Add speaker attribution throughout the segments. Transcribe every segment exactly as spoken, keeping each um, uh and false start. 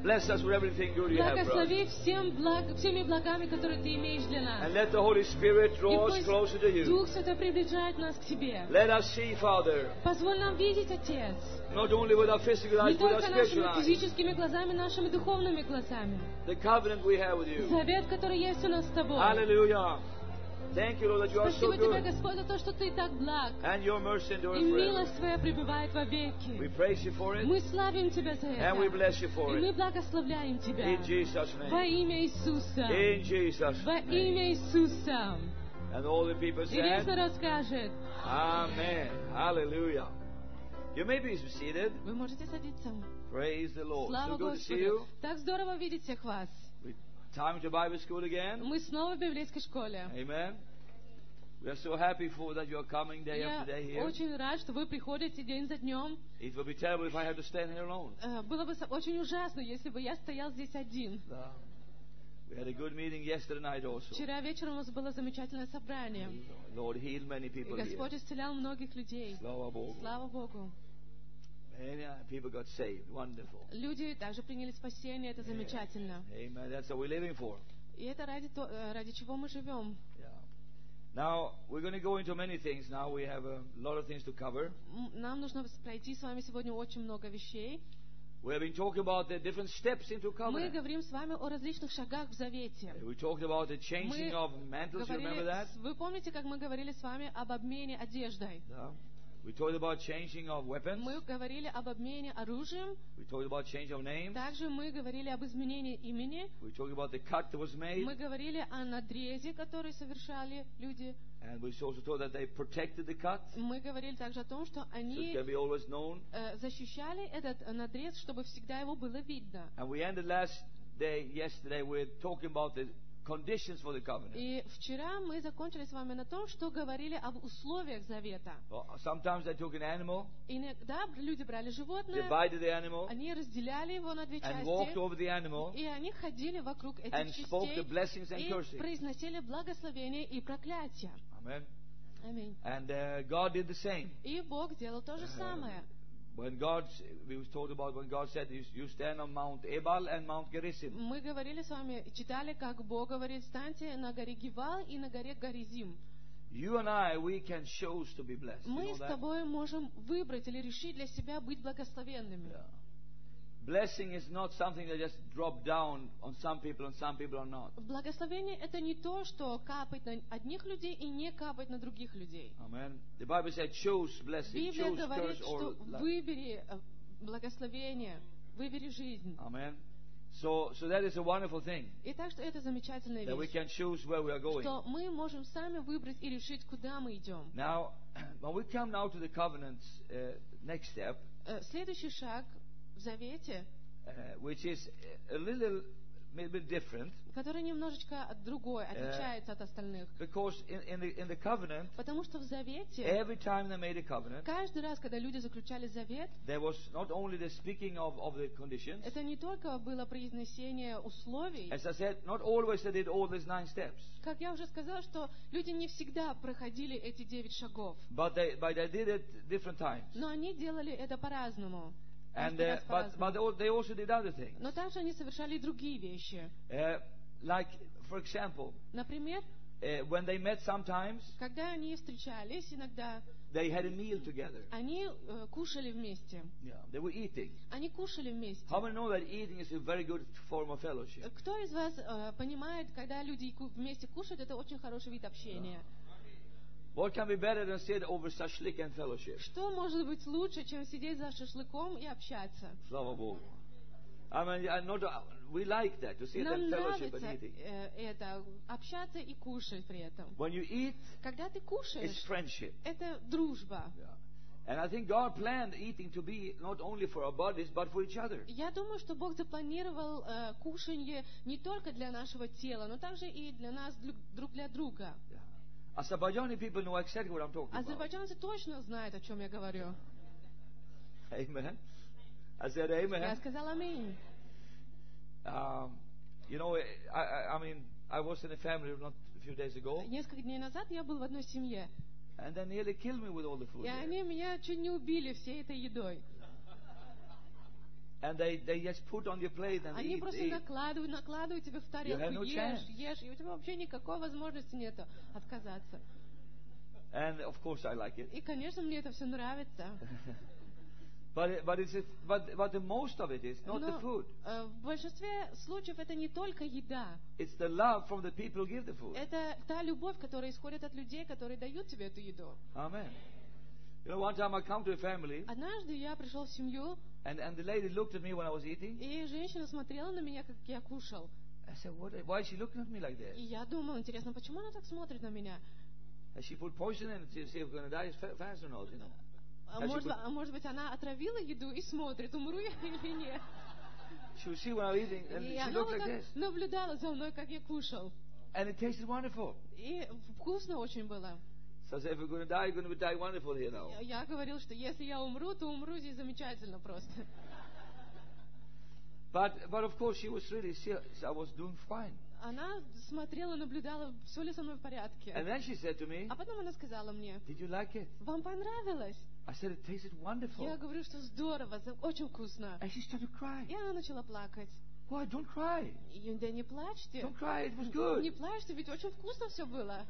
Speaker 1: Bless us with everything good you have for us.
Speaker 2: Благослови всем благ, всеми благами, которые Ты имеешь для нас.
Speaker 1: And let the Holy Spirit
Speaker 2: И
Speaker 1: draw us
Speaker 2: пусть
Speaker 1: closer to you.
Speaker 2: Дух Святой приближает нас к Тебе.
Speaker 1: Let us see, Father,
Speaker 2: Позволь нам видеть, Отец,
Speaker 1: not only with our physical
Speaker 2: не
Speaker 1: eyes, but our
Speaker 2: только
Speaker 1: spiritual
Speaker 2: нашими
Speaker 1: eyes,
Speaker 2: физическими глазами, нашими духовными глазами.
Speaker 1: the covenant we have with you.
Speaker 2: Завет, который есть у нас с Тобой.
Speaker 1: Hallelujah. Thank you, Lord, that you are so
Speaker 2: Спасибо Тебе,
Speaker 1: good.
Speaker 2: Господь, за то, что Ты так благ.
Speaker 1: And your mercy endures
Speaker 2: И
Speaker 1: forever.
Speaker 2: милость Твоя пребывает
Speaker 1: We
Speaker 2: вовеки.
Speaker 1: praise you for it,
Speaker 2: Мы славим Тебя за
Speaker 1: and we
Speaker 2: это.
Speaker 1: bless you for
Speaker 2: И мы
Speaker 1: it.
Speaker 2: благословляем Тебя.
Speaker 1: In Jesus'
Speaker 2: Во
Speaker 1: name.
Speaker 2: имя Иисуса.
Speaker 1: In Jesus'
Speaker 2: Во
Speaker 1: name.
Speaker 2: имя Иисуса.
Speaker 1: And all the people
Speaker 2: И весь
Speaker 1: said,
Speaker 2: народ скажет.
Speaker 1: Amen. Hallelujah. You may be seated.
Speaker 2: Вы можете садиться.
Speaker 1: Praise the Lord.
Speaker 2: Слава
Speaker 1: So good to see
Speaker 2: Господу.
Speaker 1: you.
Speaker 2: Так здорово видеть всех вас.
Speaker 1: We time to Bible school again.
Speaker 2: Мы снова в библейской школе.
Speaker 1: Amen. We are so happy for that you are coming day
Speaker 2: Я
Speaker 1: after day here.
Speaker 2: очень рад, что вы приходите день за днем.
Speaker 1: It would be terrible if I had to stand here alone.
Speaker 2: Э, Было бы со- очень ужасно, если бы я стоял здесь один.
Speaker 1: No. We had a good meeting yesterday night also.
Speaker 2: Вчера вечером у нас было замечательное собрание.
Speaker 1: Lord healed many
Speaker 2: И
Speaker 1: people here.
Speaker 2: Господь исцелял многих людей.
Speaker 1: Slava Bogu.
Speaker 2: Слава Богу.
Speaker 1: Many uh, people got saved. Wonderful.
Speaker 2: Люди также приняли спасение, это замечательно.
Speaker 1: Amen. That's what we're living for.
Speaker 2: И это ради, то- э, ради чего мы живем.
Speaker 1: Yeah. Now, we're going to go into many things. Now we have a lot of things to cover.
Speaker 2: М, Нам нужно пройти с вами сегодня очень много вещей.
Speaker 1: We have been talking about the different steps into
Speaker 2: Мы
Speaker 1: covenant.
Speaker 2: говорим с вами о различных шагах в Завете.
Speaker 1: We talked about the changing
Speaker 2: Мы
Speaker 1: of mantles. You remember that?
Speaker 2: говорили, вы помните, как мы говорили с вами об обмене одеждой?
Speaker 1: Yeah. We talked about changing of weapons.
Speaker 2: Мы говорили об обмене оружием.
Speaker 1: We talked about change of names.
Speaker 2: Также мы говорили об изменении имени.
Speaker 1: We talked about the cut that was made.
Speaker 2: Мы говорили о надрезе, который совершали люди.
Speaker 1: And we also told that they protected the cut.
Speaker 2: Мы говорили также о том, что
Speaker 1: So it
Speaker 2: они
Speaker 1: can be always known.
Speaker 2: э, защищали этот э, надрез, чтобы всегда его было видно.
Speaker 1: And we ended last day, yesterday, with talking about the conditions for the covenant.
Speaker 2: И вчера мы закончили с вами на том, что говорили об условиях завета.
Speaker 1: Well, sometimes they took an animal,
Speaker 2: Иногда люди брали животное,
Speaker 1: divided the animal,
Speaker 2: они разделяли его на две
Speaker 1: and walked
Speaker 2: части,
Speaker 1: over the animal,
Speaker 2: и они ходили вокруг этих
Speaker 1: and spoke the
Speaker 2: частей
Speaker 1: blessings and
Speaker 2: и
Speaker 1: cursing.
Speaker 2: произносили благословения и проклятия.
Speaker 1: Amen.
Speaker 2: Аминь.
Speaker 1: And uh, God did the same.
Speaker 2: И Бог делал то же самое.
Speaker 1: When God, we was told about when God said, you, you stand on Mount Ebal and Mount Gerizim.
Speaker 2: Мы говорили с вами, читали, как Бог говорит, станьте на горе Гивал и на горе Горизим.
Speaker 1: You and I, we can choose to be blessed. You
Speaker 2: Мы
Speaker 1: know
Speaker 2: с
Speaker 1: that?
Speaker 2: тобой можем выбрать или решить для себя быть благословенными.
Speaker 1: Yeah. Blessing is not something that just drop down on some people and some people are not.
Speaker 2: Благословение — это не то, что капает на одних людей и не капает на других людей.
Speaker 1: Amen. The Bible said, choose blessing,
Speaker 2: Библия
Speaker 1: choose
Speaker 2: говорит,
Speaker 1: curse
Speaker 2: что
Speaker 1: or life.
Speaker 2: выбери э, благословение, выбери жизнь.
Speaker 1: Amen. So, so that is a wonderful thing
Speaker 2: И так что это замечательная
Speaker 1: that we
Speaker 2: вещь,
Speaker 1: can choose where we are going.
Speaker 2: что мы можем сами выбрать и решить, куда мы идем.
Speaker 1: Now, when we come now to the covenants, uh, next step,
Speaker 2: Э, Следующий шаг в Завете,
Speaker 1: uh, which is a little, maybe different,
Speaker 2: который немножечко от другой, отличается от остальных.
Speaker 1: because in, in, the, in the covenant,
Speaker 2: Потому что в Завете,
Speaker 1: every time they made a covenant,
Speaker 2: каждый раз, когда люди заключали завет,
Speaker 1: there was not only the speaking of, of the conditions.
Speaker 2: это не только было произнесение условий.
Speaker 1: As I said, not always they did all these nine steps,
Speaker 2: Как я уже сказала, что люди не всегда проходили эти девять шагов,
Speaker 1: but they, but they did it different times.
Speaker 2: но они делали это по-разному.
Speaker 1: And
Speaker 2: Каждый
Speaker 1: uh,
Speaker 2: раз
Speaker 1: but, but
Speaker 2: по-разному.
Speaker 1: they also did other things.
Speaker 2: Но также они совершали и другие вещи.
Speaker 1: Uh, like, for example,
Speaker 2: Например,
Speaker 1: uh, when they met sometimes,
Speaker 2: когда они встречались, иногда
Speaker 1: they had a meal together.
Speaker 2: они э, кушали вместе.
Speaker 1: Yeah, they were eating.
Speaker 2: Они кушали вместе.
Speaker 1: How many know that eating is a very good form of fellowship?
Speaker 2: Кто из вас э, понимает, когда люди ку- вместе кушают, это очень хороший вид общения?
Speaker 1: What can be better than sit over shashlik and fellowship?
Speaker 2: Что может быть лучше, чем сидеть за шашлыком и общаться?
Speaker 1: Slava Bogu. I mean, I not, we like that, to sit
Speaker 2: Нам
Speaker 1: and fellowship
Speaker 2: нравится
Speaker 1: and eating.
Speaker 2: э, это, общаться и кушать при этом.
Speaker 1: When you eat,
Speaker 2: Когда ты
Speaker 1: it's
Speaker 2: кушаешь,
Speaker 1: friendship.
Speaker 2: это дружба.
Speaker 1: Yeah. And I think God planned eating to be not only for our bodies, but for each other.
Speaker 2: Я думаю, что Бог запланировал э, кушанье не только для нашего тела, но также и для нас друг, друг для друга.
Speaker 1: Yeah. Azerbaijani people know exactly what I'm talking about.
Speaker 2: Азербайджанцы точно знают, о чем я говорю.
Speaker 1: Amen. I said
Speaker 2: Я
Speaker 1: amen.
Speaker 2: сказала аминь.
Speaker 1: Um, you know, I, I, I mean, I was in a family not a few days ago,
Speaker 2: Несколько дней назад я был в одной семье,
Speaker 1: and they nearly killed me with all the food
Speaker 2: и
Speaker 1: there.
Speaker 2: они меня чуть не убили всей этой едой.
Speaker 1: And they, they just put on your plate and
Speaker 2: Они
Speaker 1: eat,
Speaker 2: просто
Speaker 1: eat.
Speaker 2: накладывают, накладывают тебе в
Speaker 1: have
Speaker 2: тарелку,
Speaker 1: no
Speaker 2: ешь,
Speaker 1: chance.
Speaker 2: ешь, и у тебя вообще никакой возможности нету отказаться.
Speaker 1: And of course I like it.
Speaker 2: И, конечно, мне это все нравится.
Speaker 1: But, it- but, it's a, but, but the most of it is not the
Speaker 2: Но
Speaker 1: food.
Speaker 2: э, в большинстве случаев это не только еда.
Speaker 1: It's the love from the people who give the food.
Speaker 2: Это та любовь, которая исходит от людей, которые дают тебе эту еду.
Speaker 1: Amen. You know, one time I come to a family,
Speaker 2: Однажды я пришел в семью,
Speaker 1: and, and the lady looked at me when I was eating.
Speaker 2: и женщина смотрела на меня, как я кушал.
Speaker 1: I said, what, why is she looking at me like
Speaker 2: И
Speaker 1: this?
Speaker 2: я думал, интересно, почему она так смотрит на меня?
Speaker 1: Has she put poison in it to see if we're going to die fa- fast or not, you know?
Speaker 2: А
Speaker 1: Has she
Speaker 2: может,
Speaker 1: put-
Speaker 2: а может быть, она отравила еду и смотрит, умру я или нет.
Speaker 1: She would see when I'm eating, and
Speaker 2: И
Speaker 1: she
Speaker 2: она
Speaker 1: looked
Speaker 2: вот
Speaker 1: like
Speaker 2: так
Speaker 1: this.
Speaker 2: наблюдала за мной, как я кушал.
Speaker 1: And it tasted wonderful.
Speaker 2: И вкусно очень было.
Speaker 1: So I said, if we're going to die, we're going to die wonderful here now.
Speaker 2: Я говорил, что если я умру, то умру здесь замечательно просто.
Speaker 1: But, but of course, she was really serious. I was doing fine.
Speaker 2: Она смотрела, наблюдала, все ли со мной в порядке.
Speaker 1: And then she said to me,
Speaker 2: А потом она сказала мне,
Speaker 1: did you like it?
Speaker 2: вам понравилось?
Speaker 1: I said, it tasted wonderful.
Speaker 2: Я говорю, что здорово, за- очень вкусно.
Speaker 1: And she started to cry.
Speaker 2: И она начала плакать.
Speaker 1: Why, don't cry.
Speaker 2: И, да не плачьте.
Speaker 1: Don't cry, it was
Speaker 2: Не
Speaker 1: good.
Speaker 2: плачьте, ведь очень вкусно все было.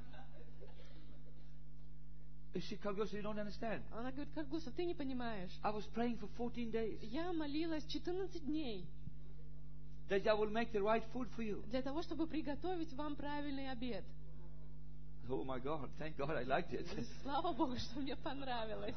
Speaker 1: She Carl Gustav, you don't understand.
Speaker 2: Она говорит, как Густав, ты не понимаешь.
Speaker 1: I was praying for fourteen days
Speaker 2: Я молилась четырнадцать дней
Speaker 1: that I will make the right food for you.
Speaker 2: для того, чтобы приготовить вам правильный обед.
Speaker 1: Oh my God, thank God I liked it.
Speaker 2: Слава Богу, что мне понравилось.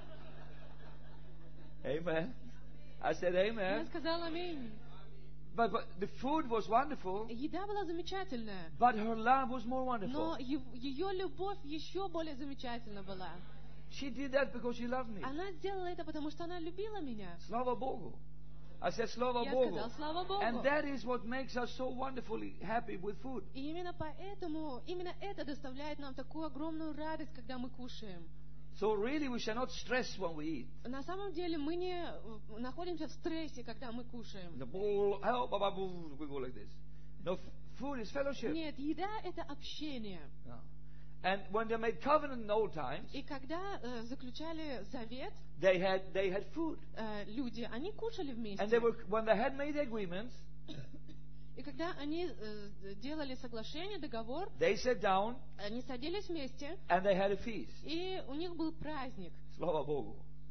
Speaker 1: Amen. I said
Speaker 2: Я
Speaker 1: amen.
Speaker 2: сказала аминь.
Speaker 1: But, but the food was wonderful,
Speaker 2: Еда была замечательная,
Speaker 1: but her love was more wonderful.
Speaker 2: но е- ее любовь еще более замечательна была.
Speaker 1: She did that because she loved me.
Speaker 2: Она сделала это, потому что она любила меня.
Speaker 1: Slava Bogu. I said Slava
Speaker 2: Я
Speaker 1: Bogu.
Speaker 2: сказала, слава Богу.
Speaker 1: And that is what makes us so wonderfully happy with food.
Speaker 2: И именно поэтому, именно это доставляет нам такую огромную радость, когда мы кушаем.
Speaker 1: So really we shall not stress when we eat.
Speaker 2: На самом деле мы не э, находимся в стрессе, когда мы кушаем.
Speaker 1: The bowl, help, ba, ba, boo, we go like this. No, f- food is fellowship.
Speaker 2: Нет, еда — это общение.
Speaker 1: Yeah. And when they made covenant in the old times,
Speaker 2: И когда э, заключали завет,
Speaker 1: they had they had food.
Speaker 2: э, люди, они кушали вместе.
Speaker 1: And they were when they had made agreements,
Speaker 2: И когда они э, делали соглашение, договор,
Speaker 1: they sat down
Speaker 2: они садились вместе,
Speaker 1: and they had a feast.
Speaker 2: и у них был праздник.
Speaker 1: Slava Bogu.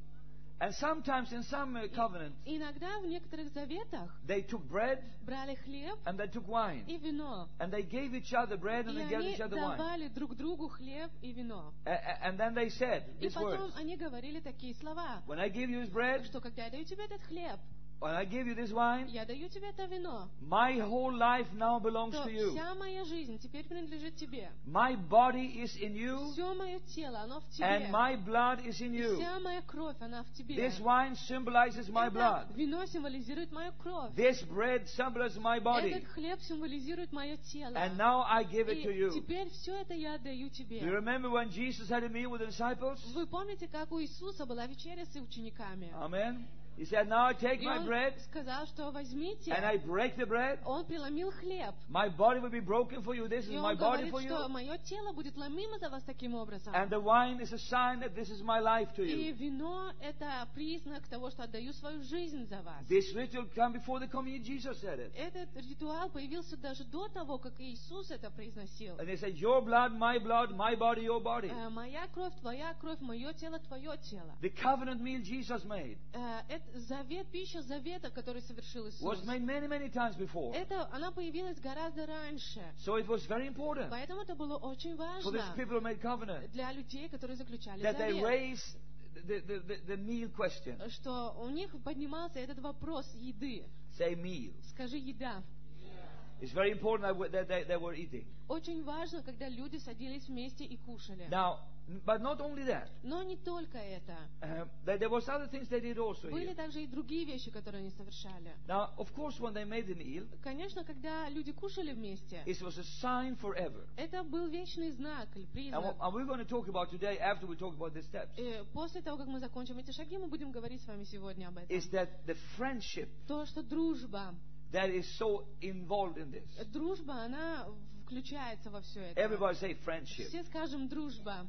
Speaker 1: And sometimes in some uh, covenants,
Speaker 2: И иногда в некоторых заветах
Speaker 1: they took bread
Speaker 2: брали хлеб
Speaker 1: and they took wine.
Speaker 2: и вино.
Speaker 1: And they gave each other bread and
Speaker 2: И
Speaker 1: they gave
Speaker 2: они
Speaker 1: each other wine.
Speaker 2: давали друг другу хлеб и вино.
Speaker 1: A- a- And then they said
Speaker 2: И
Speaker 1: these
Speaker 2: потом
Speaker 1: words.
Speaker 2: они говорили такие слова,
Speaker 1: When I give you this bread,
Speaker 2: что когда я даю тебе этот хлеб,
Speaker 1: when I give you this wine,
Speaker 2: я даю тебе это вино,
Speaker 1: my whole life now belongs
Speaker 2: то
Speaker 1: to you.
Speaker 2: вся моя жизнь теперь принадлежит тебе.
Speaker 1: My body is in you
Speaker 2: Все мое тело, оно в тебе.
Speaker 1: and my blood is in
Speaker 2: И
Speaker 1: you.
Speaker 2: вся моя кровь, она в тебе.
Speaker 1: This wine symbolizes my
Speaker 2: Это
Speaker 1: blood.
Speaker 2: вино символизирует мою кровь.
Speaker 1: This bread symbolizes my body.
Speaker 2: Этот хлеб символизирует мое тело.
Speaker 1: And now I give it
Speaker 2: И
Speaker 1: to you.
Speaker 2: теперь все это я отдаю
Speaker 1: Do you
Speaker 2: тебе.
Speaker 1: remember when Jesus had a meal with the disciples?
Speaker 2: Вы помните, как у Иисуса была вечеря с учениками?
Speaker 1: Amen. He said, now I take
Speaker 2: И
Speaker 1: my
Speaker 2: он
Speaker 1: bread
Speaker 2: сказал, что возьмите.
Speaker 1: and I break the bread.
Speaker 2: Он преломил хлеб.
Speaker 1: My body will be broken for you. This is
Speaker 2: И
Speaker 1: my
Speaker 2: он
Speaker 1: body
Speaker 2: говорит,
Speaker 1: for
Speaker 2: что
Speaker 1: you.
Speaker 2: мое тело будет ломимо за вас таким образом.
Speaker 1: And the wine is a sign that this is my life to
Speaker 2: И
Speaker 1: you.
Speaker 2: вино — это признак того, что отдаю свою жизнь за вас.
Speaker 1: This ritual came before the communion. Jesus said it.
Speaker 2: Этот ритуал появился даже до того, как Иисус это произносил.
Speaker 1: And they said, your blood, my blood, my body, your body.
Speaker 2: Э, Моя кровь, твоя кровь, мое тело, твое тело.
Speaker 1: The covenant meal Jesus made
Speaker 2: Э, Это завет, пища завета, который совершил Иисус.
Speaker 1: was made many, many times before.
Speaker 2: Это, она появилась гораздо раньше.
Speaker 1: So it was very important
Speaker 2: Поэтому это было очень
Speaker 1: for these
Speaker 2: важно
Speaker 1: people who made covenant
Speaker 2: для людей, которые заключали
Speaker 1: that they
Speaker 2: завет.
Speaker 1: raised the, the, the, the meal question.
Speaker 2: Что у них поднимался этот вопрос еды.
Speaker 1: Say meal.
Speaker 2: Скажи «еда».
Speaker 1: It's very important that we- that they, they were eating.
Speaker 2: Очень важно, когда люди садились вместе и кушали.
Speaker 1: Now, but not only that.
Speaker 2: Но не только это.
Speaker 1: Uh, there, there was other things they did also
Speaker 2: Были
Speaker 1: here.
Speaker 2: также и другие вещи, которые они совершали.
Speaker 1: Now, of course, when they made the meal,
Speaker 2: Конечно, когда люди кушали вместе,
Speaker 1: it was a sign forever.
Speaker 2: это был вечный знак или
Speaker 1: And
Speaker 2: признак.
Speaker 1: what and we're going to talk about today, after we talk about the steps,
Speaker 2: И после того, как мы закончим эти шаги, мы будем говорить с вами сегодня об этом.
Speaker 1: is that the friendship
Speaker 2: То, что дружба,
Speaker 1: that is so involved in this.
Speaker 2: дружба, она включается во все это.
Speaker 1: Everybody say friendship.
Speaker 2: Все скажем «дружба».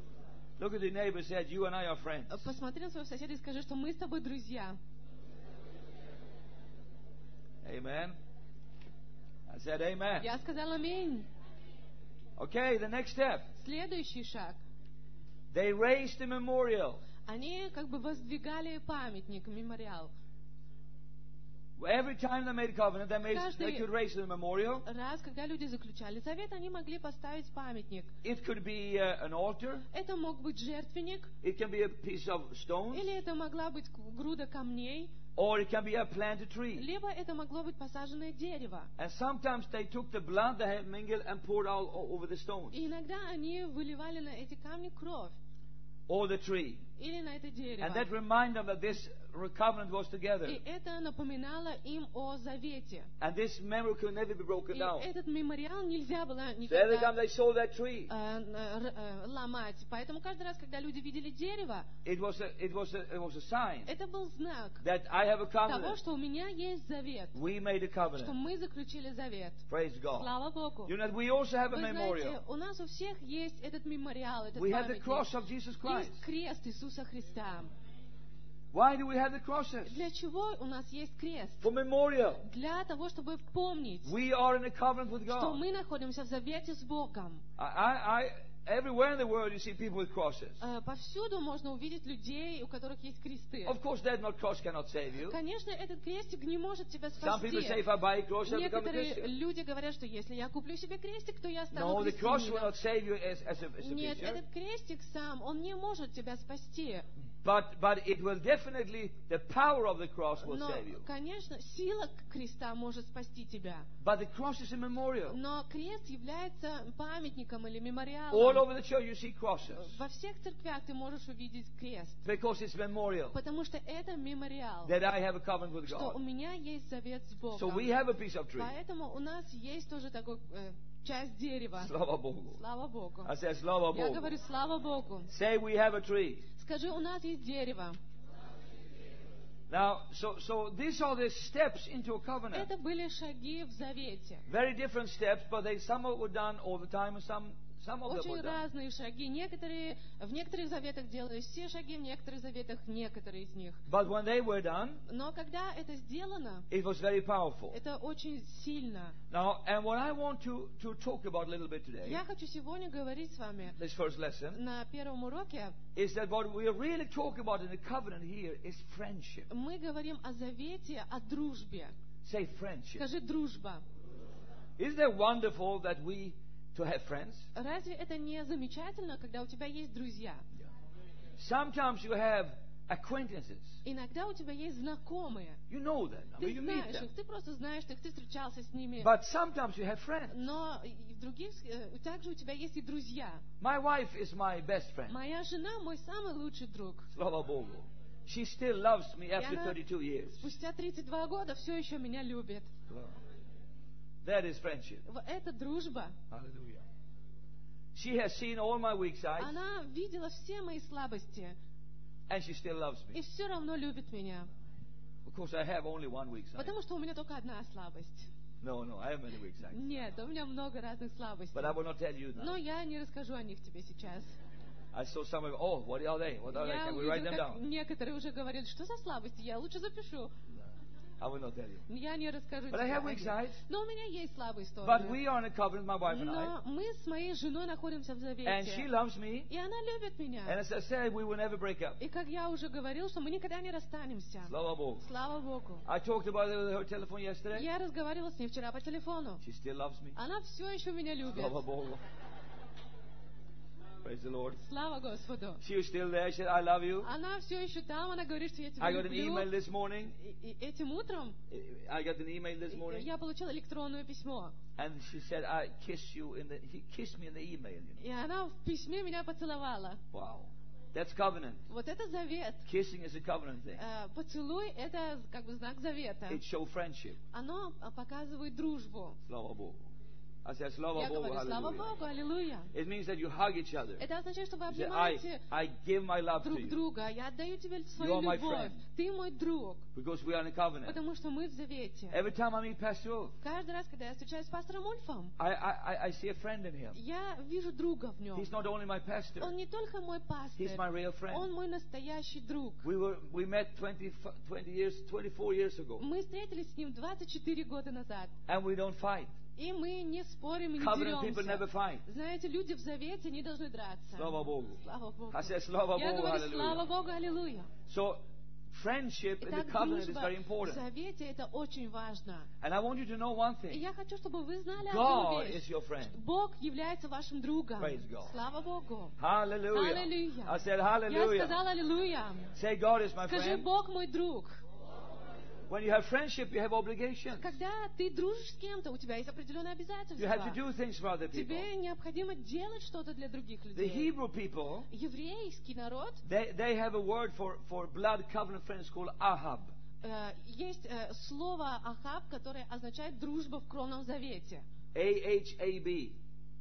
Speaker 1: Look at the neighbor and say, you and I are friends.
Speaker 2: Посмотри на своего соседа и скажи, что мы с тобой друзья.
Speaker 1: Amen. I said amen.
Speaker 2: Я сказала аминь.
Speaker 1: Okay, the next step.
Speaker 2: Следующий шаг.
Speaker 1: They raised a memorial.
Speaker 2: Они как бы воздвигали памятник, мемориал.
Speaker 1: Every time they made a covenant, they, made, they could raise a memorial.
Speaker 2: Раз, когда люди заключали завет, они могли поставить памятник.
Speaker 1: It could be uh, an altar.
Speaker 2: Это мог быть жертвенник.
Speaker 1: It can be a piece of stones.
Speaker 2: Или это могла быть груда камней.
Speaker 1: Or it can be a planted tree.
Speaker 2: Либо это могло быть посаженное дерево.
Speaker 1: And sometimes they took the blood they had mingled and poured all over the stones.
Speaker 2: И иногда они выливали на эти камни кровь.
Speaker 1: Or the tree.
Speaker 2: Или на это дерево.
Speaker 1: And that reminded them that this covenant was together.
Speaker 2: И это напоминало им о завете.
Speaker 1: And this memory could never be broken
Speaker 2: И
Speaker 1: down.
Speaker 2: этот мемориал нельзя было
Speaker 1: So every
Speaker 2: никогда
Speaker 1: time they saw that tree,
Speaker 2: э, э, ломать. Поэтому каждый раз, когда люди видели дерево,
Speaker 1: it was a, it was a, it was a sign
Speaker 2: это был знак
Speaker 1: that I have a
Speaker 2: того,
Speaker 1: covenant.
Speaker 2: что у меня есть завет.
Speaker 1: We made a
Speaker 2: Что
Speaker 1: covenant.
Speaker 2: мы заключили завет.
Speaker 1: Praise God.
Speaker 2: Слава Богу.
Speaker 1: You know, we also have a
Speaker 2: Вы
Speaker 1: memorial.
Speaker 2: знаете, у нас у всех есть этот мемориал, этот
Speaker 1: We have the
Speaker 2: памятник.
Speaker 1: cross of Jesus Christ.
Speaker 2: Есть крест Иисуса Христа.
Speaker 1: Why do we have the crosses?
Speaker 2: Для чего у нас есть крест?
Speaker 1: For memorial.
Speaker 2: Для того, чтобы помнить,
Speaker 1: We are in a covenant with
Speaker 2: что
Speaker 1: God.
Speaker 2: мы находимся в завете с Богом.
Speaker 1: I, I, I, everywhere in the world you see people with crosses.
Speaker 2: Э, Повсюду можно увидеть людей, у которых есть кресты.
Speaker 1: Of course, that not cross cannot save you.
Speaker 2: Конечно, этот крестик не может тебя
Speaker 1: Some people say,
Speaker 2: спасти.
Speaker 1: if I buy a cross, I become a
Speaker 2: Некоторые
Speaker 1: Christian.
Speaker 2: люди говорят, что если я куплю себе крестик, то я стану
Speaker 1: No, the cross will
Speaker 2: христианином.
Speaker 1: not save you as, as, a, as a
Speaker 2: Нет,
Speaker 1: picture.
Speaker 2: этот крестик сам, он не может тебя спасти.
Speaker 1: But, but it will definitely, the power of the cross will
Speaker 2: Но,
Speaker 1: save you.
Speaker 2: конечно, сила креста может спасти тебя.
Speaker 1: But the cross is a memorial.
Speaker 2: Но крест является памятником или
Speaker 1: All
Speaker 2: мемориалом.
Speaker 1: over the church you see crosses.
Speaker 2: Во всех церквях ты можешь увидеть крест.
Speaker 1: Because it's memorial.
Speaker 2: Потому что это мемориал.
Speaker 1: That I have a covenant with
Speaker 2: Что у
Speaker 1: God.
Speaker 2: меня есть завет с Богом.
Speaker 1: So we have a piece of tree.
Speaker 2: Поэтому у нас есть тоже такой э, часть дерева.
Speaker 1: Slava Bogu.
Speaker 2: Слава Богу.
Speaker 1: I said, Slava
Speaker 2: Я
Speaker 1: Bogu.
Speaker 2: говорю, слава Богу.
Speaker 1: Say we have a tree.
Speaker 2: Скажи, у нас есть дерево.
Speaker 1: Now, so, so these are the steps into a covenant.
Speaker 2: Это были шаги в завете.
Speaker 1: Very different steps, but they some of it were done all the time and some, some of them
Speaker 2: Очень
Speaker 1: were done.
Speaker 2: разные шаги. Некоторые, в некоторых заветах делались все шаги, в некоторых заветах некоторые из них.
Speaker 1: But when they were done,
Speaker 2: Но когда это сделано,
Speaker 1: it was very powerful.
Speaker 2: это очень сильно.
Speaker 1: Now, and what I want to, to talk about a little bit today,
Speaker 2: Я хочу сегодня говорить с вами
Speaker 1: this first lesson,
Speaker 2: на первом уроке.
Speaker 1: is that what we really talk about in the covenant here is friendship.
Speaker 2: Мы говорим о завете, о дружбе.
Speaker 1: Say friendship.
Speaker 2: Скажи дружба.
Speaker 1: Isn't it wonderful that we to have friends?
Speaker 2: Разве это не замечательно, когда у тебя есть друзья?
Speaker 1: Sometimes you have acquaintances.
Speaker 2: Иногда у тебя есть знакомые.
Speaker 1: You know them. I
Speaker 2: Ты
Speaker 1: mean, you meet
Speaker 2: знаешь
Speaker 1: them.
Speaker 2: их, ты просто знаешь их, ты встречался с ними.
Speaker 1: But sometimes you have friends.
Speaker 2: Но и в других, э, также у тебя есть и друзья.
Speaker 1: My wife is my best friend.
Speaker 2: Моя жена мой самый лучший друг.
Speaker 1: Slava Bogu. She still loves me after
Speaker 2: она
Speaker 1: thirty-two years.
Speaker 2: Спустя тридцать два года все еще меня любит.
Speaker 1: That is friendship.
Speaker 2: В- Это дружба.
Speaker 1: Hallelujah. She has seen all my weak sides
Speaker 2: Она видела все мои слабости
Speaker 1: and she still loves
Speaker 2: и
Speaker 1: me.
Speaker 2: все равно любит меня.
Speaker 1: Of course, I have only one weak side.
Speaker 2: Потому что у меня только одна слабость.
Speaker 1: No, no, I have many weak sides.
Speaker 2: Нет, у меня много разных слабостей.
Speaker 1: But I will not tell you
Speaker 2: Но
Speaker 1: now.
Speaker 2: я не расскажу о них тебе сейчас.
Speaker 1: I saw some of oh, what are they? What are they?
Speaker 2: Я
Speaker 1: Can we write
Speaker 2: увидела,
Speaker 1: them
Speaker 2: как
Speaker 1: down?
Speaker 2: некоторые уже говорят, что за слабости, я лучше запишу.
Speaker 1: I will not tell you.
Speaker 2: Я не расскажу
Speaker 1: But I
Speaker 2: тебе
Speaker 1: have
Speaker 2: о
Speaker 1: weak
Speaker 2: них.
Speaker 1: sides.
Speaker 2: Но у меня есть слабые
Speaker 1: But
Speaker 2: стороны.
Speaker 1: we are in a covenant, my wife and I.
Speaker 2: Но мы с моей женой находимся в
Speaker 1: And she
Speaker 2: завете.
Speaker 1: loves me.
Speaker 2: И она любит меня.
Speaker 1: And as I said, we will never break up.
Speaker 2: И как я уже говорил, что мы никогда не расстанемся.
Speaker 1: Slava Bogu.
Speaker 2: Слава Богу.
Speaker 1: I talked about it with her telephone yesterday.
Speaker 2: Я разговаривала с ней вчера по телефону.
Speaker 1: She still loves me.
Speaker 2: Она все еще меня любит.
Speaker 1: Slava Bogu. Praise the Lord.
Speaker 2: Слава Господу.
Speaker 1: She was still there. She said, I love you.
Speaker 2: Она все еще там, она говорит, что я тебя
Speaker 1: I got an
Speaker 2: люблю.
Speaker 1: email this morning.
Speaker 2: И, и этим утром
Speaker 1: I got an email this morning.
Speaker 2: я получила электронное письмо.
Speaker 1: And she said, I kiss you in the, he kissed me in the email. You know.
Speaker 2: И она в письме меня поцеловала.
Speaker 1: Wow. That's covenant.
Speaker 2: Вот это завет.
Speaker 1: Kissing is a covenant thing.
Speaker 2: Э, Поцелуй — это как бы знак завета.
Speaker 1: It shows friendship.
Speaker 2: Оно а, показывает дружбу.
Speaker 1: Slava Bogu. I said, Slava
Speaker 2: Я
Speaker 1: Bogu,
Speaker 2: говорю, слава
Speaker 1: hallelujah.
Speaker 2: Богу, аллилуйя.
Speaker 1: It means that you hug each other.
Speaker 2: Это означает, что вы
Speaker 1: You say, I,
Speaker 2: обнимаете
Speaker 1: I give my love to
Speaker 2: друг
Speaker 1: you
Speaker 2: друга. Я отдаю тебе
Speaker 1: You
Speaker 2: свою
Speaker 1: are my
Speaker 2: любовь.
Speaker 1: friend.
Speaker 2: Ты мой друг.
Speaker 1: because we are in a covenant.
Speaker 2: Потому что мы в завете.
Speaker 1: Every time I meet Pastor Ulf,
Speaker 2: Каждый раз, когда я встречаюсь с пастором Ульфом,
Speaker 1: I, I, I see a friend in him.
Speaker 2: я вижу друга в нем.
Speaker 1: He's not only my pastor,
Speaker 2: Он не только мой пастырь,
Speaker 1: he's my real friend.
Speaker 2: он мой настоящий друг.
Speaker 1: We were we met twenty, twenty years, twenty-four years ago,
Speaker 2: Мы встретились с ним двадцать четыре года назад.
Speaker 1: and we don't fight.
Speaker 2: И мы не спорим и не
Speaker 1: Covenant people never
Speaker 2: деремся.
Speaker 1: fight.
Speaker 2: Знаете, люди в завете не должны драться.
Speaker 1: Slava Bogu.
Speaker 2: Слава Богу.
Speaker 1: I said, Slava
Speaker 2: Я
Speaker 1: Bogu,
Speaker 2: говорю, слава
Speaker 1: hallelujah.
Speaker 2: Богу, аллилуйя.
Speaker 1: So, friendship in the
Speaker 2: Итак,
Speaker 1: covenant is
Speaker 2: дружба
Speaker 1: very
Speaker 2: в
Speaker 1: important.
Speaker 2: завете это очень важно.
Speaker 1: And I want you to know one
Speaker 2: И
Speaker 1: thing.
Speaker 2: я хочу, чтобы вы знали
Speaker 1: God
Speaker 2: одну
Speaker 1: is
Speaker 2: вещь.
Speaker 1: your friend.
Speaker 2: Бог является вашим другом.
Speaker 1: Praise God.
Speaker 2: Слава Богу.
Speaker 1: Hallelujah.
Speaker 2: Hallelujah.
Speaker 1: I said,
Speaker 2: Я
Speaker 1: hallelujah.
Speaker 2: сказала аллилуйя.
Speaker 1: Say, God is my
Speaker 2: Скажи,
Speaker 1: friend.
Speaker 2: Бог мой друг.
Speaker 1: When you have friendship, you have obligations.
Speaker 2: Когда ты дружишь с кем-то, у тебя есть определенные
Speaker 1: You have to
Speaker 2: обязательства.
Speaker 1: do things for other people.
Speaker 2: Тебе необходимо делать что-то для других
Speaker 1: The
Speaker 2: людей.
Speaker 1: Hebrew people,
Speaker 2: Еврейский народ,
Speaker 1: they, they have a word for, for blood covenant friends called ahab.
Speaker 2: э, есть э, слово Ахаб, которое означает дружба в кровном завете.
Speaker 1: A H A B.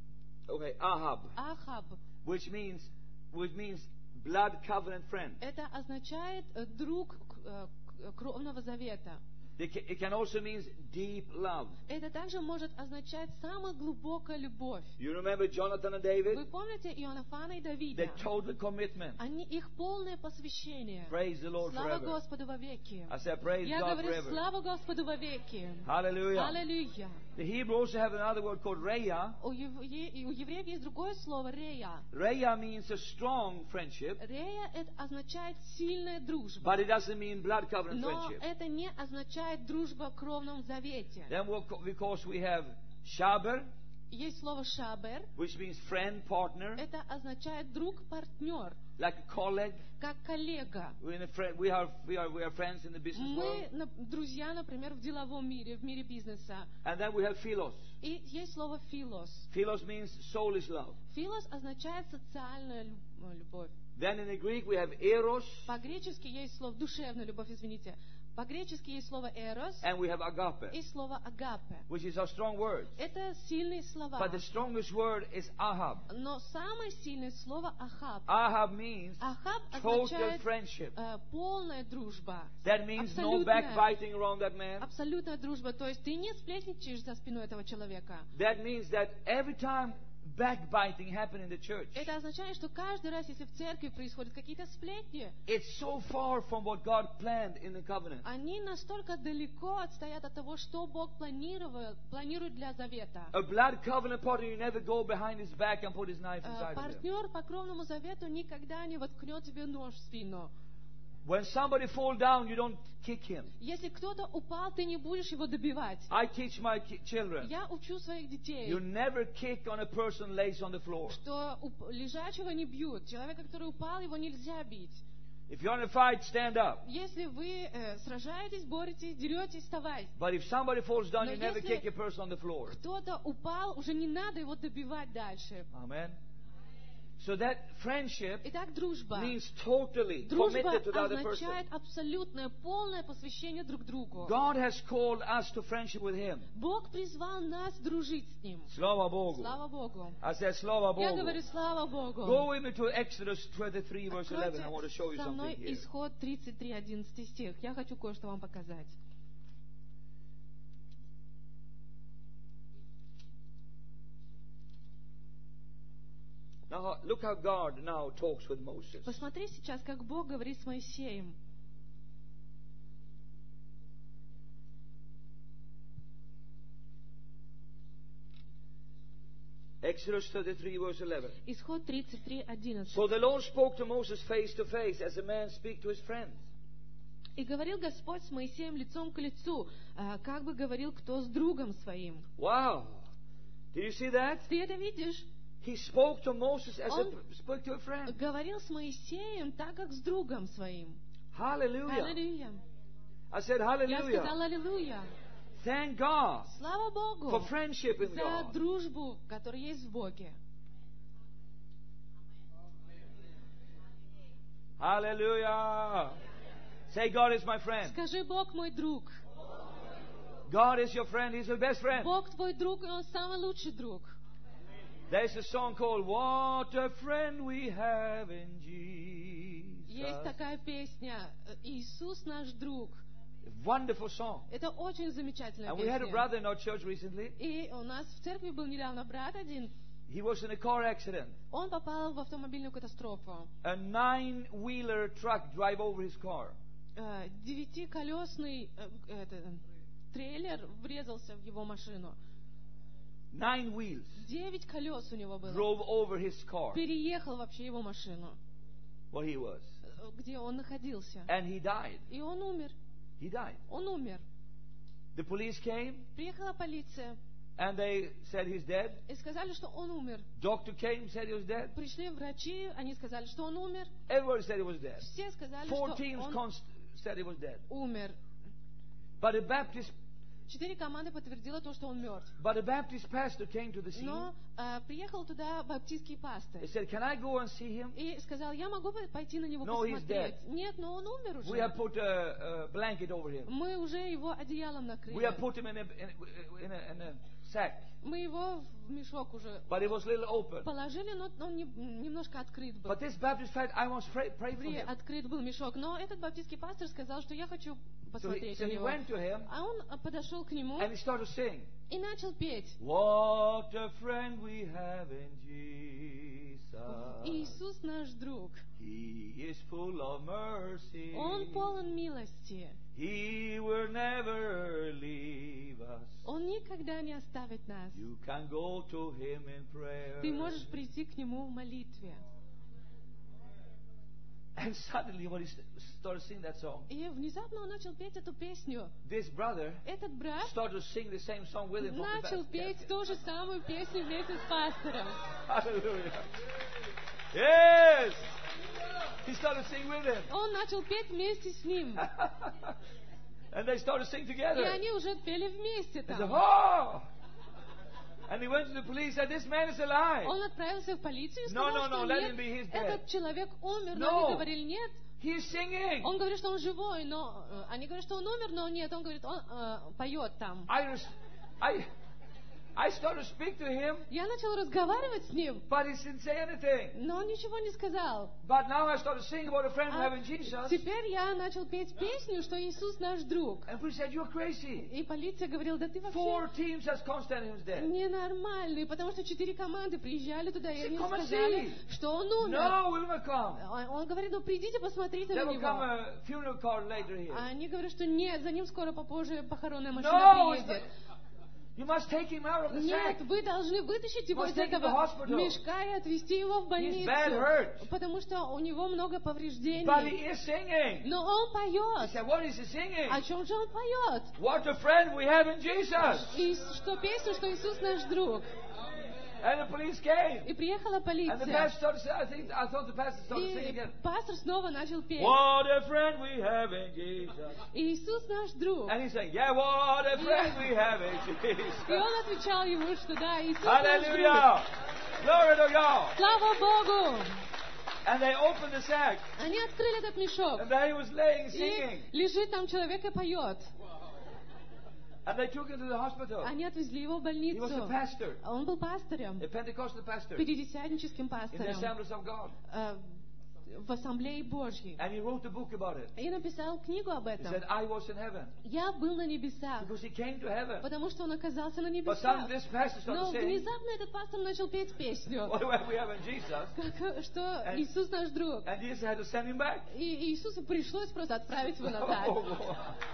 Speaker 1: Okay, ahab.
Speaker 2: Ахаб.
Speaker 1: Which means, which means blood covenant friend.
Speaker 2: Это означает э, друг э, к- кровного завета.
Speaker 1: It ca- it can also mean deep love.
Speaker 2: Это также может означать самая глубокая любовь.
Speaker 1: You remember Jonathan and
Speaker 2: Вы
Speaker 1: David?
Speaker 2: помните Ионафана и Давида?
Speaker 1: Their total commitment.
Speaker 2: Они, их полное посвящение.
Speaker 1: Praise the Lord
Speaker 2: Слава
Speaker 1: forever.
Speaker 2: Господу вовеки.
Speaker 1: I said, praise
Speaker 2: Я
Speaker 1: God
Speaker 2: говорю,
Speaker 1: forever.
Speaker 2: слава Господу вовеки.
Speaker 1: Hallelujah.
Speaker 2: Аллилуйя.
Speaker 1: The Hebrew also have another word called reya.
Speaker 2: У, евре- у евреев есть другое слово рея.
Speaker 1: Reya means a strong friendship,
Speaker 2: Рея это означает сильная дружба.
Speaker 1: but it doesn't mean blood covenant
Speaker 2: Но
Speaker 1: friendship.
Speaker 2: это не означает дружба в кровном завете.
Speaker 1: Then we'll, co- because we have shaber,
Speaker 2: Есть слово шабер.
Speaker 1: which means friend, partner,
Speaker 2: Это означает друг, партнер,
Speaker 1: like a colleague.
Speaker 2: как коллега.
Speaker 1: We're in a friend, we are we are we are friends in the business
Speaker 2: Мы
Speaker 1: world.
Speaker 2: на- друзья, например, в деловом мире, в мире бизнеса.
Speaker 1: And then we have philos.
Speaker 2: И есть слово филос.
Speaker 1: Philos means soulish love.
Speaker 2: Филос означает социальная лю- э, любовь.
Speaker 1: Then in the Greek we have eros
Speaker 2: По-гречески есть слово душевная любовь, извините. По-гречески есть слово эрос
Speaker 1: and we have agape,
Speaker 2: и слово агапе.
Speaker 1: which is our strong words.
Speaker 2: Это сильные слова.
Speaker 1: But the strongest word is ahab.
Speaker 2: Но самое сильное слово ахаб.
Speaker 1: Ahab means
Speaker 2: Ахаб
Speaker 1: total
Speaker 2: означает
Speaker 1: friendship.
Speaker 2: э, полная дружба.
Speaker 1: That means no
Speaker 2: Абсолютная.
Speaker 1: backbiting around that man.
Speaker 2: Абсолютная дружба. То есть ты не сплетничаешь за спиной этого человека.
Speaker 1: That means that every time backbiting happen in the church,
Speaker 2: Это означает, что каждый раз, если в церкви происходят какие-то сплетни,
Speaker 1: it's so far from what God planned in the covenant.
Speaker 2: они настолько далеко отстоят от того, что Бог планировал, планирует для завета.
Speaker 1: A blood covenant partner, you never go behind his back and put his knife
Speaker 2: Э,
Speaker 1: inside of him.
Speaker 2: Партнер по кровному завету никогда не воткнет тебе нож в спину.
Speaker 1: When somebody fall down, you don't kick him.
Speaker 2: Если кто-то упал, ты не будешь его добивать.
Speaker 1: I teach my ki- children,
Speaker 2: Я учу своих детей,
Speaker 1: you never kick on a person lays on the floor.
Speaker 2: что уп- лежачего не бьют. Человека, который упал, его нельзя бить.
Speaker 1: If you're in a fight, stand up.
Speaker 2: Если вы э, сражаетесь, боретесь, деретесь, вставайте.
Speaker 1: But if somebody falls down,
Speaker 2: Но
Speaker 1: you never
Speaker 2: если-
Speaker 1: kick a person on the floor.
Speaker 2: Кто-то упал, уже не надо его добивать дальше.
Speaker 1: Amen. So that friendship
Speaker 2: Итак, дружба.
Speaker 1: means totally
Speaker 2: Дружба
Speaker 1: committed to the other person.
Speaker 2: означает абсолютное, полное посвящение друг другу.
Speaker 1: God has called us to friendship with Him.
Speaker 2: Бог призвал нас дружить с Ним.
Speaker 1: Slava Bogu.
Speaker 2: Слава Богу.
Speaker 1: I said, Slava
Speaker 2: Я
Speaker 1: Bogu.
Speaker 2: говорю, слава Богу.
Speaker 1: Go with me to Exodus twenty-three, verse eleven. I want to show you
Speaker 2: Откройте со мной
Speaker 1: something here.
Speaker 2: Исход тридцать три, одиннадцатый стих. Я хочу кое-что вам показать.
Speaker 1: Now, look how God now talks with Moses.
Speaker 2: Посмотри сейчас, как Бог говорит с Моисеем.
Speaker 1: Exodus thirty-three, verse eleven.
Speaker 2: Исход тридцать три, одиннадцать.
Speaker 1: So the Lord spoke to Moses face to face, as a man speaks to his friend.
Speaker 2: «И говорил Господь с Моисеем лицом к лицу, а, как бы говорил кто с другом своим».
Speaker 1: Wow. Did you see that?
Speaker 2: Ты это видишь?
Speaker 1: He spoke to Moses as
Speaker 2: Он
Speaker 1: a spoke to a friend.
Speaker 2: Говорил с Моисеем так, как с другом своим.
Speaker 1: Hallelujah.
Speaker 2: Аллилуйя.
Speaker 1: I said
Speaker 2: Я
Speaker 1: hallelujah.
Speaker 2: сказала аллилуйя.
Speaker 1: Thank God
Speaker 2: Слава Богу
Speaker 1: for friendship in
Speaker 2: за
Speaker 1: God.
Speaker 2: дружбу, которая есть в Боге.
Speaker 1: Hallelujah. Say, God is my friend.
Speaker 2: Скажи, Бог мой друг.
Speaker 1: God is your friend. He's your best friend.
Speaker 2: Бог твой друг, и Он самый лучший друг.
Speaker 1: There's a song called What a Friend We Have in Jesus.
Speaker 2: Есть такая песня «Иисус наш друг».
Speaker 1: Wonderful song.
Speaker 2: Это очень замечательная
Speaker 1: And we had a
Speaker 2: песня.
Speaker 1: brother in our church recently.
Speaker 2: И у нас в церкви был недавно брат один.
Speaker 1: He was in a car accident.
Speaker 2: Он попал в автомобильную катастрофу.
Speaker 1: A nine-wheeler truck drive over his car.
Speaker 2: Э, Девятиколесный э, это, трейлер врезался в его машину.
Speaker 1: Nine wheels
Speaker 2: Девять колес у него было.
Speaker 1: drove over his car
Speaker 2: Переехал вообще его машину,
Speaker 1: where he was.
Speaker 2: э, где он находился.
Speaker 1: And he died.
Speaker 2: И он умер.
Speaker 1: He died.
Speaker 2: Он умер.
Speaker 1: The police came
Speaker 2: Приехала полиция
Speaker 1: and they said he's dead.
Speaker 2: и сказали, что он умер.
Speaker 1: Doctor came, said he was dead.
Speaker 2: Пришли врачи, они сказали, что он умер.
Speaker 1: Everybody said he was dead.
Speaker 2: Все сказали,
Speaker 1: Four
Speaker 2: что
Speaker 1: teams
Speaker 2: он
Speaker 1: const- said he was dead.
Speaker 2: умер.
Speaker 1: But a Baptist,
Speaker 2: Четыре команды подтвердило то, что он мертв.
Speaker 1: but a Baptist pastor came to the scene.
Speaker 2: Но э, приехал туда баптистский пастырь
Speaker 1: He said, "Can I go and see him?
Speaker 2: и сказал, я могу пойти на него
Speaker 1: No, he's
Speaker 2: посмотреть.
Speaker 1: dead.
Speaker 2: Нет, но он умер
Speaker 1: We
Speaker 2: уже.
Speaker 1: have put a, a blanket over him.
Speaker 2: Мы уже его одеялом
Speaker 1: We
Speaker 2: накрыли.
Speaker 1: have put him in a, in, in a, in a sack,
Speaker 2: Мы его в мешок уже
Speaker 1: but it was a little open.
Speaker 2: положили, но он не- немножко открыт был.
Speaker 1: But this Baptist pastor, I must pray, pray for
Speaker 2: При-
Speaker 1: him.
Speaker 2: Открыт был мешок. Но этот баптистский пастор сказал, что я хочу
Speaker 1: So he,
Speaker 2: посмотреть
Speaker 1: so
Speaker 2: на
Speaker 1: he
Speaker 2: него.
Speaker 1: went to him
Speaker 2: А он а, подошел к нему
Speaker 1: and he started to sing.
Speaker 2: и начал петь.
Speaker 1: What a friend we have in Jesus.
Speaker 2: Иисус наш друг.
Speaker 1: He is full of mercy.
Speaker 2: Он полон милости.
Speaker 1: He will never leave us.
Speaker 2: Он никогда не оставит нас.
Speaker 1: You can go to him in prayer.
Speaker 2: Ты можешь прийти к нему в молитве.
Speaker 1: And suddenly when he st- started singing that song,
Speaker 2: И внезапно он начал петь эту песню.
Speaker 1: this brother
Speaker 2: Этот брат
Speaker 1: started to sing the same song with him. from the
Speaker 2: начал
Speaker 1: back.
Speaker 2: петь ту же самую песню вместе с пастором.
Speaker 1: Hallelujah. Yes. He started singing with him.
Speaker 2: Он начал петь вместе с ним.
Speaker 1: And they started singing
Speaker 2: И
Speaker 1: together.
Speaker 2: они уже пели вместе
Speaker 1: He said,
Speaker 2: там.
Speaker 1: oh! And he went to the police and said, this man is alive.
Speaker 2: Он отправился в полицию и
Speaker 1: No,
Speaker 2: сказал,
Speaker 1: no, no,
Speaker 2: что
Speaker 1: let
Speaker 2: нет,
Speaker 1: him be, he's dead.
Speaker 2: этот человек умер, но
Speaker 1: No.
Speaker 2: они говорили нет.
Speaker 1: He's singing.
Speaker 2: Он говорит, что он живой, но э, они говорят, что он умер, но нет, он говорит, он э, поет там.
Speaker 1: I, res- I, I started to speak to him,
Speaker 2: Я начал разговаривать с ним,
Speaker 1: but he didn't say anything.
Speaker 2: но он ничего не сказал.
Speaker 1: But now I started singing about a friend we
Speaker 2: А
Speaker 1: have in Jesus.
Speaker 2: теперь я начал петь песню, что Иисус наш друг.
Speaker 1: And police said, you're crazy.
Speaker 2: И полиция говорила, да ты
Speaker 1: Four
Speaker 2: вообще
Speaker 1: teams has constantly was dead.
Speaker 2: ненормальный, потому что четыре команды приезжали туда, и
Speaker 1: Say,
Speaker 2: они
Speaker 1: come and
Speaker 2: сказали,
Speaker 1: see.
Speaker 2: что он умер.
Speaker 1: No, we will come.
Speaker 2: Он он говорит, ну придите, посмотрите
Speaker 1: There
Speaker 2: на
Speaker 1: will come
Speaker 2: него.
Speaker 1: a funeral car later here.
Speaker 2: А они говорят, что нет, за ним скоро попозже похоронная машина
Speaker 1: No, it's
Speaker 2: приедет.
Speaker 1: not- you must take him out of the
Speaker 2: Нет,
Speaker 1: sack.
Speaker 2: вы должны вытащить его
Speaker 1: Must
Speaker 2: из
Speaker 1: take him to
Speaker 2: этого
Speaker 1: hospital.
Speaker 2: мешка и отвезти его в
Speaker 1: He's bad hurt.
Speaker 2: больницу. Потому что у него много
Speaker 1: But
Speaker 2: повреждений.
Speaker 1: he is singing.
Speaker 2: Но он
Speaker 1: He
Speaker 2: поет.
Speaker 1: said, what is he singing?
Speaker 2: О чем же он поет?
Speaker 1: What a friend we have in Jesus.
Speaker 2: И что песню, что Иисус наш друг.
Speaker 1: And the police came.
Speaker 2: И приехала
Speaker 1: And the
Speaker 2: полиция.
Speaker 1: pastor started singing. I think I thought the pastor started singing
Speaker 2: И
Speaker 1: again.
Speaker 2: пастор снова начал петь.
Speaker 1: What a friend we have in Jesus.
Speaker 2: Иисус наш друг.
Speaker 1: And he said, yeah, what a friend we have in
Speaker 2: И
Speaker 1: Jesus.
Speaker 2: он отвечал ему, что да, Иисус наш друг.
Speaker 1: Hallelujah. Glory to God.
Speaker 2: Слава Богу!
Speaker 1: And they opened the sack.
Speaker 2: Они открыли этот мешок.
Speaker 1: And there he was laying
Speaker 2: И
Speaker 1: singing.
Speaker 2: лежит там человек и поет.
Speaker 1: And they took him to the hospital.
Speaker 2: Они отвезли его в
Speaker 1: He was a
Speaker 2: больницу.
Speaker 1: pastor.
Speaker 2: Он был пастором,
Speaker 1: A Pentecostal pastor.
Speaker 2: пятидесятническим
Speaker 1: In the
Speaker 2: пастором
Speaker 1: Assemblies of God.
Speaker 2: э, в Ассамблее Божьей.
Speaker 1: And he wrote a book about it.
Speaker 2: И написал книгу об
Speaker 1: He
Speaker 2: этом.
Speaker 1: said, I was in heaven.
Speaker 2: Я был на небесах,
Speaker 1: Because he came to heaven.
Speaker 2: потому что он оказался на
Speaker 1: But
Speaker 2: небесах.
Speaker 1: suddenly this pastor started
Speaker 2: Но
Speaker 1: saying,
Speaker 2: внезапно этот пастор начал петь песню,
Speaker 1: what do we have in Jesus?
Speaker 2: как, что
Speaker 1: And-
Speaker 2: Иисус наш друг.
Speaker 1: And Jesus had to send him back.
Speaker 2: И Иисусу пришлось просто отправить его назад.
Speaker 1: Oh.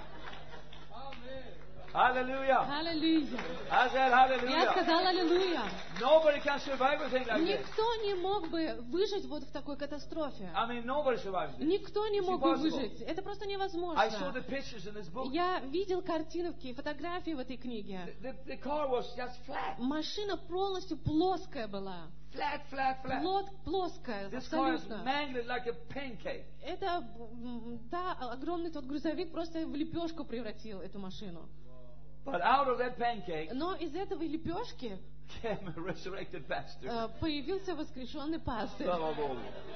Speaker 1: Hallelujah.
Speaker 2: Аллилуйя.
Speaker 1: I said
Speaker 2: Я
Speaker 1: hallelujah.
Speaker 2: сказала аллилуйя.
Speaker 1: Nobody can survive a thing like this.
Speaker 2: Никто не мог бы выжить вот в такой катастрофе.
Speaker 1: I mean, nobody survives this.
Speaker 2: Никто не
Speaker 1: It's
Speaker 2: мог бы
Speaker 1: impossible.
Speaker 2: выжить. Это просто
Speaker 1: I saw
Speaker 2: невозможно.
Speaker 1: the pictures in this book.
Speaker 2: Я видел картинки, фотографии в этой книге.
Speaker 1: The, the, the car was just flat.
Speaker 2: Машина полностью плоская была.
Speaker 1: Flat, flat, flat.
Speaker 2: Плот, плоская,
Speaker 1: This car is
Speaker 2: абсолютно.
Speaker 1: mangled like a pancake.
Speaker 2: Это, м, да, огромный тот грузовик просто в лепешку превратил эту машину.
Speaker 1: But out of that pancake
Speaker 2: Но из этой лепешки
Speaker 1: came a resurrected pastor.
Speaker 2: э, появился воскрешенный пастырь.
Speaker 1: Слава Богу.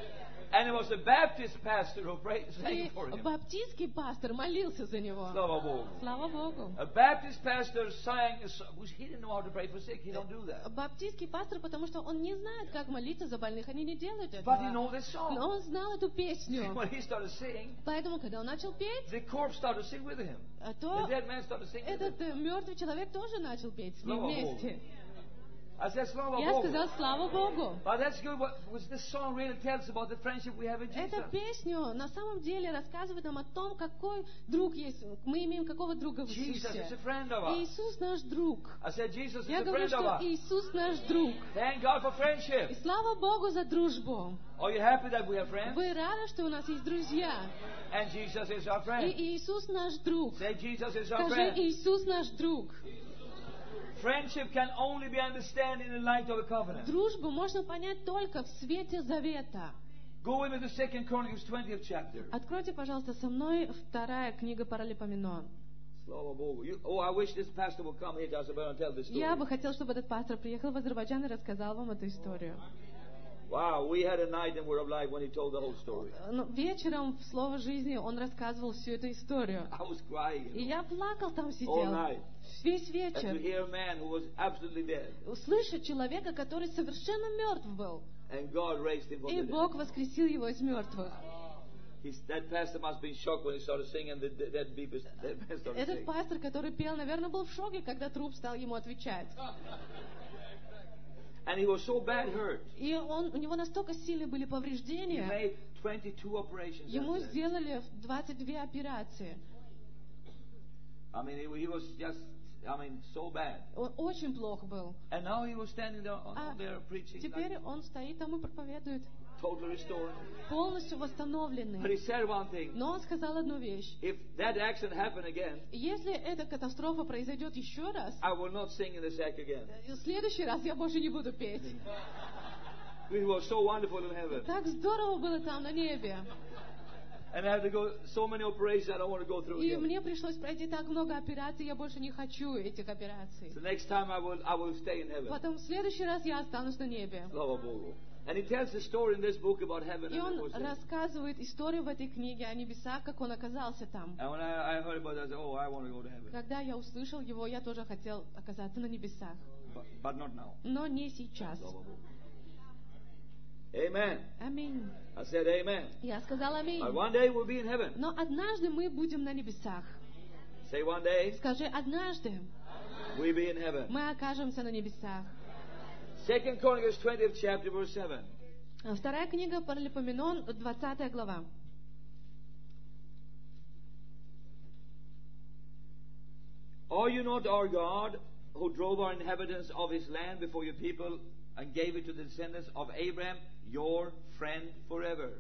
Speaker 1: And it was a Baptist pastor who prayed, sang
Speaker 2: И
Speaker 1: for him.
Speaker 2: баптистский пастор молился за него.
Speaker 1: Slava Bogu.
Speaker 2: Слава Богу.
Speaker 1: A Baptist pastor sang, a so- he didn't know how to pray for sick. He don't do that.
Speaker 2: Баптистский пастор, потому что он не знает, как молиться за больных, они не делают
Speaker 1: But he
Speaker 2: этого.
Speaker 1: knows this
Speaker 2: Но
Speaker 1: song.
Speaker 2: он знал эту песню.
Speaker 1: When he started singing,
Speaker 2: Поэтому, когда он начал петь,
Speaker 1: the corpse started to sing with him.
Speaker 2: а
Speaker 1: The
Speaker 2: то
Speaker 1: dead man started to sing with him.
Speaker 2: этот э, мертвый человек тоже начал петь с ним
Speaker 1: Слава Богу.
Speaker 2: вместе.
Speaker 1: I said, Slava
Speaker 2: Я
Speaker 1: Bogu.
Speaker 2: сказал, слава Богу.
Speaker 1: But that's good. What was this song really tells about the friendship we have in Jesus.
Speaker 2: Эта песня на самом деле рассказывает нам о том, какой друг есть. Мы имеем какого друга в
Speaker 1: Jesus
Speaker 2: Иисусе.
Speaker 1: is a friend of ours.
Speaker 2: Иисус наш друг.
Speaker 1: I said, Jesus is
Speaker 2: Я
Speaker 1: a
Speaker 2: говорю,
Speaker 1: friend of
Speaker 2: что
Speaker 1: ours.
Speaker 2: Иисус наш друг.
Speaker 1: Thank God for
Speaker 2: И
Speaker 1: friendship.
Speaker 2: слава Богу за дружбу.
Speaker 1: Are you happy that we have friends?
Speaker 2: Вы рады, что у нас есть друзья?
Speaker 1: And Jesus is our friend.
Speaker 2: И Иисус наш друг.
Speaker 1: Say, Jesus is our
Speaker 2: Скажи,
Speaker 1: friend.
Speaker 2: Иисус наш друг.
Speaker 1: Friendship can only be understood in the light of the covenant.
Speaker 2: Дружбу можно понять только в свете завета.
Speaker 1: Go with me to Second Chronicles twentieth chapter.
Speaker 2: Откройте, пожалуйста, со мной вторая книга Паралипоменон.
Speaker 1: Slava Bogu. You- Oh, I wish this pastor would come here to us and tell this story.
Speaker 2: Я бы хотел, чтобы этот пастор приехал в Азербайджан и рассказал вам эту историю.
Speaker 1: Wow, we had a night in Word of Life when he told the whole story.
Speaker 2: Ну, вечером в Слово жизни он рассказывал всю эту историю.
Speaker 1: I was crying.
Speaker 2: И я плакал там
Speaker 1: All
Speaker 2: сидел.
Speaker 1: night.
Speaker 2: Весь
Speaker 1: And to
Speaker 2: вечер.
Speaker 1: hear a man who was absolutely dead.
Speaker 2: Услышать человека, который совершенно мертв был.
Speaker 1: And God raised him from
Speaker 2: И
Speaker 1: the dead.
Speaker 2: Бог воскресил его из мертвых.
Speaker 1: He's, that pastor must have been shocked when he started singing and the the dead people dead man started
Speaker 2: Этот
Speaker 1: singing.
Speaker 2: пастор, который пел, наверное, был в шоке, когда труп стал ему отвечать.
Speaker 1: And he was so bad hurt.
Speaker 2: И он, у него настолько сильные были
Speaker 1: He
Speaker 2: повреждения,
Speaker 1: made twenty-two operations.
Speaker 2: ему
Speaker 1: after that.
Speaker 2: сделали двадцать две операции.
Speaker 1: I mean, he, he was just, I mean, so bad.
Speaker 2: Он очень плох был.
Speaker 1: And now he was standing there, on,
Speaker 2: А
Speaker 1: there preaching,
Speaker 2: теперь
Speaker 1: like,
Speaker 2: он стоит там и проповедует,
Speaker 1: totally restored.
Speaker 2: полностью
Speaker 1: But
Speaker 2: восстановленный.
Speaker 1: he said one thing.
Speaker 2: Но он сказал одну вещь.
Speaker 1: If that accident happened again,
Speaker 2: Если эта катастрофа произойдет еще раз,
Speaker 1: I will not sing in the sack again.
Speaker 2: в следующий раз я больше не буду петь.
Speaker 1: It was so wonderful in heaven.
Speaker 2: Так здорово было там на небе.
Speaker 1: And I had to go so many operations I don't want to go through
Speaker 2: И
Speaker 1: again.
Speaker 2: мне пришлось пройти так много операций, я больше не хочу этих операций.
Speaker 1: The next time I will, I will stay in heaven.
Speaker 2: Потом в следующий раз я останусь на небе.
Speaker 1: Slava Bogu. And he tells the story in this book about heaven.
Speaker 2: И
Speaker 1: And, it
Speaker 2: он
Speaker 1: was there.
Speaker 2: рассказывает историю в этой книге о небесах, как он оказался там.
Speaker 1: And when I, I heard about it, I said, oh, I want to go to heaven.
Speaker 2: Когда я услышал его, я тоже хотел оказаться на небесах.
Speaker 1: But, but not now.
Speaker 2: Но не сейчас.
Speaker 1: Slava Bogu. Amen.
Speaker 2: Аминь.
Speaker 1: I said amen.
Speaker 2: Я сказала аминь.
Speaker 1: But one day we'll be in heaven.
Speaker 2: Но однажды мы будем на небесах.
Speaker 1: Say one day
Speaker 2: Скажи, однажды
Speaker 1: we'll be in heaven.
Speaker 2: мы окажемся на небесах.
Speaker 1: Second Chronicles twentieth chapter verse seven.
Speaker 2: Вторая книга Паралипоменон, двадцатая глава.
Speaker 1: Are you not our God, who drove our inhabitants of his land before your people and gave it to the descendants of Abraham, your friend forever?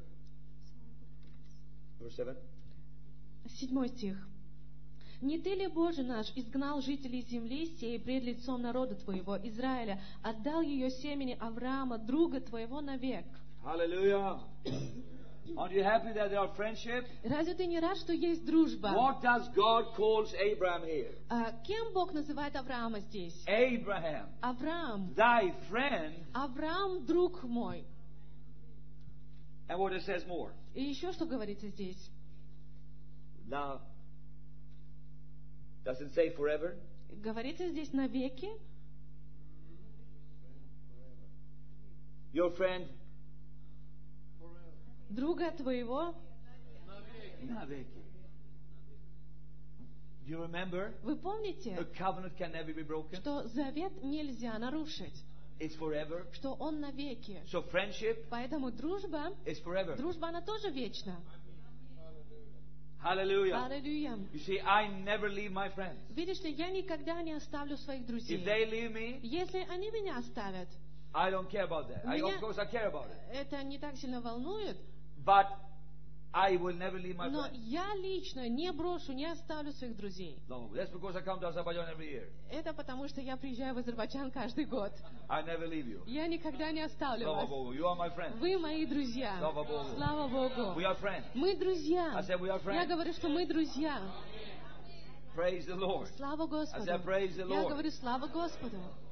Speaker 1: Verse seven.
Speaker 2: Седьмой стих. «Не ты ли, Боже наш, изгнал жителей земли сей пред лицом народа твоего, Израиля, отдал ее семени Авраама, друга твоего, навек?»
Speaker 1: Hallelujah. Aren't you happy that there are friendship?
Speaker 2: Разве ты не рад, что есть дружба?
Speaker 1: What does God calls Abraham here?
Speaker 2: А кем Бог называет Авраама здесь?
Speaker 1: Abraham,
Speaker 2: Авраам.
Speaker 1: thy friend.
Speaker 2: Авраам, друг мой.
Speaker 1: And what it says more.
Speaker 2: И еще что говорится здесь?
Speaker 1: Now, does it say forever?
Speaker 2: Говорится здесь навеки.
Speaker 1: Your friend?
Speaker 2: Друга твоего.
Speaker 1: Naveki. Do you remember?
Speaker 2: Вы помните,
Speaker 1: A covenant can never be broken.
Speaker 2: что завет нельзя нарушить,
Speaker 1: It's forever.
Speaker 2: что он навеки.
Speaker 1: So friendship
Speaker 2: Поэтому дружба,
Speaker 1: is forever.
Speaker 2: дружба, она тоже вечна.
Speaker 1: Hallelujah.
Speaker 2: Аллилуйя.
Speaker 1: You see, I never leave my friends.
Speaker 2: Видишь ли, я никогда не оставлю своих
Speaker 1: If
Speaker 2: друзей.
Speaker 1: they leave me,
Speaker 2: Если они меня оставят,
Speaker 1: I don't care about that. I,
Speaker 2: Меня-
Speaker 1: of course, I care about it.
Speaker 2: это не так сильно волнует,
Speaker 1: But I will never leave my
Speaker 2: но
Speaker 1: friends.
Speaker 2: я лично не брошу, не оставлю своих друзей.
Speaker 1: No, that's because I come to Azerbaijan every year.
Speaker 2: Это потому, что я приезжаю в Азербайджан каждый год.
Speaker 1: I never leave you.
Speaker 2: Я никогда не оставлю
Speaker 1: Slava
Speaker 2: вас.
Speaker 1: Bogu. You are my friend.
Speaker 2: Вы мои друзья.
Speaker 1: Слава Богу.
Speaker 2: Слава Богу.
Speaker 1: We are friends.
Speaker 2: Мы друзья.
Speaker 1: I said we are
Speaker 2: Я
Speaker 1: friends.
Speaker 2: говорю, что мы друзья.
Speaker 1: Praise the Lord.
Speaker 2: Слава
Speaker 1: I
Speaker 2: Господу.
Speaker 1: said praise the
Speaker 2: Я
Speaker 1: Lord.
Speaker 2: говорю, слава Господу.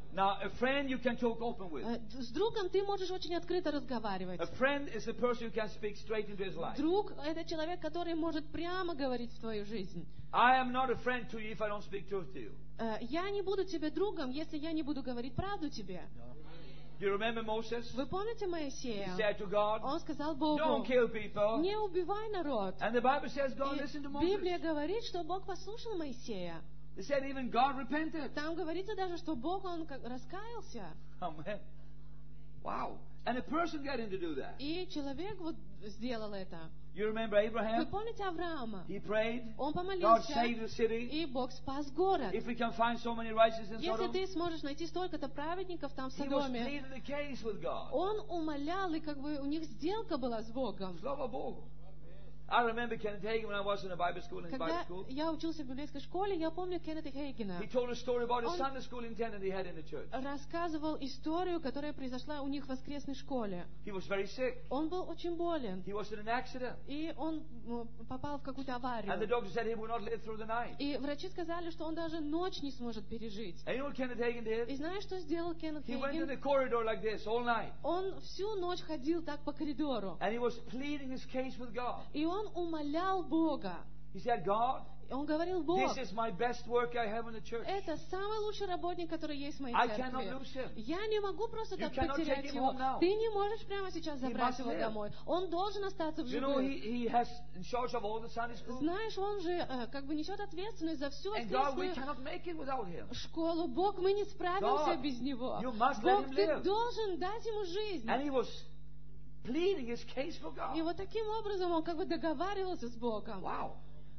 Speaker 1: Now, a friend you can talk open with.
Speaker 2: Э, С другом ты можешь очень открыто разговаривать.
Speaker 1: A friend is a person who can speak straight into his life.
Speaker 2: Друг — это человек, который может прямо говорить в твою жизнь.
Speaker 1: I am not a friend to you if I don't speak truth to you.
Speaker 2: Э, Я не буду тебе другом, если я не буду говорить правду тебе.
Speaker 1: Do you remember Moses?
Speaker 2: Вы помните
Speaker 1: He
Speaker 2: Моисея?
Speaker 1: said to God,
Speaker 2: Он сказал
Speaker 1: don't
Speaker 2: Богу:
Speaker 1: kill people.
Speaker 2: не убивай народ.
Speaker 1: And the Bible says God
Speaker 2: И
Speaker 1: listened to Moses.
Speaker 2: Библия говорит, что Бог послушал Моисея.
Speaker 1: It said even God repented.
Speaker 2: Там говорится даже, что Бог, Он как раскаялся.
Speaker 1: Amen. Wow. And a person got him to do that.
Speaker 2: И человек вот сделал это.
Speaker 1: You remember
Speaker 2: Вы
Speaker 1: Abraham?
Speaker 2: помните Авраама?
Speaker 1: He prayed.
Speaker 2: Он
Speaker 1: God
Speaker 2: помолился,
Speaker 1: saved the city.
Speaker 2: и Бог спас город.
Speaker 1: If we can find so many righteous in
Speaker 2: Если
Speaker 1: Sodom,
Speaker 2: ты сможешь найти столько-то праведников там в
Speaker 1: he was
Speaker 2: Содоме,
Speaker 1: pleading the case with God.
Speaker 2: он умолял, и как бы у них сделка была с Богом.
Speaker 1: Слава Богу. I remember Kenneth Hagin when I was in a Bible school, in his Bible
Speaker 2: Когда
Speaker 1: school.
Speaker 2: я учился в библейской школе, я помню Кеннета Хейгена.
Speaker 1: He told a story about a
Speaker 2: Он-
Speaker 1: Sunday school intendant he had in the church.
Speaker 2: Рассказывал историю, которая произошла у них в воскресной школе.
Speaker 1: He was very sick.
Speaker 2: Он был очень болен,
Speaker 1: He was in an accident.
Speaker 2: и он ну, попал в какую-то
Speaker 1: And the
Speaker 2: аварию.
Speaker 1: doctor said he would not live through the night.
Speaker 2: И врачи сказали, что он даже ночь не сможет пережить.
Speaker 1: And you know what Kenneth Hagin
Speaker 2: И
Speaker 1: did?
Speaker 2: знаешь, что сделал Кеннет
Speaker 1: He went in
Speaker 2: Хейген?
Speaker 1: the corridor like this all night.
Speaker 2: Он всю ночь ходил так по коридору.
Speaker 1: And he was pleading his case with God.
Speaker 2: И он умолял Бога.
Speaker 1: He said, God,
Speaker 2: Он говорил: Бог,
Speaker 1: this is my best work I have in the church.
Speaker 2: это самый лучший работник, который есть в моей
Speaker 1: I cannot
Speaker 2: церкви.
Speaker 1: lose him.
Speaker 2: Я не могу просто
Speaker 1: You
Speaker 2: так
Speaker 1: cannot
Speaker 2: потерять
Speaker 1: take him
Speaker 2: его.
Speaker 1: home now.
Speaker 2: Ты не можешь прямо сейчас
Speaker 1: He
Speaker 2: забрать
Speaker 1: must
Speaker 2: его
Speaker 1: live.
Speaker 2: домой. Он должен остаться в
Speaker 1: You know, he,
Speaker 2: живых.
Speaker 1: he has in charge of all the Sunday school.
Speaker 2: Знаешь, он же э, как бы несет ответственность за всю
Speaker 1: And God, we
Speaker 2: воскресную
Speaker 1: cannot make it without him.
Speaker 2: школу. Бог, мы не справимся
Speaker 1: God,
Speaker 2: без него.
Speaker 1: you must let
Speaker 2: Бог,
Speaker 1: him
Speaker 2: ты
Speaker 1: live.
Speaker 2: должен дать ему жизнь.
Speaker 1: And he was pleading his case for God.
Speaker 2: И вот таким образом он как бы договаривался с Богом.
Speaker 1: Wow.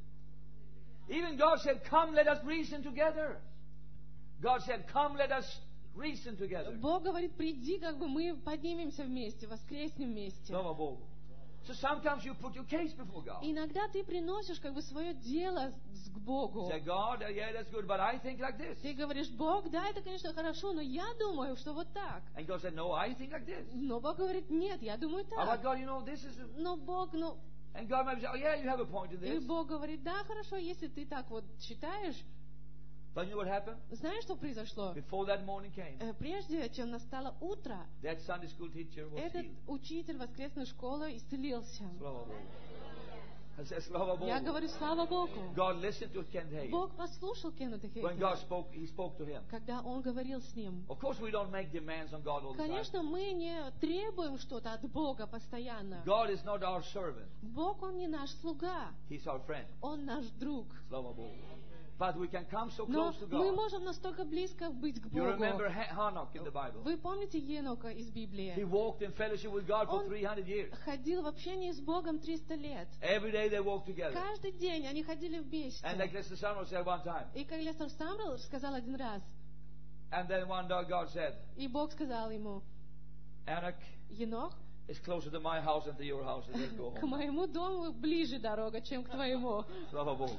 Speaker 1: Even God said, come, let us reason together. God said, come, let us reason together.
Speaker 2: Бог говорит: приди, как бы мы поднимемся вместе, воскреснем вместе.
Speaker 1: Слава Богу. So sometimes you put your case before God.
Speaker 2: Иногда ты приносишь как бы свое дело с- к Богу.
Speaker 1: Say, God, uh, yeah, that's good, but I think like this.
Speaker 2: Ты говоришь: Бог, да, это, конечно, хорошо, но я думаю, что вот так.
Speaker 1: And God said, no, I think like this.
Speaker 2: Но Бог говорит: нет, я думаю
Speaker 1: How about
Speaker 2: так.
Speaker 1: God, you know, this is... A...
Speaker 2: Но Бог, ну...
Speaker 1: And God might say, oh, yeah, you have a point in
Speaker 2: И
Speaker 1: this.
Speaker 2: Бог говорит: да, хорошо, если ты так вот считаешь.
Speaker 1: But you know what happened?
Speaker 2: Знаешь, что произошло?
Speaker 1: Before that morning came,
Speaker 2: Э, Прежде чем настало утро,
Speaker 1: that Sunday school teacher was
Speaker 2: этот
Speaker 1: healed.
Speaker 2: учитель воскресной школы исцелился.
Speaker 1: Slava Bogu. I said, Slava
Speaker 2: Я
Speaker 1: Bogu.
Speaker 2: говорю: слава Богу.
Speaker 1: God listened to Ken Hagin.
Speaker 2: Бог послушал Кеннета
Speaker 1: When God
Speaker 2: Хейгена,
Speaker 1: spoke, He spoke to him.
Speaker 2: когда он говорил с ним.
Speaker 1: Of course, we don't make demands on God all the time.
Speaker 2: Конечно, мы не требуем что-то от Бога постоянно.
Speaker 1: God is not our servant.
Speaker 2: Бог, Он не наш слуга,
Speaker 1: He's our friend.
Speaker 2: Он наш друг.
Speaker 1: Slava Bogu. But we can come so
Speaker 2: Но
Speaker 1: close to
Speaker 2: мы
Speaker 1: God.
Speaker 2: можем настолько близко быть к
Speaker 1: You remember
Speaker 2: Богу.
Speaker 1: Ha- Hanok in the Bible.
Speaker 2: Вы помните Енока из
Speaker 1: He
Speaker 2: Библии?
Speaker 1: walked in fellowship with God for
Speaker 2: Он
Speaker 1: three hundred years.
Speaker 2: ходил в общении с Богом триста лет.
Speaker 1: Every day they walked together.
Speaker 2: Каждый день они ходили
Speaker 1: And like
Speaker 2: вместе.
Speaker 1: Lester Summerall said one time.
Speaker 2: И как Лестер Самрелл сказал один раз,
Speaker 1: And then one day God said,
Speaker 2: и Бог сказал ему:
Speaker 1: Anak,
Speaker 2: Енох,
Speaker 1: it's closer to my house than to your house. Let's go
Speaker 2: к
Speaker 1: home.
Speaker 2: моему дому ближе дорога, чем к твоему.
Speaker 1: Slava Bogu.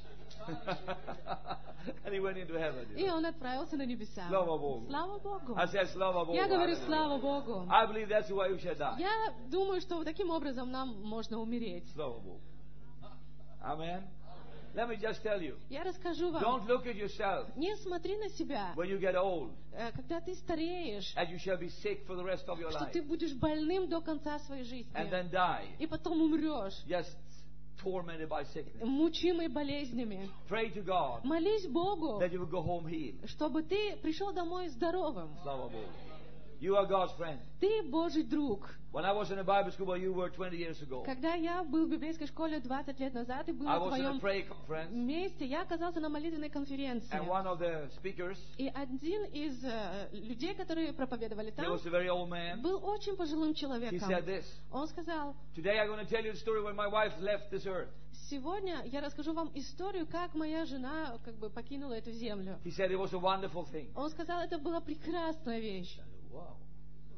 Speaker 1: And he went into heaven. you
Speaker 2: И
Speaker 1: know.
Speaker 2: он отправился на небеса.
Speaker 1: Слава Богу.
Speaker 2: Слава Богу.
Speaker 1: I said, Slava Bogu.
Speaker 2: Я говорю:
Speaker 1: Hallelujah.
Speaker 2: слава Богу.
Speaker 1: I believe that's the way we should die.
Speaker 2: Я думаю, что вот таким образом нам можно умереть.
Speaker 1: Slava Bogu. Amen. Let me just tell you.
Speaker 2: Я расскажу вам.
Speaker 1: Don't look at yourself
Speaker 2: Не смотри на себя,
Speaker 1: when you get old
Speaker 2: э, когда ты стареешь,
Speaker 1: and you shall be sick for the rest of your
Speaker 2: что
Speaker 1: life
Speaker 2: ты будешь больным до конца своей жизни.
Speaker 1: and then die
Speaker 2: И потом умрешь,
Speaker 1: just tormented by sickness.
Speaker 2: мучимый болезнями.
Speaker 1: Pray to God
Speaker 2: Молись Богу,
Speaker 1: that you will go home healed.
Speaker 2: чтобы ты пришел домой здоровым.
Speaker 1: Slava Bogu. You are God's friend.
Speaker 2: Ты Божий друг.
Speaker 1: When I was in a Bible school where you were twenty years ago,
Speaker 2: Когда я был в библейской школе двадцать лет назад и был
Speaker 1: I
Speaker 2: на
Speaker 1: was in a
Speaker 2: твоем
Speaker 1: prayer conference,
Speaker 2: месте, я оказался на молитвенной конференции.
Speaker 1: and one of the speakers,
Speaker 2: И один из э, людей, которые проповедовали
Speaker 1: he
Speaker 2: там,
Speaker 1: was a very old man.
Speaker 2: был очень пожилым
Speaker 1: He
Speaker 2: человеком.
Speaker 1: said this.
Speaker 2: Он сказал:
Speaker 1: Today I'm going to tell you the story when my wife left this earth.
Speaker 2: сегодня я расскажу вам историю, как моя жена как бы покинула эту землю.
Speaker 1: He said it was a wonderful thing.
Speaker 2: Он сказал, это была прекрасная вещь.
Speaker 1: Wow.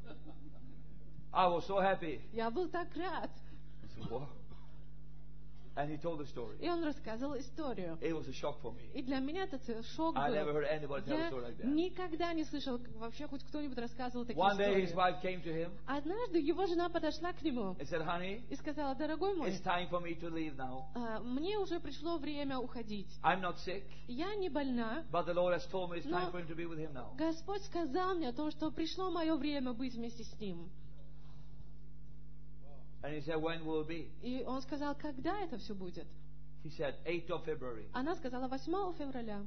Speaker 1: I was so happy.
Speaker 2: Я был так рад.
Speaker 1: I said, wow. And he told the story.
Speaker 2: И он рассказывал историю.
Speaker 1: It was a shock for me.
Speaker 2: И для меня это ц- шок
Speaker 1: I never
Speaker 2: был.
Speaker 1: heard anybody tell a
Speaker 2: Я
Speaker 1: story like that.
Speaker 2: никогда не слышал, как вообще хоть кто-нибудь рассказывал такие
Speaker 1: One day his
Speaker 2: истории.
Speaker 1: wife came to him
Speaker 2: Однажды его жена подошла к нему
Speaker 1: and said, honey,
Speaker 2: и сказала: дорогой мой,
Speaker 1: it's time for me to leave now.
Speaker 2: а, мне уже пришло время уходить.
Speaker 1: I'm not sick,
Speaker 2: Я не больна,
Speaker 1: but the Lord has told me it's time
Speaker 2: Но-
Speaker 1: for him to be with him now.
Speaker 2: Господь сказал мне о том, что пришло мое время быть вместе с ним.
Speaker 1: And he said, when will it be?
Speaker 2: И он сказал: когда это все будет?
Speaker 1: He said, eighth of February.
Speaker 2: Она сказала: восьмого февраля.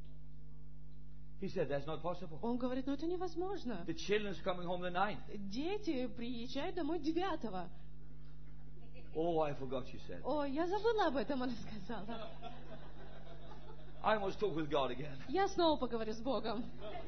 Speaker 1: He said, that's not possible.
Speaker 2: Он говорит: ну это невозможно.
Speaker 1: The children's coming home the ninth.
Speaker 2: Дети приезжают домой девятого.
Speaker 1: Oh, I forgot, she said.
Speaker 2: О, я забыла об этом, она сказала.
Speaker 1: I must talk with God again.
Speaker 2: Я снова поговорю с Богом.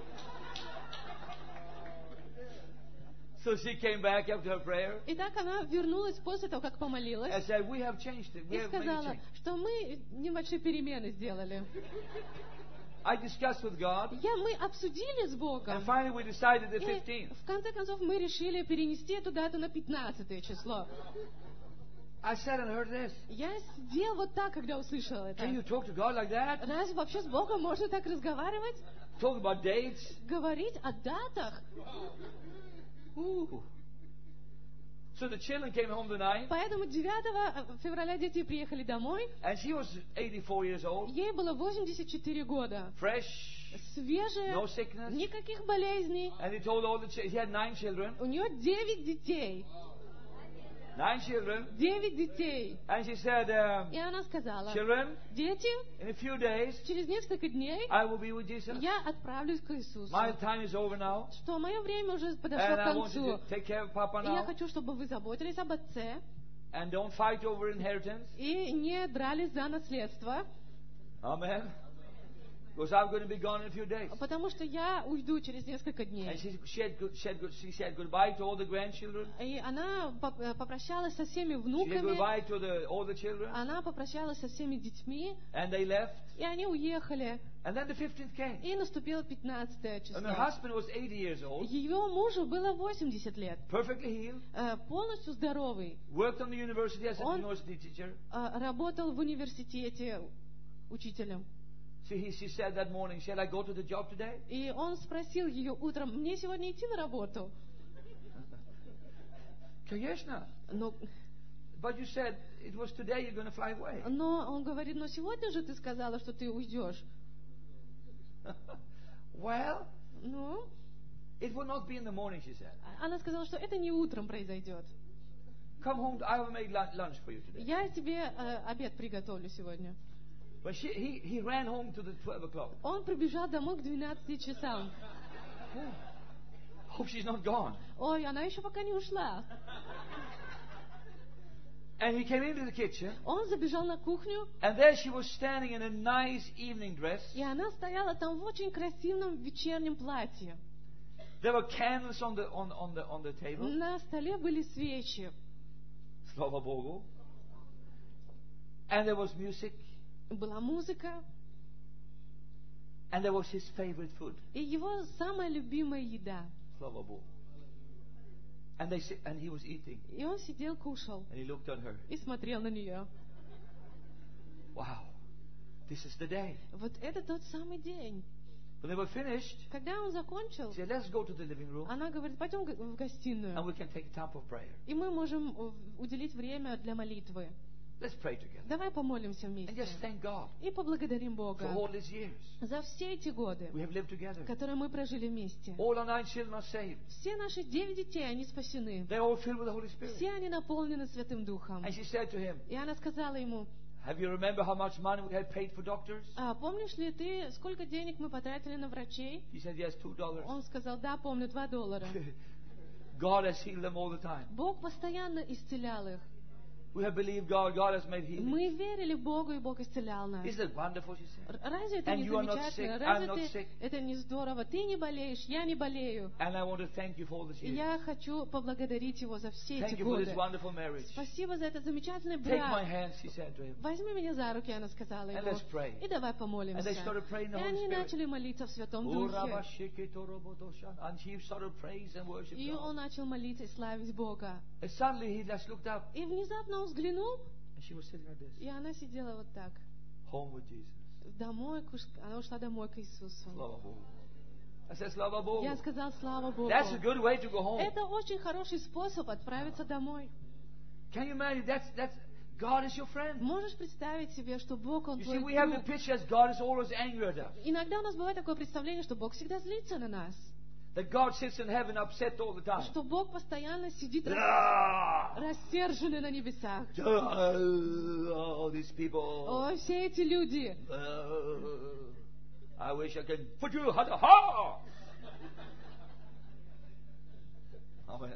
Speaker 1: So she came back after her prayer
Speaker 2: Итак, она вернулась после того, как помолилась,
Speaker 1: and said, we have changed it. We
Speaker 2: и
Speaker 1: have made a
Speaker 2: сказала,
Speaker 1: change.
Speaker 2: что мы небольшие перемены сделали.
Speaker 1: I discussed with God,
Speaker 2: Я, мы обсудили с Богом,
Speaker 1: and finally we decided the
Speaker 2: и
Speaker 1: fifteenth.
Speaker 2: в конце концов мы решили перенести эту дату на пятнадцатое число.
Speaker 1: I sat and heard this.
Speaker 2: Я сидел вот так, когда услышала это.
Speaker 1: Can you talk to God like that?
Speaker 2: Разве вообще с Богом можно так разговаривать?
Speaker 1: Talk about dates?
Speaker 2: Говорить о датах?
Speaker 1: Ooh. So the children came home the ninth,
Speaker 2: Поэтому девятого февраля дети приехали домой.
Speaker 1: and she was eighty-four years old,
Speaker 2: Ей было восемьдесят четыре года.
Speaker 1: fresh,
Speaker 2: Свежая,
Speaker 1: no sickness.
Speaker 2: никаких болезней.
Speaker 1: And he told all the children, he had nine children,
Speaker 2: У нее девять детей.
Speaker 1: nine children,
Speaker 2: Девять детей.
Speaker 1: and she said, um,
Speaker 2: И она сказала:
Speaker 1: children,
Speaker 2: дети,
Speaker 1: in a few days,
Speaker 2: через несколько дней
Speaker 1: I will be with Jesus.
Speaker 2: я отправлюсь к Иисусу.
Speaker 1: My time is over now,
Speaker 2: Что мое время уже подошло
Speaker 1: and
Speaker 2: к
Speaker 1: I want you
Speaker 2: концу.
Speaker 1: to take care of Papa
Speaker 2: И я
Speaker 1: now,
Speaker 2: хочу, чтобы вы заботились об отце
Speaker 1: and don't fight over inheritance.
Speaker 2: и не дрались за наследство,
Speaker 1: Amen. Because I'm going to be gone in a few days.
Speaker 2: потому что я уйду через несколько
Speaker 1: And
Speaker 2: дней.
Speaker 1: she, she, had, good- she, had, good- she said goodbye to all the grandchildren.
Speaker 2: И она поп- э, попрощалась со всеми
Speaker 1: She said
Speaker 2: внуками,
Speaker 1: goodbye to the, all the children.
Speaker 2: она попрощалась со всеми детьми,
Speaker 1: And they left.
Speaker 2: и они уехали.
Speaker 1: And then the fifteenth came.
Speaker 2: И наступило пятнадцатое
Speaker 1: And
Speaker 2: число.
Speaker 1: her husband was eighty years old,
Speaker 2: Ее мужу было восемьдесят лет,
Speaker 1: perfectly healed,
Speaker 2: э, полностью здоровый.
Speaker 1: worked on the university as a
Speaker 2: Он-
Speaker 1: university teacher.
Speaker 2: Э, Работал в университете учителем.
Speaker 1: So he, she said that morning, shall I go to the job today?
Speaker 2: И он спросил ее утром: мне сегодня идти на работу?
Speaker 1: Конечно.
Speaker 2: Но,
Speaker 1: But you said it was today you're going to fly away.
Speaker 2: но он говорит: но сегодня же ты сказала, что ты уйдешь.
Speaker 1: Well,
Speaker 2: Ну,
Speaker 1: it will not be in the morning, she said.
Speaker 2: она сказала, что это не утром произойдет.
Speaker 1: Come home, I will make lun- lunch for you today.
Speaker 2: Я тебе э, обед приготовлю сегодня.
Speaker 1: But she, he, he ran home to the twelve o'clock.
Speaker 2: Он прибежал домой к двенадцати часам.
Speaker 1: Hope she's not gone.
Speaker 2: Ой, она еще пока не ушла.
Speaker 1: And he came into the kitchen,
Speaker 2: Он забежал на кухню,
Speaker 1: and there she was standing in a nice evening dress.
Speaker 2: и она стояла там в очень красивом вечернем платье.
Speaker 1: There were candles on the on, on the on the table.
Speaker 2: На столе были свечи,
Speaker 1: Slava Bogu. And there was music,
Speaker 2: была музыка,
Speaker 1: and there was his favorite food.
Speaker 2: и его самая любимая еда.
Speaker 1: Slava Bogu. And they si- and he was eating,
Speaker 2: И он сидел, кушал
Speaker 1: and he looked at her.
Speaker 2: и смотрел на нее.
Speaker 1: Wow, this is the day.
Speaker 2: Вот это тот самый день.
Speaker 1: When they were finished,
Speaker 2: Когда он закончил,
Speaker 1: he said, "Let's go to the living room,
Speaker 2: она говорит: пойдем в
Speaker 1: and
Speaker 2: гостиную,
Speaker 1: we can take time for prayer.
Speaker 2: и мы можем э, уделить время для молитвы.
Speaker 1: Let's pray together
Speaker 2: Давай помолимся
Speaker 1: and
Speaker 2: вместе.
Speaker 1: just thank God
Speaker 2: И поблагодарим Бога
Speaker 1: for all these years
Speaker 2: за все эти годы,
Speaker 1: we have lived together.
Speaker 2: которые мы прожили вместе.
Speaker 1: All our nine children are saved.
Speaker 2: Все наши девять детей, они спасены.
Speaker 1: They're all filled with the Holy Spirit."
Speaker 2: Все они наполнены Святым Духом.
Speaker 1: And she said to him,
Speaker 2: И она сказала ему:
Speaker 1: "Have you remember how much money we had paid for doctors?"
Speaker 2: а помнишь ли ты, сколько денег мы потратили на врачей?
Speaker 1: He said, "Yes, two dollars."
Speaker 2: Он сказал: да, помню, два доллара.
Speaker 1: God has healed them all the time.
Speaker 2: Бог постоянно исцелял их.
Speaker 1: We have believed God. God has made healing.
Speaker 2: Мы верили Богу, и Бог исцелял нас.
Speaker 1: Isn't it wonderful? She said.
Speaker 2: Р- Разве это
Speaker 1: And
Speaker 2: не
Speaker 1: you are not
Speaker 2: замечательно?
Speaker 1: sick,
Speaker 2: Разве
Speaker 1: I'm not
Speaker 2: ты-
Speaker 1: sick.
Speaker 2: это не здорово? Ты не болеешь, я не болею.
Speaker 1: And I want to thank you for all these
Speaker 2: И
Speaker 1: years.
Speaker 2: я хочу поблагодарить Его за все
Speaker 1: Thank
Speaker 2: эти
Speaker 1: you for this
Speaker 2: годы.
Speaker 1: wonderful marriage.
Speaker 2: Спасибо за этот замечательный
Speaker 1: Take my
Speaker 2: брак.
Speaker 1: hands, she said to him.
Speaker 2: Возьми меня за руки, она сказала
Speaker 1: And
Speaker 2: ему.
Speaker 1: let's pray.
Speaker 2: И давай
Speaker 1: And
Speaker 2: помолимся.
Speaker 1: they started praying in
Speaker 2: И
Speaker 1: the Holy
Speaker 2: они
Speaker 1: Spirit.
Speaker 2: начали молиться в Святом
Speaker 1: Oh,
Speaker 2: Духе.
Speaker 1: Rabba Shekito Robotoshan. And he started praise and worship
Speaker 2: И он
Speaker 1: God.
Speaker 2: начал молиться и славить Бога.
Speaker 1: And suddenly he just looked up.
Speaker 2: И внезапно он взглянул,
Speaker 1: And And she was sitting like this.
Speaker 2: И она сидела вот так.
Speaker 1: Home with Jesus.
Speaker 2: Домой, к уш- она ушла домой к Иисусу.
Speaker 1: Слава Богу. I said, Slava Bogu.
Speaker 2: Я сказал, слава Богу.
Speaker 1: That's a good way to go home.
Speaker 2: Это очень хороший способ отправиться домой.
Speaker 1: Can you imagine? That's, that's, God is your friend.
Speaker 2: Можешь представить себе, что Бог, Он
Speaker 1: You
Speaker 2: твой
Speaker 1: see, we have the
Speaker 2: друг?
Speaker 1: picture as God is always angry at us.
Speaker 2: Иногда у нас бывает такое представление, что Бог всегда злится на нас.
Speaker 1: That God sits in heaven upset all the time.
Speaker 2: Что Бог постоянно сидит рас-
Speaker 1: Ah!
Speaker 2: рассерженный на небесах.
Speaker 1: All these people.
Speaker 2: О, все эти люди.
Speaker 1: Uh, I wish I could put you ha ha. Amen.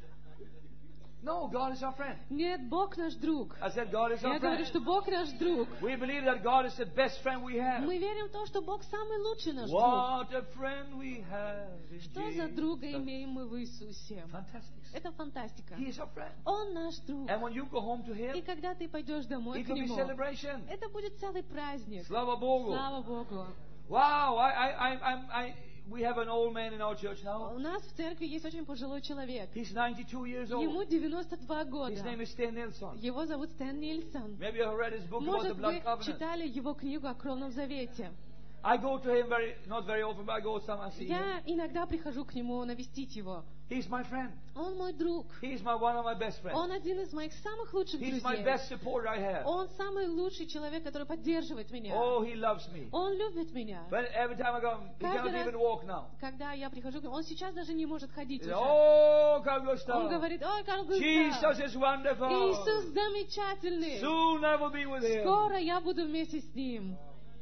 Speaker 1: No, God is our friend.
Speaker 2: Нет, Бог наш друг.
Speaker 1: I said God is
Speaker 2: Я
Speaker 1: our
Speaker 2: говорю,
Speaker 1: friend.
Speaker 2: что Бог наш друг.
Speaker 1: We believe that God is the best friend we have.
Speaker 2: Мы верим в то, что Бог самый лучший наш друг.
Speaker 1: What a friend we have in
Speaker 2: Что за друга
Speaker 1: Jesus.
Speaker 2: имеем мы в Иисусе?
Speaker 1: Fantastic.
Speaker 2: Это фантастика.
Speaker 1: He is our friend.
Speaker 2: Он наш друг.
Speaker 1: And when you go home to
Speaker 2: И
Speaker 1: Him,
Speaker 2: когда ты пойдешь домой
Speaker 1: it
Speaker 2: к
Speaker 1: will be
Speaker 2: Нему,
Speaker 1: celebration.
Speaker 2: это будет целый праздник.
Speaker 1: Slava Bogu.
Speaker 2: Слава Богу.
Speaker 1: Wow, I, I, I, I'm- I, we have an old man in our church now.
Speaker 2: У нас в церкви есть очень пожилой человек.
Speaker 1: He's ninety-two years
Speaker 2: Ему
Speaker 1: old.
Speaker 2: девяносто два года.
Speaker 1: His name is Sten Nilsson.
Speaker 2: Его зовут Стэн Нильсон.
Speaker 1: Maybe you have read his book about the
Speaker 2: Может,
Speaker 1: blood
Speaker 2: вы
Speaker 1: covenant.
Speaker 2: читали его книгу о Кровном Завете.
Speaker 1: I go to him very, not very often, but I go some and see him.
Speaker 2: Я иногда прихожу к нему навестить его.
Speaker 1: He's my friend.
Speaker 2: Он мой друг.
Speaker 1: He's my one of my best friends.
Speaker 2: Он один из моих самых лучших
Speaker 1: He's my
Speaker 2: друзей.
Speaker 1: best supporter I have.
Speaker 2: Он самый лучший человек, который поддерживает меня.
Speaker 1: Oh, he loves me.
Speaker 2: Он любит меня.
Speaker 1: But every time I go, he
Speaker 2: Каждый
Speaker 1: cannot
Speaker 2: раз,
Speaker 1: even walk now.
Speaker 2: когда я прихожу к нему, он сейчас даже не может ходить
Speaker 1: He
Speaker 2: уже.
Speaker 1: says, oh, Carl
Speaker 2: Он
Speaker 1: Gustav.
Speaker 2: говорит, ой, Карл Густав,
Speaker 1: Jesus is wonderful.
Speaker 2: Иисус замечательный.
Speaker 1: Soon I will be with him.
Speaker 2: Скоро я буду вместе с Ним.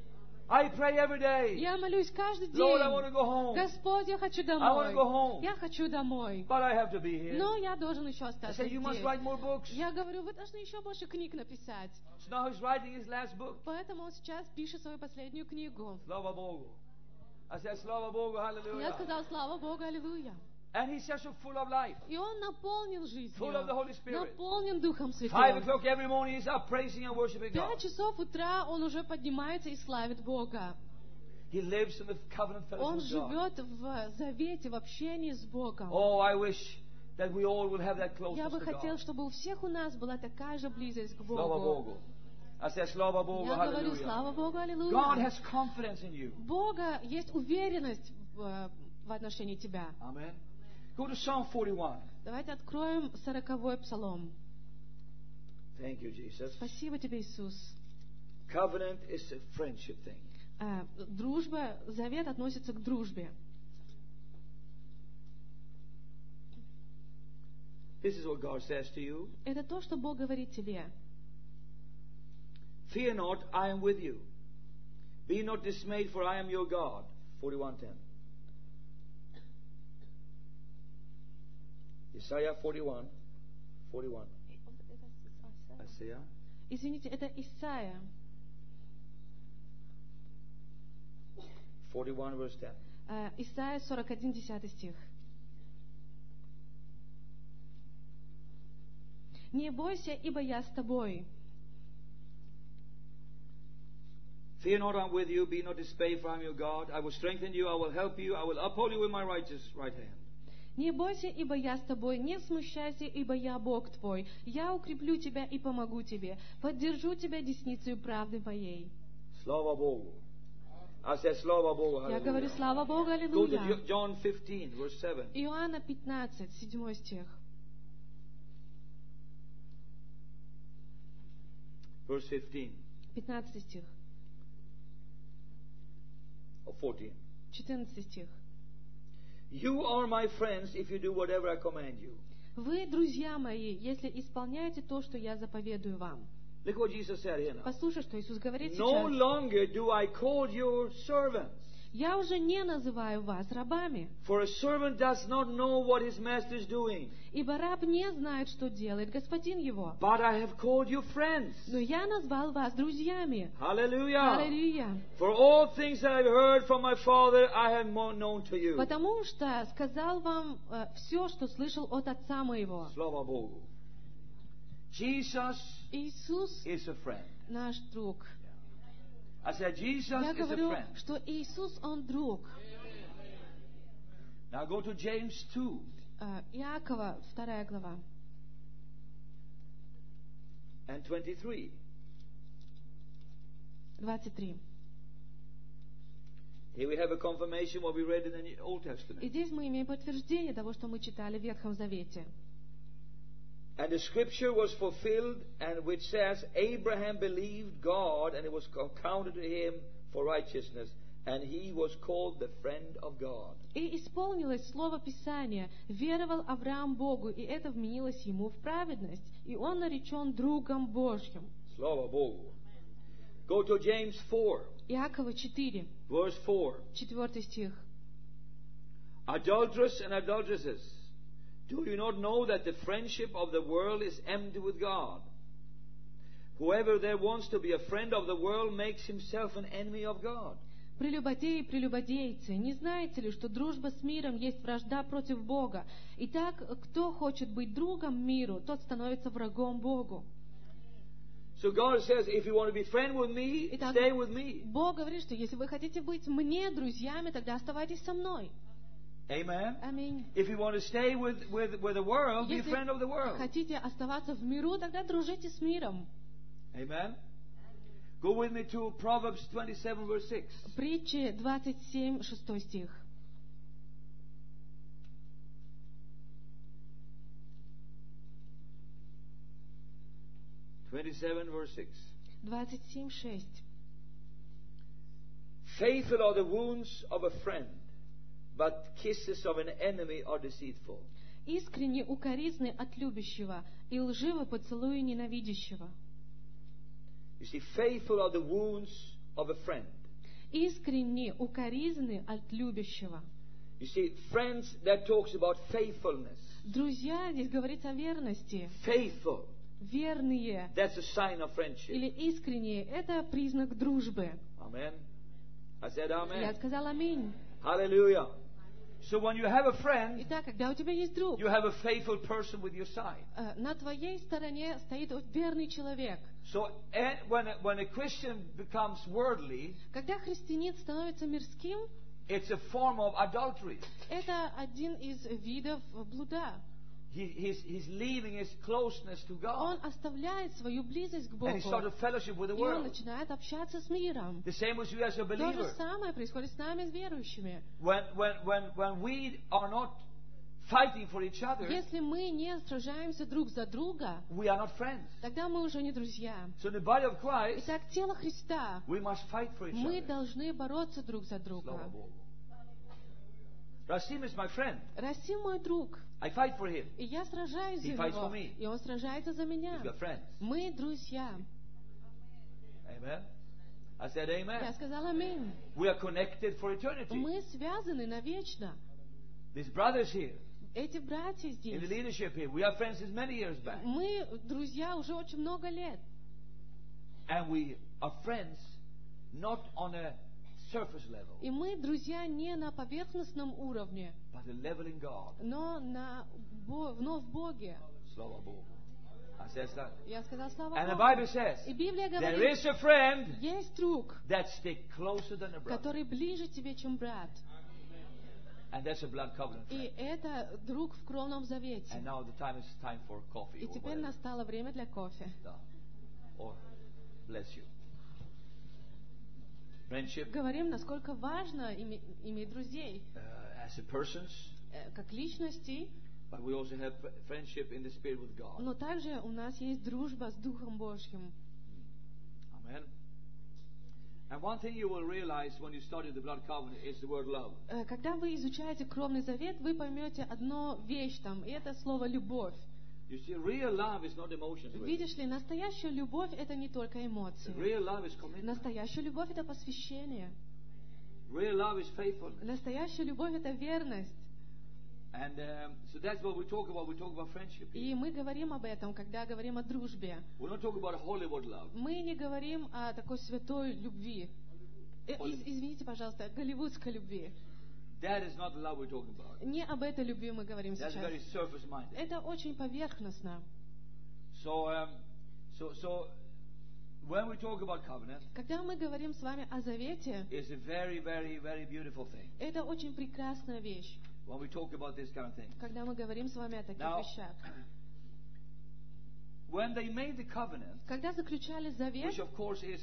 Speaker 1: I pray every day.
Speaker 2: Я молюсь каждый
Speaker 1: Lord, I want to
Speaker 2: день.
Speaker 1: go home.
Speaker 2: Господь, я хочу
Speaker 1: I want to go
Speaker 2: домой.
Speaker 1: home.
Speaker 2: Я хочу домой.
Speaker 1: But I have to be here.
Speaker 2: Но я должен еще
Speaker 1: I
Speaker 2: остаться
Speaker 1: say, you must
Speaker 2: здесь.
Speaker 1: write more books.
Speaker 2: Я говорю, вы должны еще больше книг написать.
Speaker 1: So now he's writing his last book.
Speaker 2: Поэтому он сейчас пишет свою последнюю книгу.
Speaker 1: Slava Bogu. I said, Slava Bogu,
Speaker 2: Я
Speaker 1: hallelujah.
Speaker 2: сказал, слава Богу, аллилуйя.
Speaker 1: And he's just so full of life.
Speaker 2: И он наполнен жизнью.
Speaker 1: Full of the Holy Spirit.
Speaker 2: Наполнен Духом
Speaker 1: Five
Speaker 2: Святым.
Speaker 1: o'clock every morning he's up praising and worshiping God.
Speaker 2: Пять часов утра он уже поднимается и славит Бога.
Speaker 1: He lives in the covenant
Speaker 2: Он
Speaker 1: fellowship with God.
Speaker 2: живет в завете, в общении с Богом.
Speaker 1: Oh, I wish that we all will have that
Speaker 2: Я
Speaker 1: closeness
Speaker 2: бы
Speaker 1: to
Speaker 2: хотел,
Speaker 1: God.
Speaker 2: чтобы у всех у нас была такая же близость к
Speaker 1: Slava
Speaker 2: Богу.
Speaker 1: Bogu. I said, Slava Bogu,
Speaker 2: Я говорю,
Speaker 1: hallelujah.
Speaker 2: слава Богу,
Speaker 1: God
Speaker 2: аллилуйя.
Speaker 1: has confidence in you.
Speaker 2: Бога есть уверенность в, в отношении тебя.
Speaker 1: Amen. Go to Psalm forty-one.
Speaker 2: Давайте откроем сороковой псалом.
Speaker 1: Thank you, Jesus.
Speaker 2: Спасибо тебе, Иисус.
Speaker 1: Covenant is a friendship thing.
Speaker 2: А, дружба, завет относится к дружбе.
Speaker 1: This is what God says to you.
Speaker 2: Это то, что Бог говорит тебе.
Speaker 1: Fear not, I am with you. Be not dismayed, for I am your God. forty-one ten. Isaiah forty-one. forty-one. Isaiah.
Speaker 2: Извините, это Исайя,
Speaker 1: forty-one verse ten.
Speaker 2: а, Исайя сорок один, десятый стих. «Не бойся, ибо я с тобой.
Speaker 1: Fear not, I am with you. Be not dismayed, for I am your God. I will strengthen you. I will help you. I will uphold you with my righteous right hand.
Speaker 2: Не бойся, ибо я с тобой. Не смущайся, ибо я Бог твой. Я укреплю тебя и помогу тебе. Поддержу тебя десницей правды моей».
Speaker 1: Slava Bogu. I said, Slava Bogu.
Speaker 2: Я говорю,
Speaker 1: Hallelujah.
Speaker 2: слава Богу,
Speaker 1: Go to
Speaker 2: аллилуйя.
Speaker 1: Jo- John fifteen, verse seven.
Speaker 2: Иоанна пятнадцать, седьмой стих.
Speaker 1: Verse fifteen.
Speaker 2: пятнадцатый стих.
Speaker 1: Or fourteen.
Speaker 2: четырнадцатый стих.
Speaker 1: You are my friends if you do whatever I command you.
Speaker 2: «Вы, друзья мои, если исполняете то, что я заповедую вам».
Speaker 1: Look what Jesus said here now.
Speaker 2: Послушай, что Иисус говорит
Speaker 1: No
Speaker 2: сейчас.
Speaker 1: longer do I call you servants.
Speaker 2: «Я уже не называю вас рабами,
Speaker 1: For a servant does not know what his master is doing.
Speaker 2: ибо раб не знает, что делает господин его.
Speaker 1: But I have called you friends.
Speaker 2: Но я назвал вас друзьями».
Speaker 1: Hallelujah.
Speaker 2: Аллилуйя.
Speaker 1: For all things that I've heard from my Father, I have mo- known to you.
Speaker 2: Потому что сказал вам э, все, что слышал от Отца моего.
Speaker 1: Slava Bogu. Jesus
Speaker 2: Иисус
Speaker 1: is a friend.
Speaker 2: наш друг.
Speaker 1: I said, Jesus
Speaker 2: Я
Speaker 1: is a
Speaker 2: говорю,
Speaker 1: friend.
Speaker 2: что Иисус, Он друг.
Speaker 1: Now go to James two.
Speaker 2: Э, Иакова, вторая глава.
Speaker 1: and twenty-three.
Speaker 2: двадцать три.
Speaker 1: Here we have a confirmation what we read in the Old Testament.
Speaker 2: И здесь мы имеем подтверждение того, что мы читали в Ветхом Завете.
Speaker 1: And the scripture was fulfilled, and which says, Abraham believed God, and it was counted to him for righteousness, and he was called the friend of God.
Speaker 2: И исполнилось слово Писания: веровал Авраам Богу, и это вменилось ему в праведность, и он наречен другом Божьим.
Speaker 1: Slava Bogu. Go to James four,
Speaker 2: Иакова четыре,
Speaker 1: verse four.
Speaker 2: четвертый стих.
Speaker 1: Adulterers and adulteresses, do you not know that the friendship of the world is enmity with God? Whoever there wants to be a friend of the world makes himself an enemy of God.
Speaker 2: Прелюбодеи и прелюбодейцы, не знаете ли, что дружба с миром есть вражда против Бога? Итак, кто хочет быть другом миру, тот становится врагом Богу.
Speaker 1: So God says, if you want to be friend with me,
Speaker 2: Итак,
Speaker 1: stay with me.
Speaker 2: Бог говорит, что если вы хотите быть мне друзьями, тогда оставайтесь со мной.
Speaker 1: Amen.
Speaker 2: Аминь.
Speaker 1: If you want to stay with, with, with the world, be a friend of the
Speaker 2: Если
Speaker 1: world.
Speaker 2: хотите оставаться в миру, тогда дружите с миром.
Speaker 1: Amen. Go with me to Proverbs twenty-seven, verse six.
Speaker 2: Притчи двадцать семь, шестой стих.
Speaker 1: twenty-seven, verse six.
Speaker 2: двадцать семь, шесть.
Speaker 1: Faithful are the wounds of a friend, but kisses of an enemy are deceitful.
Speaker 2: Искренне укоризны от любящего, и лживы поцелуи ненавидящего.
Speaker 1: You see, faithful are the wounds of a friend.
Speaker 2: Искренне укоризны от любящего.
Speaker 1: You see, friends, that talks about faithfulness.
Speaker 2: Друзья, здесь говорится о верности.
Speaker 1: Faithful.
Speaker 2: Верные
Speaker 1: That's a sign of friendship.
Speaker 2: или искренние — это признак дружбы.
Speaker 1: Amen. I said
Speaker 2: Я
Speaker 1: amen.
Speaker 2: сказала аминь.
Speaker 1: Hallelujah. So when you have a friend,
Speaker 2: Итак, когда у тебя есть друг,
Speaker 1: you have a faithful person with your side.
Speaker 2: э, на твоей стороне стоит вот верный человек.
Speaker 1: So eh, when a, when a Christian becomes worldly,
Speaker 2: Когда христианин становится мирским,
Speaker 1: it's a form of adultery.
Speaker 2: это один из видов блуда.
Speaker 1: He, he's, he's leaving his closeness to
Speaker 2: Он
Speaker 1: God.
Speaker 2: оставляет свою близость к
Speaker 1: And
Speaker 2: Богу,
Speaker 1: he started fellowship with the
Speaker 2: и он
Speaker 1: world.
Speaker 2: начинает общаться с миром.
Speaker 1: The same as you as a
Speaker 2: То же
Speaker 1: believer.
Speaker 2: самое происходит с нами, с верующими.
Speaker 1: When, when, when, when we are not fighting for each other,
Speaker 2: Если мы не сражаемся друг за друга,
Speaker 1: we are not friends.
Speaker 2: тогда мы уже не друзья.
Speaker 1: So in the body of Christ,
Speaker 2: Итак, тело Христа,
Speaker 1: we must fight for each
Speaker 2: мы
Speaker 1: other.
Speaker 2: должны бороться друг за друга.
Speaker 1: Slava Bogu. Rasim is my friend.
Speaker 2: Расим мой друг,
Speaker 1: I fight for him.
Speaker 2: и я сражаюсь за
Speaker 1: He fights for
Speaker 2: него,
Speaker 1: me.
Speaker 2: и он сражается за меня.
Speaker 1: We've got friends.
Speaker 2: Мы друзья.
Speaker 1: Amen. I said
Speaker 2: Я
Speaker 1: amen.
Speaker 2: сказала аминь.
Speaker 1: We are connected for eternity.
Speaker 2: Мы связаны навечно.
Speaker 1: These brothers here,
Speaker 2: Эти братья
Speaker 1: in the
Speaker 2: здесь,
Speaker 1: leadership here, we are friends since many years back.
Speaker 2: мы друзья уже очень много лет.
Speaker 1: And we are friends not on a surface level,
Speaker 2: И мы друзья не на поверхностном уровне,
Speaker 1: but a level in God.
Speaker 2: но, на, Бо- но в Боге.
Speaker 1: Slava Bogu. I said that.
Speaker 2: Я сказала слава
Speaker 1: And the
Speaker 2: Богу.
Speaker 1: Bible says,
Speaker 2: И Библия
Speaker 1: there
Speaker 2: говорит,
Speaker 1: is a friend
Speaker 2: есть друг,
Speaker 1: that stick closer than a brother.
Speaker 2: который ближе тебе, чем брат.
Speaker 1: And that's a blood covenant
Speaker 2: И
Speaker 1: friend.
Speaker 2: это друг в кровном завете.
Speaker 1: And now the time is time for coffee
Speaker 2: И
Speaker 1: or
Speaker 2: теперь
Speaker 1: whatever.
Speaker 2: настало время для кофе.
Speaker 1: Да. Or bless you. Friendship
Speaker 2: Говорим, насколько важно име- иметь друзей,
Speaker 1: uh, as a persons,
Speaker 2: э, как личностей,
Speaker 1: but we also have fr- friendship in the spirit with God.
Speaker 2: но также у нас есть дружба с Духом Божьим.
Speaker 1: Amen. And one thing you will realize when you study the blood covenant is the word love.
Speaker 2: Э, Когда вы изучаете кровный завет, вы поймете одну вещь там, и это слово «любовь».
Speaker 1: You see, real love is not emotions. Really.
Speaker 2: Видишь ли, настоящая любовь — это не только эмоции.
Speaker 1: Real love is commitment.
Speaker 2: Настоящая любовь — это посвящение.
Speaker 1: Real love is faithfulness.
Speaker 2: Настоящая любовь — это верность.
Speaker 1: And um, so that's what we talk about. We talk about friendship.
Speaker 2: И мы говорим об этом, когда говорим о дружбе.
Speaker 1: We're not talking about Hollywood love.
Speaker 2: Мы не говорим о такой святой любви. Э, из- извините, пожалуйста, голливудской любви.
Speaker 1: That is not the love we're talking about.
Speaker 2: Не об этой любви мы говорим
Speaker 1: That's
Speaker 2: сейчас.
Speaker 1: very surface-minded.
Speaker 2: Это очень поверхностно.
Speaker 1: So, um, so, so when we talk about covenant,
Speaker 2: Когда мы говорим с вами о завете,
Speaker 1: it's a very, very, very beautiful thing.
Speaker 2: это очень прекрасная вещь.
Speaker 1: When we talk about this kind of thing.
Speaker 2: Когда мы говорим с вами о таких
Speaker 1: Now,
Speaker 2: вещах.
Speaker 1: when they made the covenant,
Speaker 2: Когда заключали завет,
Speaker 1: which of course is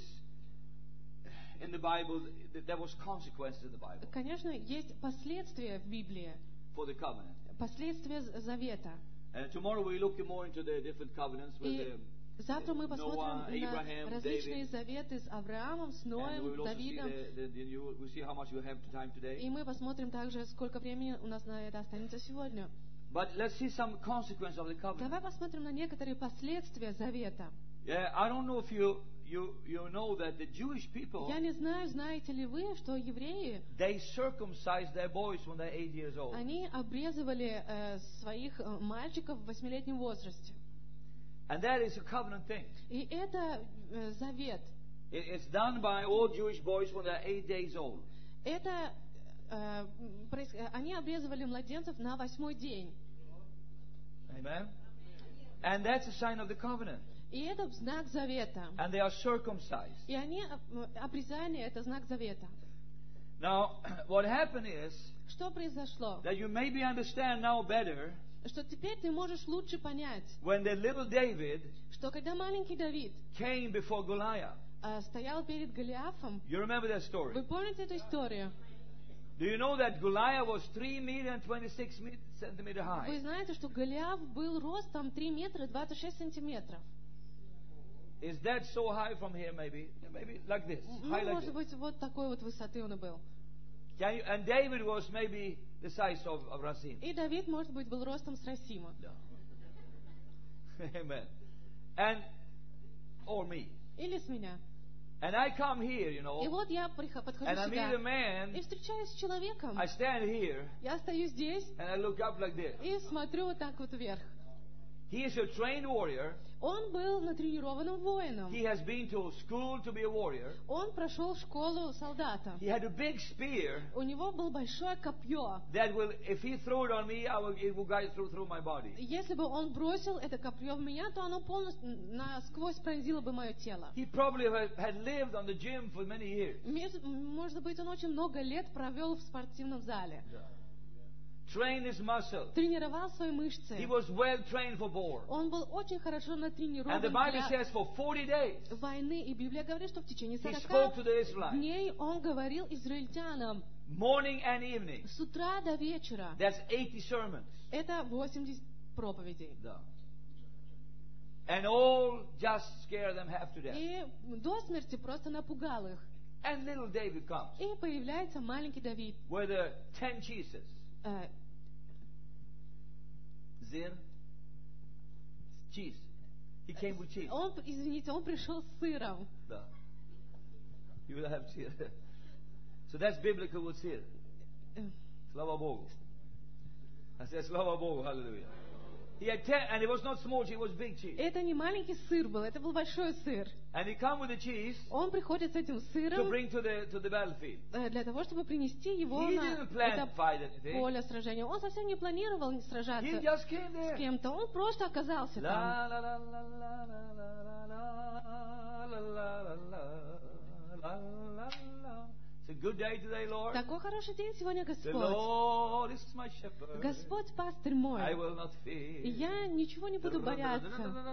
Speaker 1: in the Bible, th- there was consequences in the Bible
Speaker 2: конечно, есть последствия в Библии,
Speaker 1: for the covenant.
Speaker 2: последствия з- завета.
Speaker 1: And tomorrow we look more into the different covenants with
Speaker 2: И
Speaker 1: the,
Speaker 2: завтра мы
Speaker 1: Noah,
Speaker 2: посмотрим
Speaker 1: Abraham,
Speaker 2: на различные
Speaker 1: David.
Speaker 2: заветы с Авраамом, с
Speaker 1: And we
Speaker 2: Ноем,
Speaker 1: will also see
Speaker 2: Давидом.
Speaker 1: the, the, the you, we'll see how much we have time today.
Speaker 2: И мы посмотрим также, сколько времени у нас на это останется сегодня.
Speaker 1: But let's see some consequence of the covenant.
Speaker 2: Давай посмотрим на некоторые последствия завета.
Speaker 1: Yeah, I don't know if you you you know that the Jewish people,
Speaker 2: Я не знаю, знаете ли вы, что евреи,
Speaker 1: they circumcise their boys when they're eight years old.
Speaker 2: они обрезывали э, своих э, мальчиков в восьмилетнем возрасте.
Speaker 1: And that is a covenant thing.
Speaker 2: И это э, завет.
Speaker 1: It, it's done by all Jewish boys when they're eight days old.
Speaker 2: Это э, проис- э, они обрезывали младенцев на восьмой день.
Speaker 1: Amen. And that's a sign of the covenant.
Speaker 2: И это знак завета.
Speaker 1: And they are circumcised.
Speaker 2: И они э, обрезание это знак завета.
Speaker 1: Now, what happened is
Speaker 2: Что произошло?
Speaker 1: that you maybe understand now better
Speaker 2: Что теперь ты можешь лучше понять,
Speaker 1: when the little David
Speaker 2: что когда маленький Давид
Speaker 1: came before Goliath.
Speaker 2: э, стоял перед Голиафом,
Speaker 1: You remember that story?
Speaker 2: вы помните эту историю?
Speaker 1: Do you know that Goliath was three meter and twenty-six centimeter high?
Speaker 2: Вы знаете, что Голиаф был ростом три метра двадцать шесть сантиметров.
Speaker 1: Is that so high from here? Maybe, maybe like this,
Speaker 2: Ну,
Speaker 1: high like
Speaker 2: может
Speaker 1: this.
Speaker 2: быть, вот такой вот высоты он и был.
Speaker 1: Can you, and David was maybe the size of, of Rasim.
Speaker 2: И Давид, может быть, был ростом с Расима.
Speaker 1: No. Amen. And or me.
Speaker 2: Или с меня.
Speaker 1: And I come here, you
Speaker 2: И
Speaker 1: know,
Speaker 2: вот я прихо- подхожу
Speaker 1: and I meet a
Speaker 2: сюда
Speaker 1: man.
Speaker 2: и встречаюсь с человеком.
Speaker 1: I stand here
Speaker 2: Я стою здесь
Speaker 1: and I look up like this.
Speaker 2: и смотрю вот так вот вверх.
Speaker 1: He is a trained warrior.
Speaker 2: Он был натренированным воином.
Speaker 1: He has been to school to be a warrior.
Speaker 2: Он прошел школу солдата.
Speaker 1: He had a big spear
Speaker 2: У него было большое копье.
Speaker 1: that will, if he threw it on me, I will, it will guide through through my body.
Speaker 2: Если бы он бросил это копье в меня, то оно полностью насквозь пронзило бы мое тело.
Speaker 1: He probably had, had lived on the gym for many years.
Speaker 2: Меж- Может быть, он очень много лет провел в спортивном зале.
Speaker 1: Trained his muscle.
Speaker 2: Тренировал свои мышцы.
Speaker 1: He was well trained for war.
Speaker 2: Он был очень хорошо
Speaker 1: And the
Speaker 2: натренирован
Speaker 1: Bible
Speaker 2: для
Speaker 1: says for forty days
Speaker 2: войны. И Библия говорит, что в течение
Speaker 1: he
Speaker 2: сорока
Speaker 1: spoke to the Israelites,
Speaker 2: дней он говорил израильтянам
Speaker 1: morning and evening.
Speaker 2: с утра до вечера.
Speaker 1: That's eighty sermons.
Speaker 2: Это восемьдесят проповедей.
Speaker 1: No. And all just scare them half to death.
Speaker 2: И до смерти просто напугал их.
Speaker 1: And little David comes
Speaker 2: И появляется маленький Давид.
Speaker 1: with the ten cheeses.
Speaker 2: Э,
Speaker 1: Zir, cheese. He came with cheese.
Speaker 2: Он, извините, он пришел с сыром.
Speaker 1: No. You will have cheese. So that's biblical with sir.
Speaker 2: Э,
Speaker 1: Slava Bogu. I said Slava Bogu. Hallelujah. He had ten, and it was not small cheese, it was big cheese.
Speaker 2: Это не маленький сыр был, это был большой сыр.
Speaker 1: And he come with the cheese
Speaker 2: Он приходит с этим
Speaker 1: to
Speaker 2: сыром
Speaker 1: bring to the to the battlefield.
Speaker 2: э, для того, чтобы принести его
Speaker 1: He
Speaker 2: на
Speaker 1: didn't plan
Speaker 2: это
Speaker 1: to fight anything.
Speaker 2: поле сражения. Он совсем не планировал
Speaker 1: He
Speaker 2: сражаться
Speaker 1: just came
Speaker 2: с
Speaker 1: there.
Speaker 2: кем-то. Он просто оказался там.
Speaker 1: La la la la la la la la la la la la la la la. It's a good day today, Lord.
Speaker 2: Такой хороший день сегодня,
Speaker 1: The
Speaker 2: Господь.
Speaker 1: Lord is my shepherd.
Speaker 2: Господь пастырь мой.
Speaker 1: I will not fear.
Speaker 2: И я ничего не буду бояться.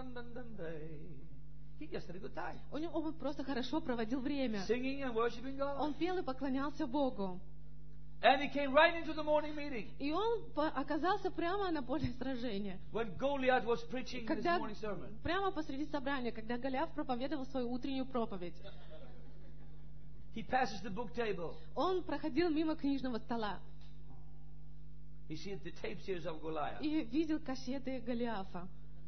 Speaker 1: He just had a good time.
Speaker 2: У него он просто хорошо проводил время.
Speaker 1: Singing and worshiping God.
Speaker 2: Он пел и поклонялся Богу.
Speaker 1: And he came right into the morning meeting.
Speaker 2: И он по- оказался прямо на поле сражения.
Speaker 1: When Goliath was preaching his
Speaker 2: Когда,
Speaker 1: morning sermon.
Speaker 2: прямо посреди собрания, когда Голиаф проповедовал свою утреннюю проповедь.
Speaker 1: He passes the book table.
Speaker 2: Он проходил мимо книжного стола
Speaker 1: He sees the tape series of Goliath.
Speaker 2: и видел кассеты Голиафа.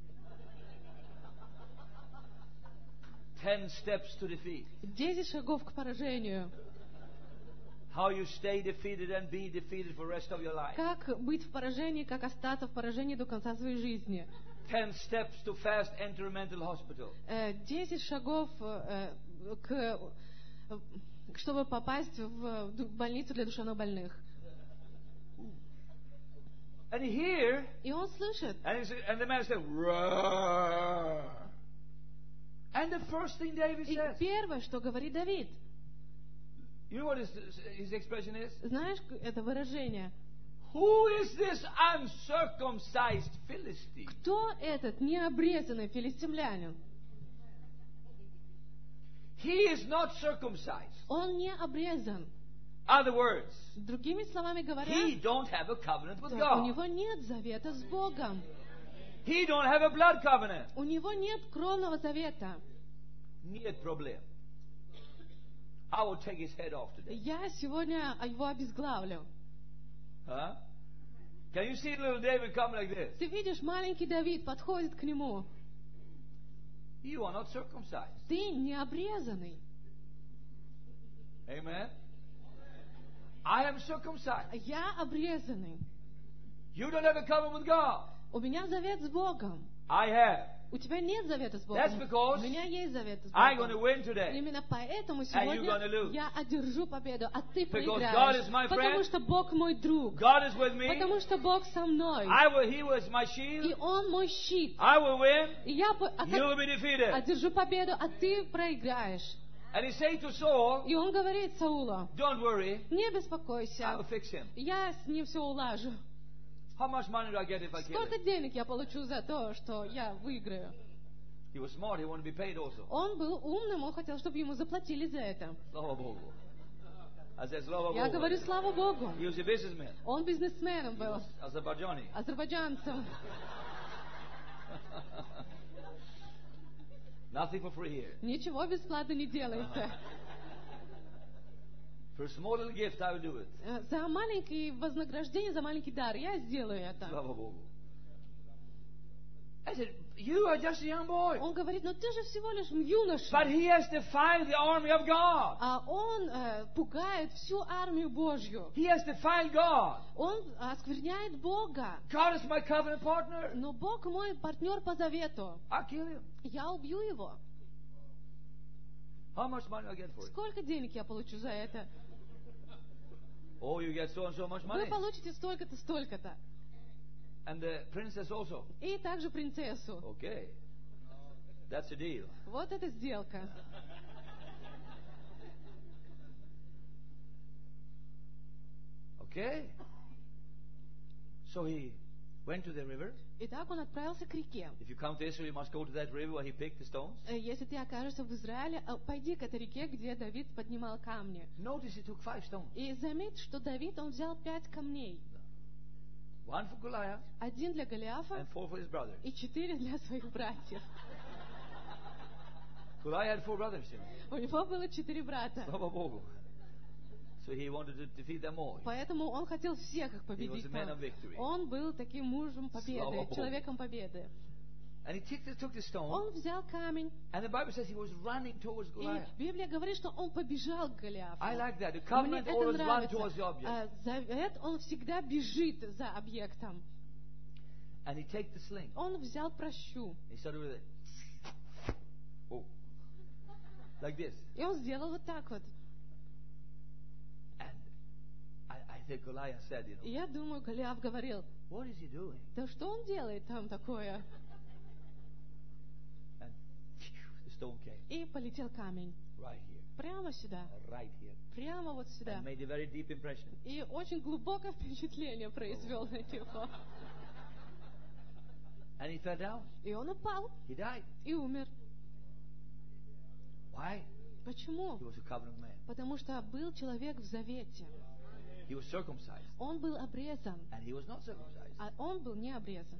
Speaker 1: Ten steps to defeat.
Speaker 2: Десять шагов к поражению.
Speaker 1: How you stay defeated and be defeated for the rest of your life.
Speaker 2: Как быть в поражении, как остаться в поражении до конца своей жизни.
Speaker 1: Ten steps to fast enter a mental hospital.
Speaker 2: Э, Десять шагов э, к, э, чтобы попасть в ду- больницу для душевнобольных.
Speaker 1: And here,
Speaker 2: И он слышит.
Speaker 1: and, he's, and the man said, roar. And the first thing David
Speaker 2: И
Speaker 1: says,
Speaker 2: первое, что говорит Давид,
Speaker 1: you know what his, his expression is?
Speaker 2: знаешь, это выражение,
Speaker 1: Who is this uncircumcised Philistine?
Speaker 2: Кто этот необрезанный филистимлянин?
Speaker 1: He is not circumcised.
Speaker 2: Он не обрезан.
Speaker 1: Other words,
Speaker 2: Другими словами говоря,
Speaker 1: he don't have a covenant with
Speaker 2: то у
Speaker 1: God.
Speaker 2: него нет завета с Богом.
Speaker 1: He don't have a blood covenant.
Speaker 2: У него нет кровного завета.
Speaker 1: Нет проблем. I will take his head off today.
Speaker 2: Я сегодня его обезглавлю.
Speaker 1: Huh? Can you see little David come like this?
Speaker 2: Ты видишь, маленький Давид подходит к нему.
Speaker 1: You are not circumcised.
Speaker 2: Ты не обрезанный.
Speaker 1: Amen. I am circumcised.
Speaker 2: Я обрезанный.
Speaker 1: You don't have a covenant with God.
Speaker 2: У меня завет с Богом.
Speaker 1: I have.
Speaker 2: У тебя нет завета с Богом.
Speaker 1: That's because
Speaker 2: У меня есть завет с
Speaker 1: I'm going to
Speaker 2: Богом.
Speaker 1: win today.
Speaker 2: Именно поэтому
Speaker 1: And you're
Speaker 2: сегодня
Speaker 1: gonna lose.
Speaker 2: я одержу победу, а ты
Speaker 1: Because God
Speaker 2: проиграешь.
Speaker 1: is my
Speaker 2: Потому
Speaker 1: friend.
Speaker 2: что Бог мой друг.
Speaker 1: God is with me.
Speaker 2: Потому что Бог со мной.
Speaker 1: I will. He was my
Speaker 2: И
Speaker 1: shield.
Speaker 2: Он мой щит.
Speaker 1: I will win.
Speaker 2: И я по- а
Speaker 1: You
Speaker 2: как-
Speaker 1: will be defeated.
Speaker 2: одержу победу, а ты проиграешь.
Speaker 1: And he said to Saul,
Speaker 2: И он говорит Саулу:
Speaker 1: "Don't worry.
Speaker 2: не
Speaker 1: I will
Speaker 2: беспокойся,
Speaker 1: fix him.
Speaker 2: я с ним все улажу.
Speaker 1: How much money do I get if I kill
Speaker 2: Сколько
Speaker 1: him?"
Speaker 2: денег я получу за то, что я выиграю?
Speaker 1: He was smart. He wanted to be paid also.
Speaker 2: Он был умным, он хотел, чтобы ему заплатили за это.
Speaker 1: Slava Bogu. I said, Slava
Speaker 2: Я говорю,
Speaker 1: Bogu.
Speaker 2: слава Богу.
Speaker 1: He was a businessman.
Speaker 2: Он бизнесменом был,
Speaker 1: Azerbaijani.
Speaker 2: азербайджанцем.
Speaker 1: Nothing for free here.
Speaker 2: Ничего бесплатно не делается.
Speaker 1: For a small little gift, I will do it.
Speaker 2: Э, За маленькое вознаграждение, за маленький дар я сделаю это.
Speaker 1: Slava Bogu. I said, you are just a young boy.
Speaker 2: Он говорит, но ты же всего лишь юноша.
Speaker 1: But he has defied the army of God.
Speaker 2: А он э, пугает всю армию Божью.
Speaker 1: He has defied God.
Speaker 2: Он оскверняет Бога.
Speaker 1: God is my covenant partner.
Speaker 2: Но Бог мой партнер по завету.
Speaker 1: I'll kill him.
Speaker 2: Я убью его.
Speaker 1: How much money do I get for it?
Speaker 2: Сколько денег я получу за это?
Speaker 1: Oh, you get so and so much money.
Speaker 2: Вы получите столько-то, столько-то.
Speaker 1: And the princess also.
Speaker 2: И также принцессу.
Speaker 1: Okay. That's a deal.
Speaker 2: Вот эта сделка.
Speaker 1: Okay. So he went to the river.
Speaker 2: Итак, он отправился к реке.
Speaker 1: If you come to Israel, you must go to that river where he picked the stones.
Speaker 2: Э, Если ты окажешься в Израиле, э, пойди к этой реке, где Давид поднимал камни.
Speaker 1: Notice he took five stones.
Speaker 2: И заметь, что Давид, он взял пять камней.
Speaker 1: One for Goliath
Speaker 2: Один для Голиафа
Speaker 1: and four for his brothers.
Speaker 2: и четыре для своих братьев.
Speaker 1: Goliath had four brothers, you know.
Speaker 2: У него было четыре брата.
Speaker 1: Slava Bogu. So he wanted to defeat them all.
Speaker 2: Поэтому он хотел всех их победить.
Speaker 1: He was a man of victory.
Speaker 2: Он был таким мужем победы,
Speaker 1: Слава Богу.
Speaker 2: человеком победы.
Speaker 1: And he took the, took the stone,
Speaker 2: Он взял камень,
Speaker 1: and the Bible says he was running towards
Speaker 2: и
Speaker 1: Goliath.
Speaker 2: Библия говорит, что он побежал к Голиафу.
Speaker 1: I like that. The
Speaker 2: Мне
Speaker 1: covenant
Speaker 2: это
Speaker 1: always run towards
Speaker 2: нравится.
Speaker 1: the object.
Speaker 2: А, Завет, он всегда бежит за объектом.
Speaker 1: And he take the sling.
Speaker 2: Он взял прощу,
Speaker 1: He started with it. Oh. Like this.
Speaker 2: и он сделал вот так вот.
Speaker 1: And I, I think Goliath said, you
Speaker 2: И
Speaker 1: know,
Speaker 2: я думаю, Голиаф говорил,
Speaker 1: what is he doing?
Speaker 2: да что он делает там такое?
Speaker 1: And the stone came
Speaker 2: И полетел камень.
Speaker 1: right here,
Speaker 2: Прямо сюда.
Speaker 1: right here,
Speaker 2: Прямо вот сюда.
Speaker 1: and made a very deep impression.
Speaker 2: И очень глубокое впечатление произвел на него.
Speaker 1: And he fell down.
Speaker 2: И он упал
Speaker 1: He died.
Speaker 2: и умер.
Speaker 1: Why?
Speaker 2: Почему?
Speaker 1: He was a covenant man.
Speaker 2: Потому что был человек в завете.
Speaker 1: He was circumcised,
Speaker 2: Он был обрезан,
Speaker 1: and he was not circumcised.
Speaker 2: а он был не обрезан.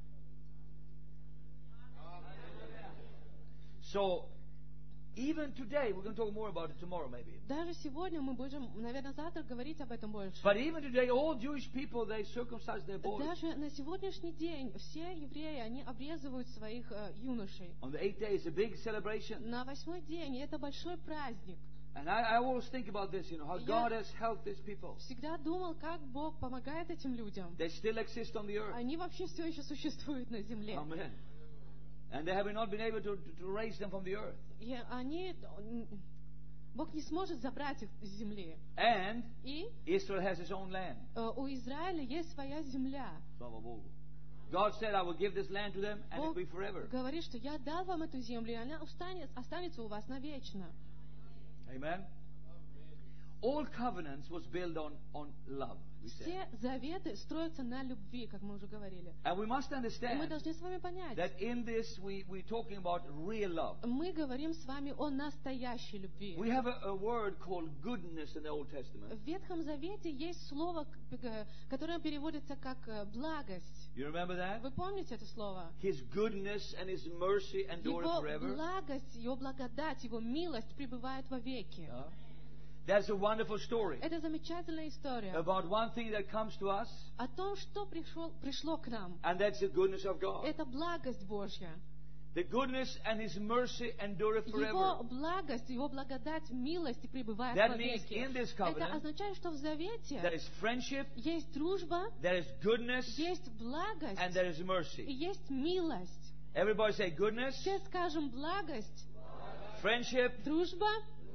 Speaker 1: So, even today, we're going to talk more about it tomorrow, maybe.
Speaker 2: Даже сегодня мы будем, наверное, завтра говорить об этом больше.
Speaker 1: But even today, all Jewish people, they circumcise their boys.
Speaker 2: Даже на сегодняшний день все евреи, они обрезывают своих э, юношей.
Speaker 1: On the eighth day, it's a big celebration.
Speaker 2: На восьмой день, и это большой праздник.
Speaker 1: And I, I always think about this, you know, how
Speaker 2: Я-
Speaker 1: God has helped these people.
Speaker 2: Всегда думал, как Бог помогает этим людям.
Speaker 1: They still exist on the earth.
Speaker 2: Они вообще все еще существуют на земле.
Speaker 1: Amen. And they have not been able to, to, to raise them from the earth.
Speaker 2: И они, Бог не сможет забрать их с земли.
Speaker 1: And
Speaker 2: И
Speaker 1: Israel has its own land.
Speaker 2: э, у Израиля есть своя земля.
Speaker 1: Slava Bogu. God said, I will give this land to them, and it will
Speaker 2: Бог
Speaker 1: be forever.
Speaker 2: говорит, что я дал вам эту землю, и она останется, останется у вас навечно.
Speaker 1: Amen. all covenants was built on, on love, we said.
Speaker 2: Все заветы строятся на любви, как мы уже говорили.
Speaker 1: And we must
Speaker 2: И мы
Speaker 1: understand
Speaker 2: должны с вами понять,
Speaker 1: that in this we, we're talking about real love.
Speaker 2: мы говорим с вами о настоящей любви.
Speaker 1: We have a, a word called goodness in the Old Testament.
Speaker 2: В Ветхом Завете есть слово, к- которое переводится как э, благость.
Speaker 1: You remember that?
Speaker 2: Вы помните это слово?
Speaker 1: His goodness and His mercy endure
Speaker 2: Его
Speaker 1: forever.
Speaker 2: благость, Его благодать, Его милость пребывает вовеки.
Speaker 1: Yeah. That's a wonderful story
Speaker 2: Это замечательная история
Speaker 1: about one thing that comes to us,
Speaker 2: о том, что пришел, пришло к нам.
Speaker 1: and that's the goodness of God.
Speaker 2: Это благость Божья.
Speaker 1: The goodness and His mercy endure
Speaker 2: Его
Speaker 1: forever.
Speaker 2: благость, Его благодать, милость пребывает
Speaker 1: That means
Speaker 2: вовеки.
Speaker 1: in this
Speaker 2: Это
Speaker 1: covenant,
Speaker 2: означает, что в Завете
Speaker 1: there is friendship,
Speaker 2: есть дружба,
Speaker 1: there is goodness,
Speaker 2: есть благость
Speaker 1: and there is
Speaker 2: и
Speaker 1: mercy.
Speaker 2: есть милость.
Speaker 1: Everybody say goodness,
Speaker 2: Все скажем благость,
Speaker 1: friendship,
Speaker 2: дружба,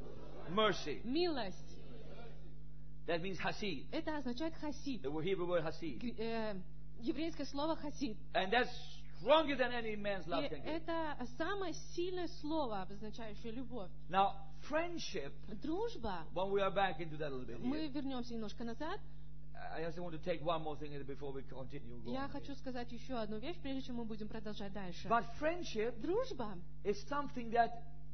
Speaker 1: mercy.
Speaker 2: милость.
Speaker 1: That means hasid.
Speaker 2: Это означает хасид.
Speaker 1: The Hebrew word hasid.
Speaker 2: Г- э, еврейское слово хасид.
Speaker 1: And that's stronger than any man's
Speaker 2: И
Speaker 1: love can give.
Speaker 2: это самое сильное слово, обозначающее любовь.
Speaker 1: Now, friendship,
Speaker 2: Дружба.
Speaker 1: when we are back into that a little bit
Speaker 2: Мы
Speaker 1: here,
Speaker 2: вернемся немножко назад.
Speaker 1: I just want to take one more thing before we continue.
Speaker 2: Я
Speaker 1: going
Speaker 2: хочу
Speaker 1: here.
Speaker 2: сказать еще одну вещь, прежде чем мы будем продолжать дальше.
Speaker 1: But friendship
Speaker 2: Дружба
Speaker 1: is something that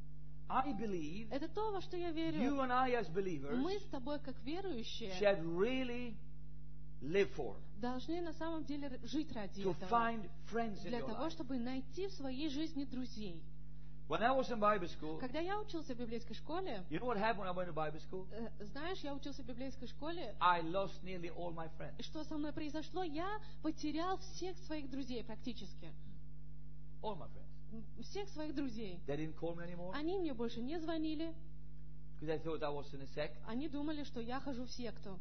Speaker 1: I believe
Speaker 2: — это то, во что я
Speaker 1: you
Speaker 2: верю.
Speaker 1: and I as believers
Speaker 2: Мы с тобой, как верующие,
Speaker 1: should really live for.
Speaker 2: должны на самом деле р- жить ради
Speaker 1: To
Speaker 2: этого.
Speaker 1: find friends in
Speaker 2: Для
Speaker 1: your
Speaker 2: того,
Speaker 1: life.
Speaker 2: чтобы найти в своей жизни друзей.
Speaker 1: When I was in Bible school,
Speaker 2: Когда я учился в библейской школе,
Speaker 1: you know what happened when I went to Bible school?
Speaker 2: э, знаешь, я учился в библейской школе,
Speaker 1: I lost nearly all my friends.
Speaker 2: что со мной произошло? Я потерял всех своих друзей практически.
Speaker 1: All my friends.
Speaker 2: М, Всех своих друзей.
Speaker 1: They didn't call me anymore
Speaker 2: Они мне больше не звонили.
Speaker 1: because they thought I was in a sect.
Speaker 2: Они думали, что я хожу в секту.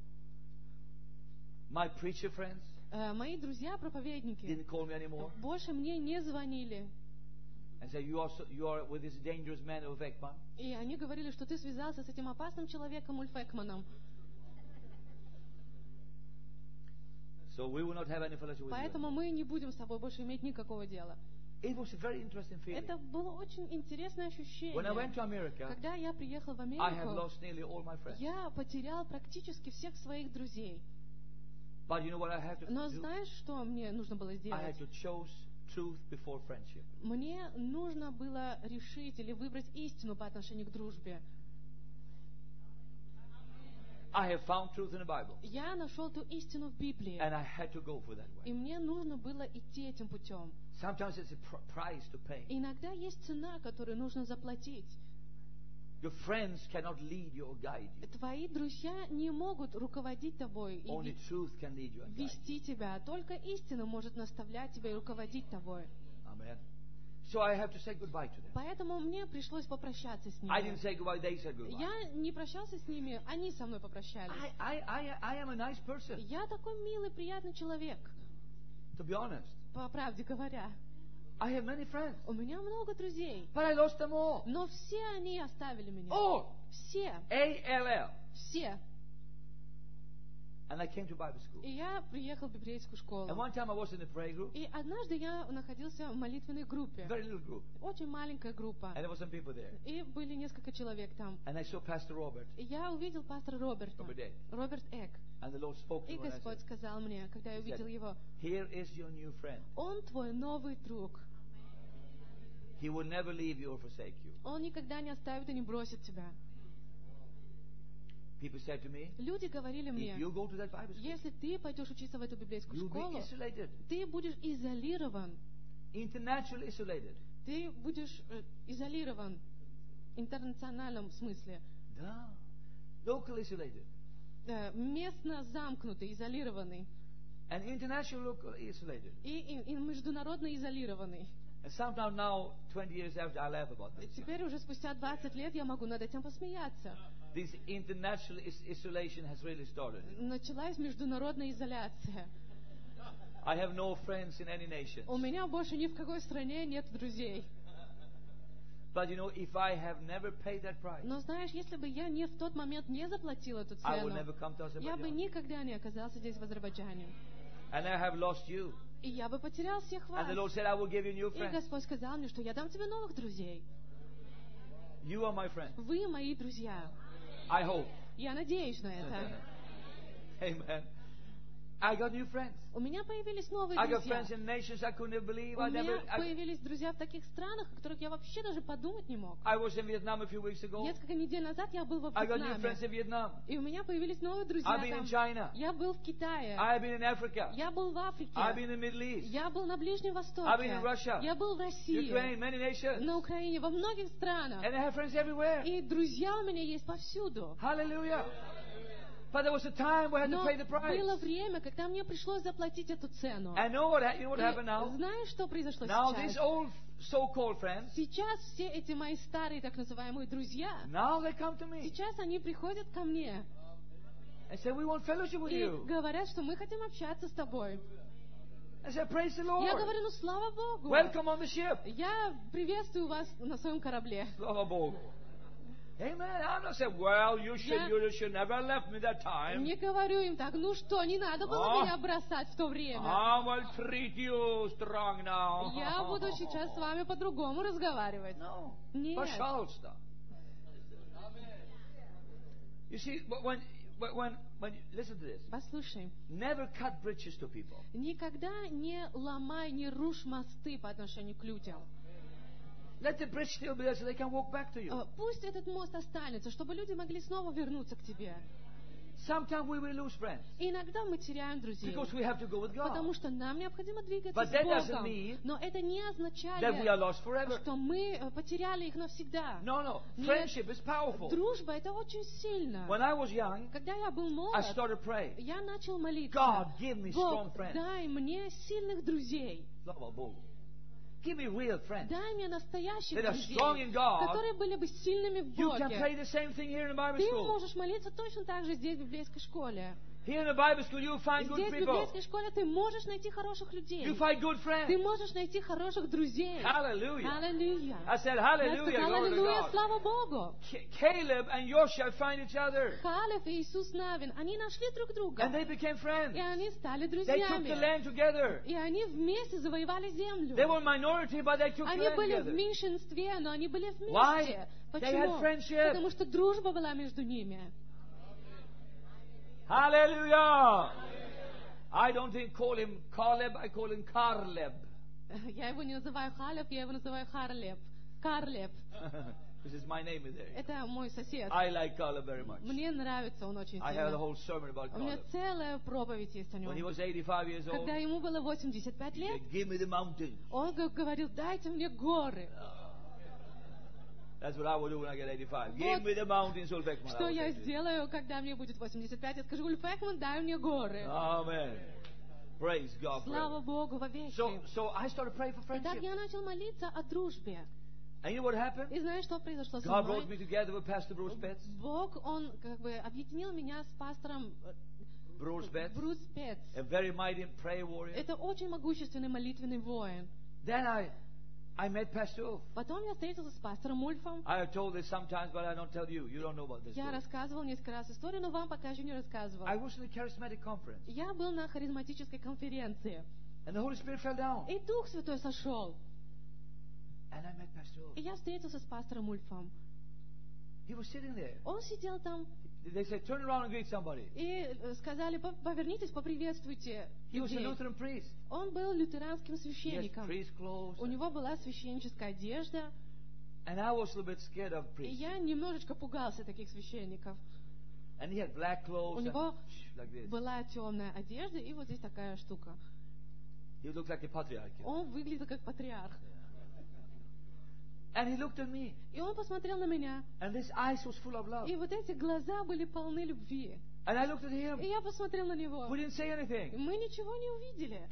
Speaker 1: My preacher friends
Speaker 2: Э, Мои друзья-проповедники
Speaker 1: didn't call me anymore
Speaker 2: больше мне не звонили.
Speaker 1: and say you are so, you are with this dangerous man of Ekman.
Speaker 2: И они говорили, что ты связался с этим опасным человеком Ульф Экманом.
Speaker 1: So we will not have any fellowship with
Speaker 2: Поэтому
Speaker 1: you.
Speaker 2: мы не будем с тобой больше иметь никакого дела.
Speaker 1: It was a very interesting feeling.
Speaker 2: Это было очень интересное
Speaker 1: When I went
Speaker 2: ощущение.
Speaker 1: to America,
Speaker 2: Когда я приехал в
Speaker 1: I have
Speaker 2: Америку,
Speaker 1: lost nearly all my friends.
Speaker 2: я потерял практически всех своих друзей.
Speaker 1: But you know what I had to
Speaker 2: Но
Speaker 1: do?
Speaker 2: знаешь, что мне нужно было
Speaker 1: I had
Speaker 2: сделать?
Speaker 1: to choose truth before friendship.
Speaker 2: Мне нужно было решить или выбрать истину по отношению к дружбе.
Speaker 1: I have found truth in the Bible,
Speaker 2: Я нашел ту истину в Библии,
Speaker 1: and I had to go for that
Speaker 2: и
Speaker 1: way.
Speaker 2: мне нужно было идти этим путем.
Speaker 1: Sometimes it's a pr- price to pay.
Speaker 2: Иногда есть цена, которую нужно заплатить.
Speaker 1: Your friends cannot lead you or guide you.
Speaker 2: Твои друзья не могут руководить тобой и
Speaker 1: Only
Speaker 2: ви-
Speaker 1: truth can lead you and guide you.
Speaker 2: вести тебя, только истина может наставлять тебя и руководить тобой.
Speaker 1: Amen. So I have to say goodbye to them.
Speaker 2: Поэтому мне пришлось попрощаться с
Speaker 1: I didn't
Speaker 2: ними.
Speaker 1: say goodbye, they said goodbye.
Speaker 2: Я не прощался с ними, они со мной попрощались.
Speaker 1: I, I, I, I am a nice person,
Speaker 2: Я такой милый, приятный человек,
Speaker 1: to be honest.
Speaker 2: по правде говоря.
Speaker 1: I have many friends,
Speaker 2: У меня много друзей,
Speaker 1: but I lost them all.
Speaker 2: но все они оставили меня.
Speaker 1: All.
Speaker 2: Все,
Speaker 1: A L L.
Speaker 2: все.
Speaker 1: And I came to Bible school.
Speaker 2: И я приехал в библейскую школу.
Speaker 1: And one time I was in a prayer group,
Speaker 2: И однажды я находился в молитвенной группе.
Speaker 1: very little group,
Speaker 2: Очень маленькая группа.
Speaker 1: and there were some people there.
Speaker 2: И были несколько человек там.
Speaker 1: And I saw Pastor Robert,
Speaker 2: И я увидел пастора Роберта,
Speaker 1: Robert Eck.
Speaker 2: Роберт Эк.
Speaker 1: And the Lord spoke to
Speaker 2: И
Speaker 1: me and I
Speaker 2: Господь
Speaker 1: said,
Speaker 2: сказал мне, когда я
Speaker 1: He
Speaker 2: увидел
Speaker 1: said,
Speaker 2: его,
Speaker 1: here is your new friend.
Speaker 2: он твой новый друг.
Speaker 1: He will never leave you or forsake you.
Speaker 2: Он никогда не оставит и не бросит тебя.
Speaker 1: People said to me,
Speaker 2: Люди говорили
Speaker 1: if
Speaker 2: мне,
Speaker 1: you go to that Bible school,
Speaker 2: если ты пойдешь учиться в эту библейскую
Speaker 1: you'll be
Speaker 2: школу,
Speaker 1: isolated,
Speaker 2: ты будешь изолирован.
Speaker 1: internationally isolated.
Speaker 2: Ты будешь э, изолирован в интернациональном смысле.
Speaker 1: Да. Local isolated.
Speaker 2: Э, местно замкнутый, изолированный.
Speaker 1: And international local isolated.
Speaker 2: И, и- и международно изолированный.
Speaker 1: And sometimes now, twenty years after, I laugh about this.
Speaker 2: Теперь уже спустя двадцать лет я могу над этим посмеяться.
Speaker 1: This international is- isolation has really started.
Speaker 2: Началась международная изоляция.
Speaker 1: I have no friends in any nation.
Speaker 2: У меня больше ни в какой стране нет друзей.
Speaker 1: But you know, if I have never paid that price,
Speaker 2: Но знаешь, если бы я не в тот момент не заплатил эту
Speaker 1: I will
Speaker 2: цену,
Speaker 1: never come to
Speaker 2: я бы
Speaker 1: Azerbaijan.
Speaker 2: никогда не оказался здесь, в Азербайджане.
Speaker 1: And I have lost you.
Speaker 2: И я бы потерял всех вас.
Speaker 1: And the Lord said, I will give you new
Speaker 2: И
Speaker 1: friends.
Speaker 2: Господь сказал мне, что я дам тебе новых друзей.
Speaker 1: You are my friend.
Speaker 2: Вы мои друзья.
Speaker 1: I hope.
Speaker 2: Я надеюсь на это.
Speaker 1: Amen. I got new friends.
Speaker 2: У меня появились новые
Speaker 1: I got
Speaker 2: друзья.
Speaker 1: friends in nations I couldn't believe.
Speaker 2: У
Speaker 1: I never.
Speaker 2: меня
Speaker 1: I,
Speaker 2: появились друзья в таких странах, о которых я вообще даже подумать не мог.
Speaker 1: I was in Vietnam a few weeks ago.
Speaker 2: Несколько недель назад я был во
Speaker 1: I got new friends
Speaker 2: Вьетнаме.
Speaker 1: in Vietnam.
Speaker 2: И у меня появились новые друзья
Speaker 1: I've been in
Speaker 2: там.
Speaker 1: China.
Speaker 2: Я был в Китае.
Speaker 1: I've been in Africa.
Speaker 2: Я был в Африке.
Speaker 1: I've been in the Middle East.
Speaker 2: Я был на Ближнем Востоке.
Speaker 1: I've been in Russia.
Speaker 2: Я был в России.
Speaker 1: Ukraine, many nations.
Speaker 2: На Украине, во многих странах.
Speaker 1: And I have friends everywhere.
Speaker 2: И друзья у меня есть повсюду.
Speaker 1: Hallelujah. But there was a time we had to
Speaker 2: Но
Speaker 1: pay the price.
Speaker 2: было время, когда мне пришлось заплатить эту цену.
Speaker 1: And know what, you know what
Speaker 2: И
Speaker 1: happened now?
Speaker 2: знаешь, что произошло
Speaker 1: Now these
Speaker 2: сейчас?
Speaker 1: old so-called friends,
Speaker 2: Сейчас все эти мои старые, так называемые, друзья,
Speaker 1: now they come to me
Speaker 2: сейчас они приходят ко мне
Speaker 1: and say, we want fellowship with
Speaker 2: и
Speaker 1: you.
Speaker 2: говорят, что мы хотим общаться с тобой.
Speaker 1: I say, praise the
Speaker 2: Я
Speaker 1: Lord.
Speaker 2: говорю, ну слава Богу.
Speaker 1: Welcome on the ship.
Speaker 2: Я приветствую вас на своем корабле.
Speaker 1: Slava Bogu. Amen. I'm not saying, well, you should,
Speaker 2: Я-
Speaker 1: you should never have left me that time.
Speaker 2: Не говорю им так, ну что, не надо было
Speaker 1: А?
Speaker 2: меня бросать в то время.
Speaker 1: I will treat you strong now.
Speaker 2: Я буду сейчас с вами по-другому разговаривать.
Speaker 1: No.
Speaker 2: Нет.
Speaker 1: Пожалуйста. You see, when, when, when, listen to this.
Speaker 2: Послушай,
Speaker 1: Never cut bridges to people.
Speaker 2: никогда не ломай, не рушь мосты по отношению к людям.
Speaker 1: Let the bridge still be there so they can walk back to you.
Speaker 2: Э, Пусть этот мост останется, чтобы люди могли снова вернуться к тебе.
Speaker 1: Sometimes we will lose friends
Speaker 2: И иногда мы теряем друзей,
Speaker 1: because we have to go with God.
Speaker 2: потому что нам необходимо двигаться
Speaker 1: But
Speaker 2: с
Speaker 1: that doesn't
Speaker 2: Богом.
Speaker 1: mean
Speaker 2: Но это не
Speaker 1: That we are
Speaker 2: означает,
Speaker 1: lost forever.
Speaker 2: что мы э, потеряли их навсегда.
Speaker 1: No, no.
Speaker 2: Нет.
Speaker 1: Friendship is powerful.
Speaker 2: Дружба — это очень сильно.
Speaker 1: When I was young,
Speaker 2: Когда я был
Speaker 1: I
Speaker 2: молод,
Speaker 1: started praying.
Speaker 2: я начал молиться.
Speaker 1: God, give me strong
Speaker 2: Бог,
Speaker 1: friends.
Speaker 2: дай мне сильных друзей.
Speaker 1: Slava Bogu. Give me real friends.
Speaker 2: Дай мне настоящих
Speaker 1: That are
Speaker 2: друзей,
Speaker 1: strong in God.
Speaker 2: которые были бы сильными в
Speaker 1: You can
Speaker 2: Боге.
Speaker 1: pray the same thing here in the Bible
Speaker 2: Ты
Speaker 1: school.
Speaker 2: можешь молиться точно так же здесь, в библейской школе.
Speaker 1: Here in the Bible school, you find good
Speaker 2: Здесь, в
Speaker 1: people.
Speaker 2: библейской школе, ты можешь найти хороших людей.
Speaker 1: You find good
Speaker 2: Ты
Speaker 1: friends.
Speaker 2: можешь найти хороших друзей.
Speaker 1: Hallelujah.
Speaker 2: Аллилуйя.
Speaker 1: I said,
Speaker 2: Я
Speaker 1: hallelujah,
Speaker 2: сказала,
Speaker 1: glory to
Speaker 2: аллилуйя,
Speaker 1: God.
Speaker 2: слава Богу.
Speaker 1: Ca- Caleb and Joshua find each other.
Speaker 2: Халев и Иисус Навин, они нашли друг друга.
Speaker 1: And they became friends.
Speaker 2: И они стали
Speaker 1: They took the
Speaker 2: друзьями.
Speaker 1: land together.
Speaker 2: И они вместе завоевали землю.
Speaker 1: They were minority, but they took the
Speaker 2: Они
Speaker 1: land
Speaker 2: были в
Speaker 1: together.
Speaker 2: меньшинстве, но они были вместе.
Speaker 1: Why? They had
Speaker 2: Почему?
Speaker 1: friendship.
Speaker 2: Потому что дружба была между ними.
Speaker 1: Hallelujah. I don't think call him Caleb, I call him Carleb.
Speaker 2: Я его не называю Халев, я его называю Харлеп. Карлеп.
Speaker 1: This is my name in there.
Speaker 2: Это мой сосед.
Speaker 1: I like Caleb very much.
Speaker 2: Мне нравится он очень
Speaker 1: I have a
Speaker 2: сильно.
Speaker 1: whole sermon about
Speaker 2: У меня
Speaker 1: Caleb.
Speaker 2: целая проповедь есть о
Speaker 1: When he
Speaker 2: нем.
Speaker 1: was eighty-five years old,
Speaker 2: Когда ему было восемьдесят пять
Speaker 1: he
Speaker 2: лет,
Speaker 1: said, give me the mountains.
Speaker 2: он г- говорил, дайте мне горы.
Speaker 1: That's what I will do when I get eighty-five.
Speaker 2: Вот
Speaker 1: Give me the mountains, Ulf Ekman. I
Speaker 2: Что
Speaker 1: will
Speaker 2: я
Speaker 1: say to you.
Speaker 2: сделаю, когда мне будет восемьдесят пять? Я скажу, Ульф Экман, дай мне горы.
Speaker 1: Amen. Praise God.
Speaker 2: Слава
Speaker 1: forever.
Speaker 2: Богу вовеки.
Speaker 1: So, so I started praying for
Speaker 2: Итак,
Speaker 1: friendship.
Speaker 2: я начал молиться о дружбе.
Speaker 1: And you know what happened?
Speaker 2: И знаешь, что произошло со
Speaker 1: God brought me
Speaker 2: мной?
Speaker 1: together with Pastor Bruce Betts.
Speaker 2: Бог, Он как бы объединил меня с пастором э,
Speaker 1: Bruce Betts,
Speaker 2: Брус Петц.
Speaker 1: a very mighty prayer warrior.
Speaker 2: Это очень могущественный молитвенный воин.
Speaker 1: Then I, I met Pastor Ulf.
Speaker 2: Потом я встретился с пастором Ульфом.
Speaker 1: I have told this sometimes, but I don't tell you. You don't know about this.
Speaker 2: Я
Speaker 1: story.
Speaker 2: рассказывал несколько раз историю, но вам пока еще не рассказывал.
Speaker 1: I was in a charismatic conference,
Speaker 2: Я был на харизматической конференции.
Speaker 1: and the Holy Spirit fell down.
Speaker 2: И Дух Святой сошел.
Speaker 1: And I met Pastor Ulf.
Speaker 2: И я встретился с пастором Ульфом.
Speaker 1: He was sitting there.
Speaker 2: Он сидел там,
Speaker 1: They said, turn around and greet somebody.
Speaker 2: и э, сказали, «По- повернитесь, поприветствуйте
Speaker 1: He was a
Speaker 2: людей».
Speaker 1: Lutheran priest.
Speaker 2: Он был лютеранским
Speaker 1: He has
Speaker 2: священником.
Speaker 1: priest clothes.
Speaker 2: У него была священническая одежда,
Speaker 1: And I was a little bit scared of
Speaker 2: и
Speaker 1: priests.
Speaker 2: я немножечко пугался таких священников.
Speaker 1: And he had black clothes
Speaker 2: У
Speaker 1: and
Speaker 2: него
Speaker 1: like this.
Speaker 2: была темная одежда, и вот здесь такая штука.
Speaker 1: He looked like a patriarch.
Speaker 2: Он выглядел как патриарх.
Speaker 1: And he looked at me.
Speaker 2: И он посмотрел на меня,
Speaker 1: And his eyes was full of love.
Speaker 2: и вот эти глаза были полны любви.
Speaker 1: And I looked at him.
Speaker 2: И я посмотрел на него.
Speaker 1: We didn't say
Speaker 2: И
Speaker 1: anything.
Speaker 2: мы ничего не увидели.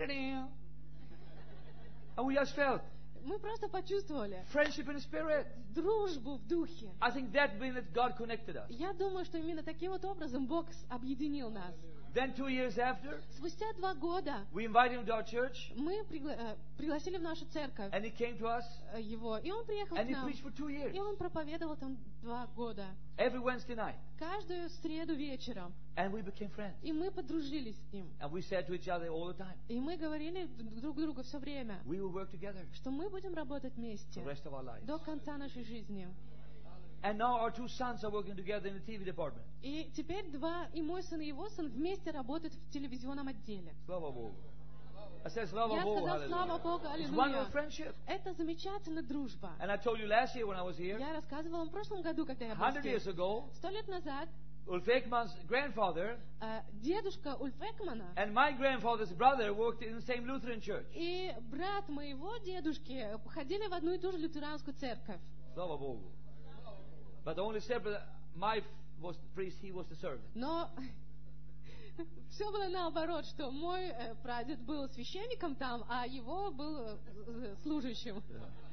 Speaker 1: And we just felt
Speaker 2: Мы просто почувствовали
Speaker 1: friendship in the spirit.
Speaker 2: дружбу в духе.
Speaker 1: I think that means that God connected us.
Speaker 2: Я думаю, что именно таким вот образом Бог с- объединил нас.
Speaker 1: Then two years after,
Speaker 2: Спустя два года
Speaker 1: we invited him to our church.
Speaker 2: мы пригла- э, пригласили в нашу церковь
Speaker 1: And he came to us.
Speaker 2: э, его, и он приехал
Speaker 1: And
Speaker 2: к
Speaker 1: he
Speaker 2: нам.
Speaker 1: preached for two years.
Speaker 2: И он проповедовал там два года.
Speaker 1: Every Wednesday night.
Speaker 2: Каждую среду вечером.
Speaker 1: And we became friends.
Speaker 2: И мы подружились с ним.
Speaker 1: And we said to each other all the time,
Speaker 2: И мы говорили друг другу все время,
Speaker 1: we will work together
Speaker 2: что мы будем работать
Speaker 1: the
Speaker 2: вместе
Speaker 1: rest of our lives.
Speaker 2: до конца нашей жизни.
Speaker 1: And now our two sons are working together in the T V department.
Speaker 2: И теперь два, и мой сын, и его сын вместе работают в телевизионном отделе.
Speaker 1: Slava Bogu. I said, Slava
Speaker 2: Я
Speaker 1: Bogu,
Speaker 2: сказал, слава
Speaker 1: hallelujah.
Speaker 2: Богу,
Speaker 1: It's wonderful
Speaker 2: аллилуйя.
Speaker 1: friendship.
Speaker 2: Это замечательная дружба.
Speaker 1: And I told you last year when I was here,
Speaker 2: Я рассказывала вам в прошлом году, когда я был
Speaker 1: hundred years
Speaker 2: здесь.
Speaker 1: ago,
Speaker 2: Сто лет назад
Speaker 1: Ulf Ekman's grandfather
Speaker 2: э, дедушка Ульф Экмана
Speaker 1: and my grandfather's brother worked in the same Lutheran church.
Speaker 2: и брат моего дедушки ходили в одну и ту же лютеранскую церковь.
Speaker 1: Slava Bogu. But the only separate, my was the priest, he was the servant.
Speaker 2: Но все было наоборот, что мой э, прадед был священником там, а его был э, служащим.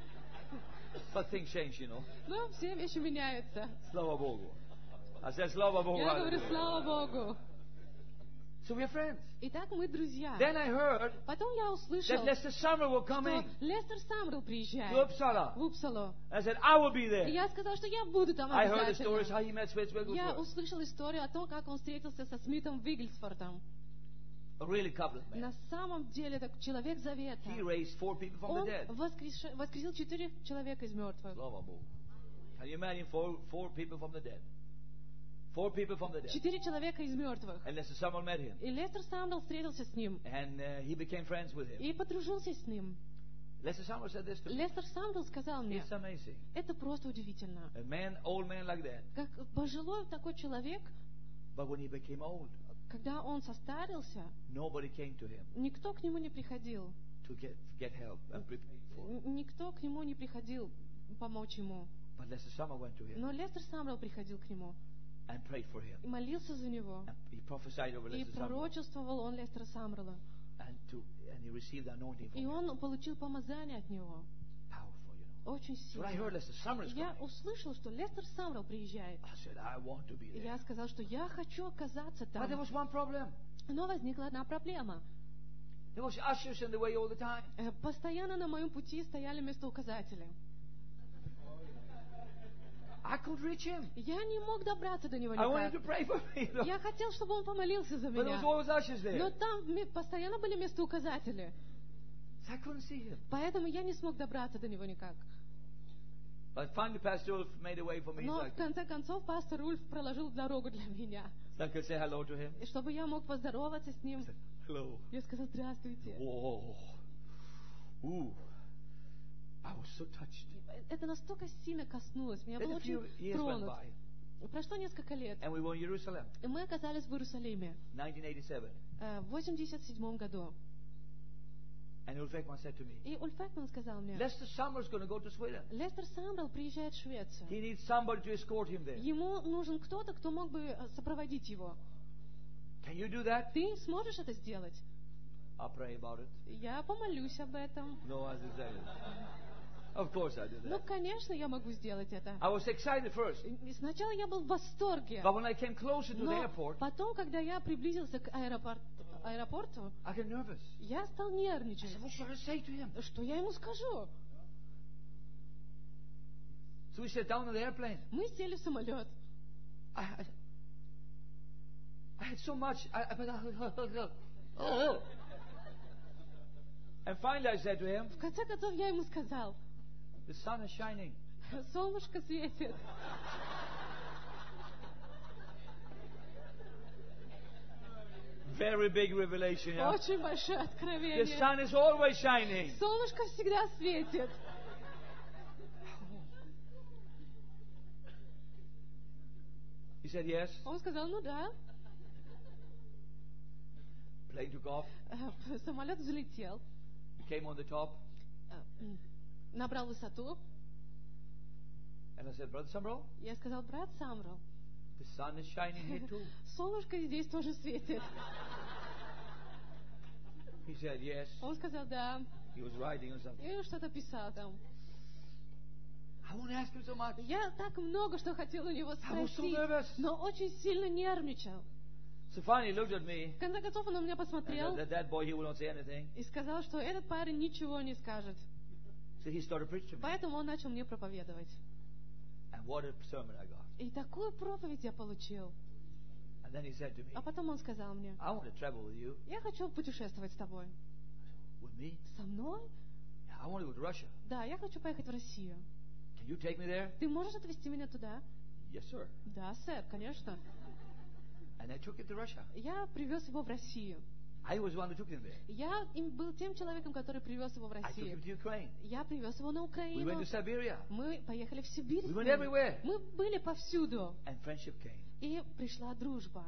Speaker 1: But things change, you know.
Speaker 2: Но все вещи меняются.
Speaker 1: Slava Bogu. I said, Slava Bogu.
Speaker 2: Я говорю,
Speaker 1: hallelujah.
Speaker 2: слава Богу.
Speaker 1: So we're friends.
Speaker 2: Итак, мы друзья.
Speaker 1: Then I heard
Speaker 2: Потом я услышал,
Speaker 1: that Lester Summer were
Speaker 2: что
Speaker 1: coming
Speaker 2: Лестер Самрел
Speaker 1: to
Speaker 2: приезжает
Speaker 1: Uppsala.
Speaker 2: в Упсалу.
Speaker 1: I said, I will be
Speaker 2: И
Speaker 1: there.
Speaker 2: я сказала, что я буду там
Speaker 1: I heard the stories
Speaker 2: обязательно.
Speaker 1: how he met Smith
Speaker 2: Я
Speaker 1: Wigglesworth.
Speaker 2: услышала историю о том, как он встретился со Смитом Виггельсфордом.
Speaker 1: A really covenant man.
Speaker 2: На самом деле, это человек завета.
Speaker 1: He raised four people from the
Speaker 2: Он
Speaker 1: dead.
Speaker 2: воскрес- воскресил четыре человека из мертвых.
Speaker 1: Slava Bogu. Can you imagine four, four people from the dead? Four people from the dead.
Speaker 2: Четыре человека из мертвых.
Speaker 1: And Lester Summer met him.
Speaker 2: И Лестер Самрел встретился с ним
Speaker 1: And uh, he became friends with him.
Speaker 2: и подружился с ним.
Speaker 1: Lester Summer said this to me.
Speaker 2: Лестер Самрел сказал мне,
Speaker 1: It's amazing.
Speaker 2: это просто удивительно.
Speaker 1: A man, old man like that.
Speaker 2: Как пожилой такой человек,
Speaker 1: But when he became old,
Speaker 2: когда он состарился,
Speaker 1: nobody came to him
Speaker 2: никто к нему не приходил.
Speaker 1: to get, get help and prepare for him.
Speaker 2: Н- Никто к нему не приходил помочь ему.
Speaker 1: But Lester Summer went to him
Speaker 2: Но Лестер Самрел приходил к нему
Speaker 1: and prayed for him.
Speaker 2: и молился за него.
Speaker 1: And he prophesied over
Speaker 2: И
Speaker 1: Lester Summer.
Speaker 2: пророчествовал он Лестера Самрела.
Speaker 1: And, to, and he received the anointing from
Speaker 2: И
Speaker 1: him.
Speaker 2: он получил помазание от него.
Speaker 1: Powerful, you know.
Speaker 2: Очень
Speaker 1: So when I heard
Speaker 2: сильно.
Speaker 1: Lester Summer is
Speaker 2: Я
Speaker 1: coming,
Speaker 2: услышал, что Лестер Самрел приезжает.
Speaker 1: I said, I want to be
Speaker 2: И
Speaker 1: there.
Speaker 2: я сказал, что я хочу оказаться
Speaker 1: But there
Speaker 2: там.
Speaker 1: was one problem.
Speaker 2: Но возникла одна проблема.
Speaker 1: There was ushers in the way all the time.
Speaker 2: Э, Постоянно на моем пути стояли местоуказатели.
Speaker 1: I could reach him.
Speaker 2: Я не мог добраться до него
Speaker 1: I wanted to
Speaker 2: никак.
Speaker 1: pray for me. You know.
Speaker 2: Я хотел, чтобы он помолился за
Speaker 1: But there was
Speaker 2: меня.
Speaker 1: always ushers there.
Speaker 2: Но там ме- постоянно были местоуказатели.
Speaker 1: So I couldn't see him.
Speaker 2: Поэтому я не смог добраться до него никак.
Speaker 1: But finally, Pastor Ulf made a way for me.
Speaker 2: Но
Speaker 1: So I
Speaker 2: в
Speaker 1: could,
Speaker 2: конце концов пастор Ульф проложил дорогу для меня.
Speaker 1: so I could say hello to him.
Speaker 2: И чтобы я мог поздороваться с ним,
Speaker 1: Hello.
Speaker 2: я сказал здравствуйте.
Speaker 1: Whoa. Ooh. I was so touched.
Speaker 2: Это настолько сильно коснулось меня. Я
Speaker 1: Then
Speaker 2: был
Speaker 1: a few
Speaker 2: очень
Speaker 1: years went
Speaker 2: тронут.
Speaker 1: by,
Speaker 2: Прошло несколько лет,
Speaker 1: and we were in Jerusalem,
Speaker 2: и мы оказались в Иерусалиме
Speaker 1: nineteen eighty-seven.
Speaker 2: э, в восемьдесят седьмом году.
Speaker 1: And Ulf Ekman said to me,
Speaker 2: И Ульф Экман сказал мне,
Speaker 1: Lester Summer's going to go to Sweden.
Speaker 2: Лестер Самрел приезжает в Швецию.
Speaker 1: He needs somebody to escort him there.
Speaker 2: Ему нужен кто-то, кто мог бы э, сопроводить его.
Speaker 1: Can you do that?
Speaker 2: Ты сможешь это сделать?
Speaker 1: I'll pray about it.
Speaker 2: Я помолюсь об этом.
Speaker 1: No, I didn't say it. Of course I do
Speaker 2: Ну,
Speaker 1: that.
Speaker 2: конечно, я могу сделать это.
Speaker 1: I was excited first,
Speaker 2: И сначала я был в восторге.
Speaker 1: but when I came closer to the
Speaker 2: Но
Speaker 1: airport,
Speaker 2: потом, когда я приблизился к аэропорт- аэропорту,
Speaker 1: I got nervous.
Speaker 2: я стал
Speaker 1: I
Speaker 2: нервничать.
Speaker 1: said, what should I say to him?
Speaker 2: Что я ему скажу?
Speaker 1: So we sat down in the airplane.
Speaker 2: Мы сели в самолет.
Speaker 1: I, I, I had so much. I, I, oh. And finally I said to him,
Speaker 2: В конце концов, я ему сказал,
Speaker 1: the sun is shining.
Speaker 2: солнышко светит.
Speaker 1: Very big revelation, yeah?
Speaker 2: Очень большое
Speaker 1: The
Speaker 2: откровение.
Speaker 1: sun is always shining.
Speaker 2: Солнышко всегда светит.
Speaker 1: He said, yes.
Speaker 2: Он сказал, ну да.
Speaker 1: Plane took off.
Speaker 2: Э, Самолет взлетел,
Speaker 1: We came on the top.
Speaker 2: э, м, набрал высоту.
Speaker 1: And I said, Brother Summerall,
Speaker 2: Я сказал, брат Самрел,
Speaker 1: the sun is shining here too.
Speaker 2: солнышко здесь тоже светит.
Speaker 1: He said, yes.
Speaker 2: Он сказал, да.
Speaker 1: He was writing or something.
Speaker 2: И что-то писал там.
Speaker 1: I won't ask him so much.
Speaker 2: Я так много что хотел у него
Speaker 1: I was so
Speaker 2: спросить,
Speaker 1: nervous.
Speaker 2: но очень сильно нервничал.
Speaker 1: So finally he looked at me.
Speaker 2: В конце концов он на меня
Speaker 1: And
Speaker 2: посмотрел
Speaker 1: that, that boy, he will not say anything.
Speaker 2: и сказал, что этот парень ничего не скажет.
Speaker 1: So he started preaching to me.
Speaker 2: Поэтому он начал мне проповедовать.
Speaker 1: And what a sermon I got.
Speaker 2: И такую проповедь я получил.
Speaker 1: And then he said to me,
Speaker 2: А потом он сказал мне,
Speaker 1: I want to travel with you.
Speaker 2: я хочу путешествовать с тобой.
Speaker 1: With me?
Speaker 2: Со мной?
Speaker 1: Yeah, I want to go to Russia.
Speaker 2: Да, я хочу поехать в Россию.
Speaker 1: Can you take me there?
Speaker 2: Ты можешь отвезти меня туда?
Speaker 1: Yes, sir.
Speaker 2: Да, сэр, конечно.
Speaker 1: And I took him to Russia.
Speaker 2: Я привез его в Россию.
Speaker 1: I was the one who took him there.
Speaker 2: Я им был тем человеком, который привез его в
Speaker 1: I took him
Speaker 2: Россию.
Speaker 1: to Ukraine.
Speaker 2: Я привез его на
Speaker 1: We went
Speaker 2: Украину.
Speaker 1: to Siberia.
Speaker 2: Мы поехали в Сибирь.
Speaker 1: We
Speaker 2: с
Speaker 1: went
Speaker 2: ним.
Speaker 1: everywhere.
Speaker 2: Мы были повсюду.
Speaker 1: And friendship came.
Speaker 2: И пришла дружба.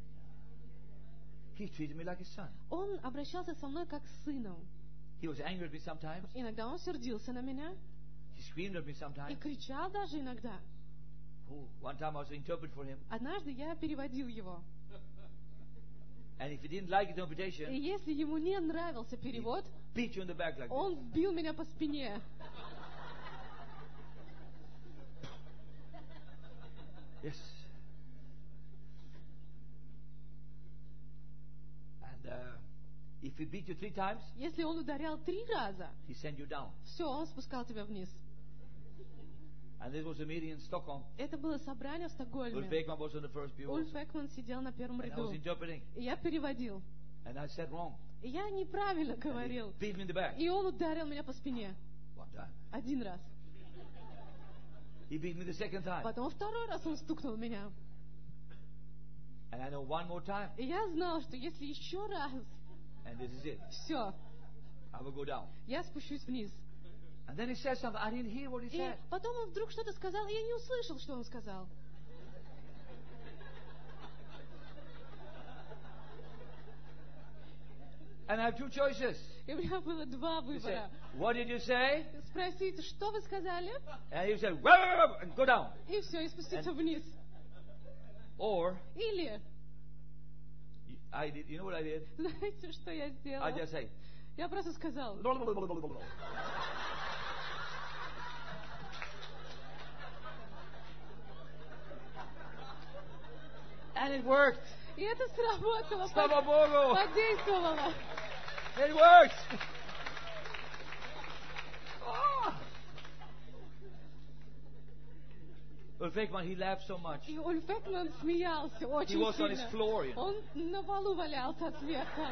Speaker 1: He treated me like his son.
Speaker 2: Он обращался со мной как с сыном.
Speaker 1: He was angry at me sometimes.
Speaker 2: Иногда он сердился на меня
Speaker 1: He screamed at me
Speaker 2: и
Speaker 1: sometimes.
Speaker 2: кричал даже иногда.
Speaker 1: Oh, one time I was interpret for him.
Speaker 2: Однажды я переводил его.
Speaker 1: And if he didn't like his
Speaker 2: И
Speaker 1: interpretation,
Speaker 2: если ему не нравился перевод,
Speaker 1: beat you in the back like
Speaker 2: он
Speaker 1: this.
Speaker 2: бил меня по спине.
Speaker 1: Yes. And uh, if he beat you three times,
Speaker 2: Если он ударял три раза,
Speaker 1: he sent you down.
Speaker 2: все, он спускал тебя вниз.
Speaker 1: And this was a meeting in Stockholm.
Speaker 2: Это было собрание в
Speaker 1: Ulf
Speaker 2: Стокгольме.
Speaker 1: Ekman was on the first pew
Speaker 2: Ульф
Speaker 1: also.
Speaker 2: Экман сидел на первом
Speaker 1: And I
Speaker 2: ряду.
Speaker 1: was interpreting.
Speaker 2: И я переводил.
Speaker 1: And I said wrong.
Speaker 2: И я неправильно
Speaker 1: And he
Speaker 2: говорил.
Speaker 1: beat me in the back.
Speaker 2: И он ударил меня по спине.
Speaker 1: One time.
Speaker 2: Один раз.
Speaker 1: He beat me the second time.
Speaker 2: Потом второй раз он стукнул меня.
Speaker 1: And I know one more time.
Speaker 2: И я знал, что если еще раз,
Speaker 1: And this is it.
Speaker 2: все,
Speaker 1: I will go down.
Speaker 2: я спущусь вниз.
Speaker 1: And then he said something. I didn't hear what he
Speaker 2: И
Speaker 1: said.
Speaker 2: потом он вдруг что-то сказал, и я не услышал, что он сказал.
Speaker 1: And I have two choices.
Speaker 2: И у меня было два
Speaker 1: He said,
Speaker 2: выбора.
Speaker 1: what did you say?
Speaker 2: Спросить, что вы сказали,
Speaker 1: And he said, "Whoa, whoa, whoa," and go down.
Speaker 2: и все, и спуститься вниз.
Speaker 1: Or,
Speaker 2: Или,
Speaker 1: I did, you know what I did?
Speaker 2: знаете, что я
Speaker 1: I
Speaker 2: сделала?
Speaker 1: just say,
Speaker 2: Я просто сказала.
Speaker 1: And it worked.
Speaker 2: И это сработало,
Speaker 1: Слава Богу!
Speaker 2: подействовало.
Speaker 1: It worked. Oh. Ulf Ekman, he laughed so much.
Speaker 2: И Ульф Экман смеялся
Speaker 1: He
Speaker 2: очень
Speaker 1: was on his
Speaker 2: сильно.
Speaker 1: floor, you know.
Speaker 2: Он на полу валялся от смеха.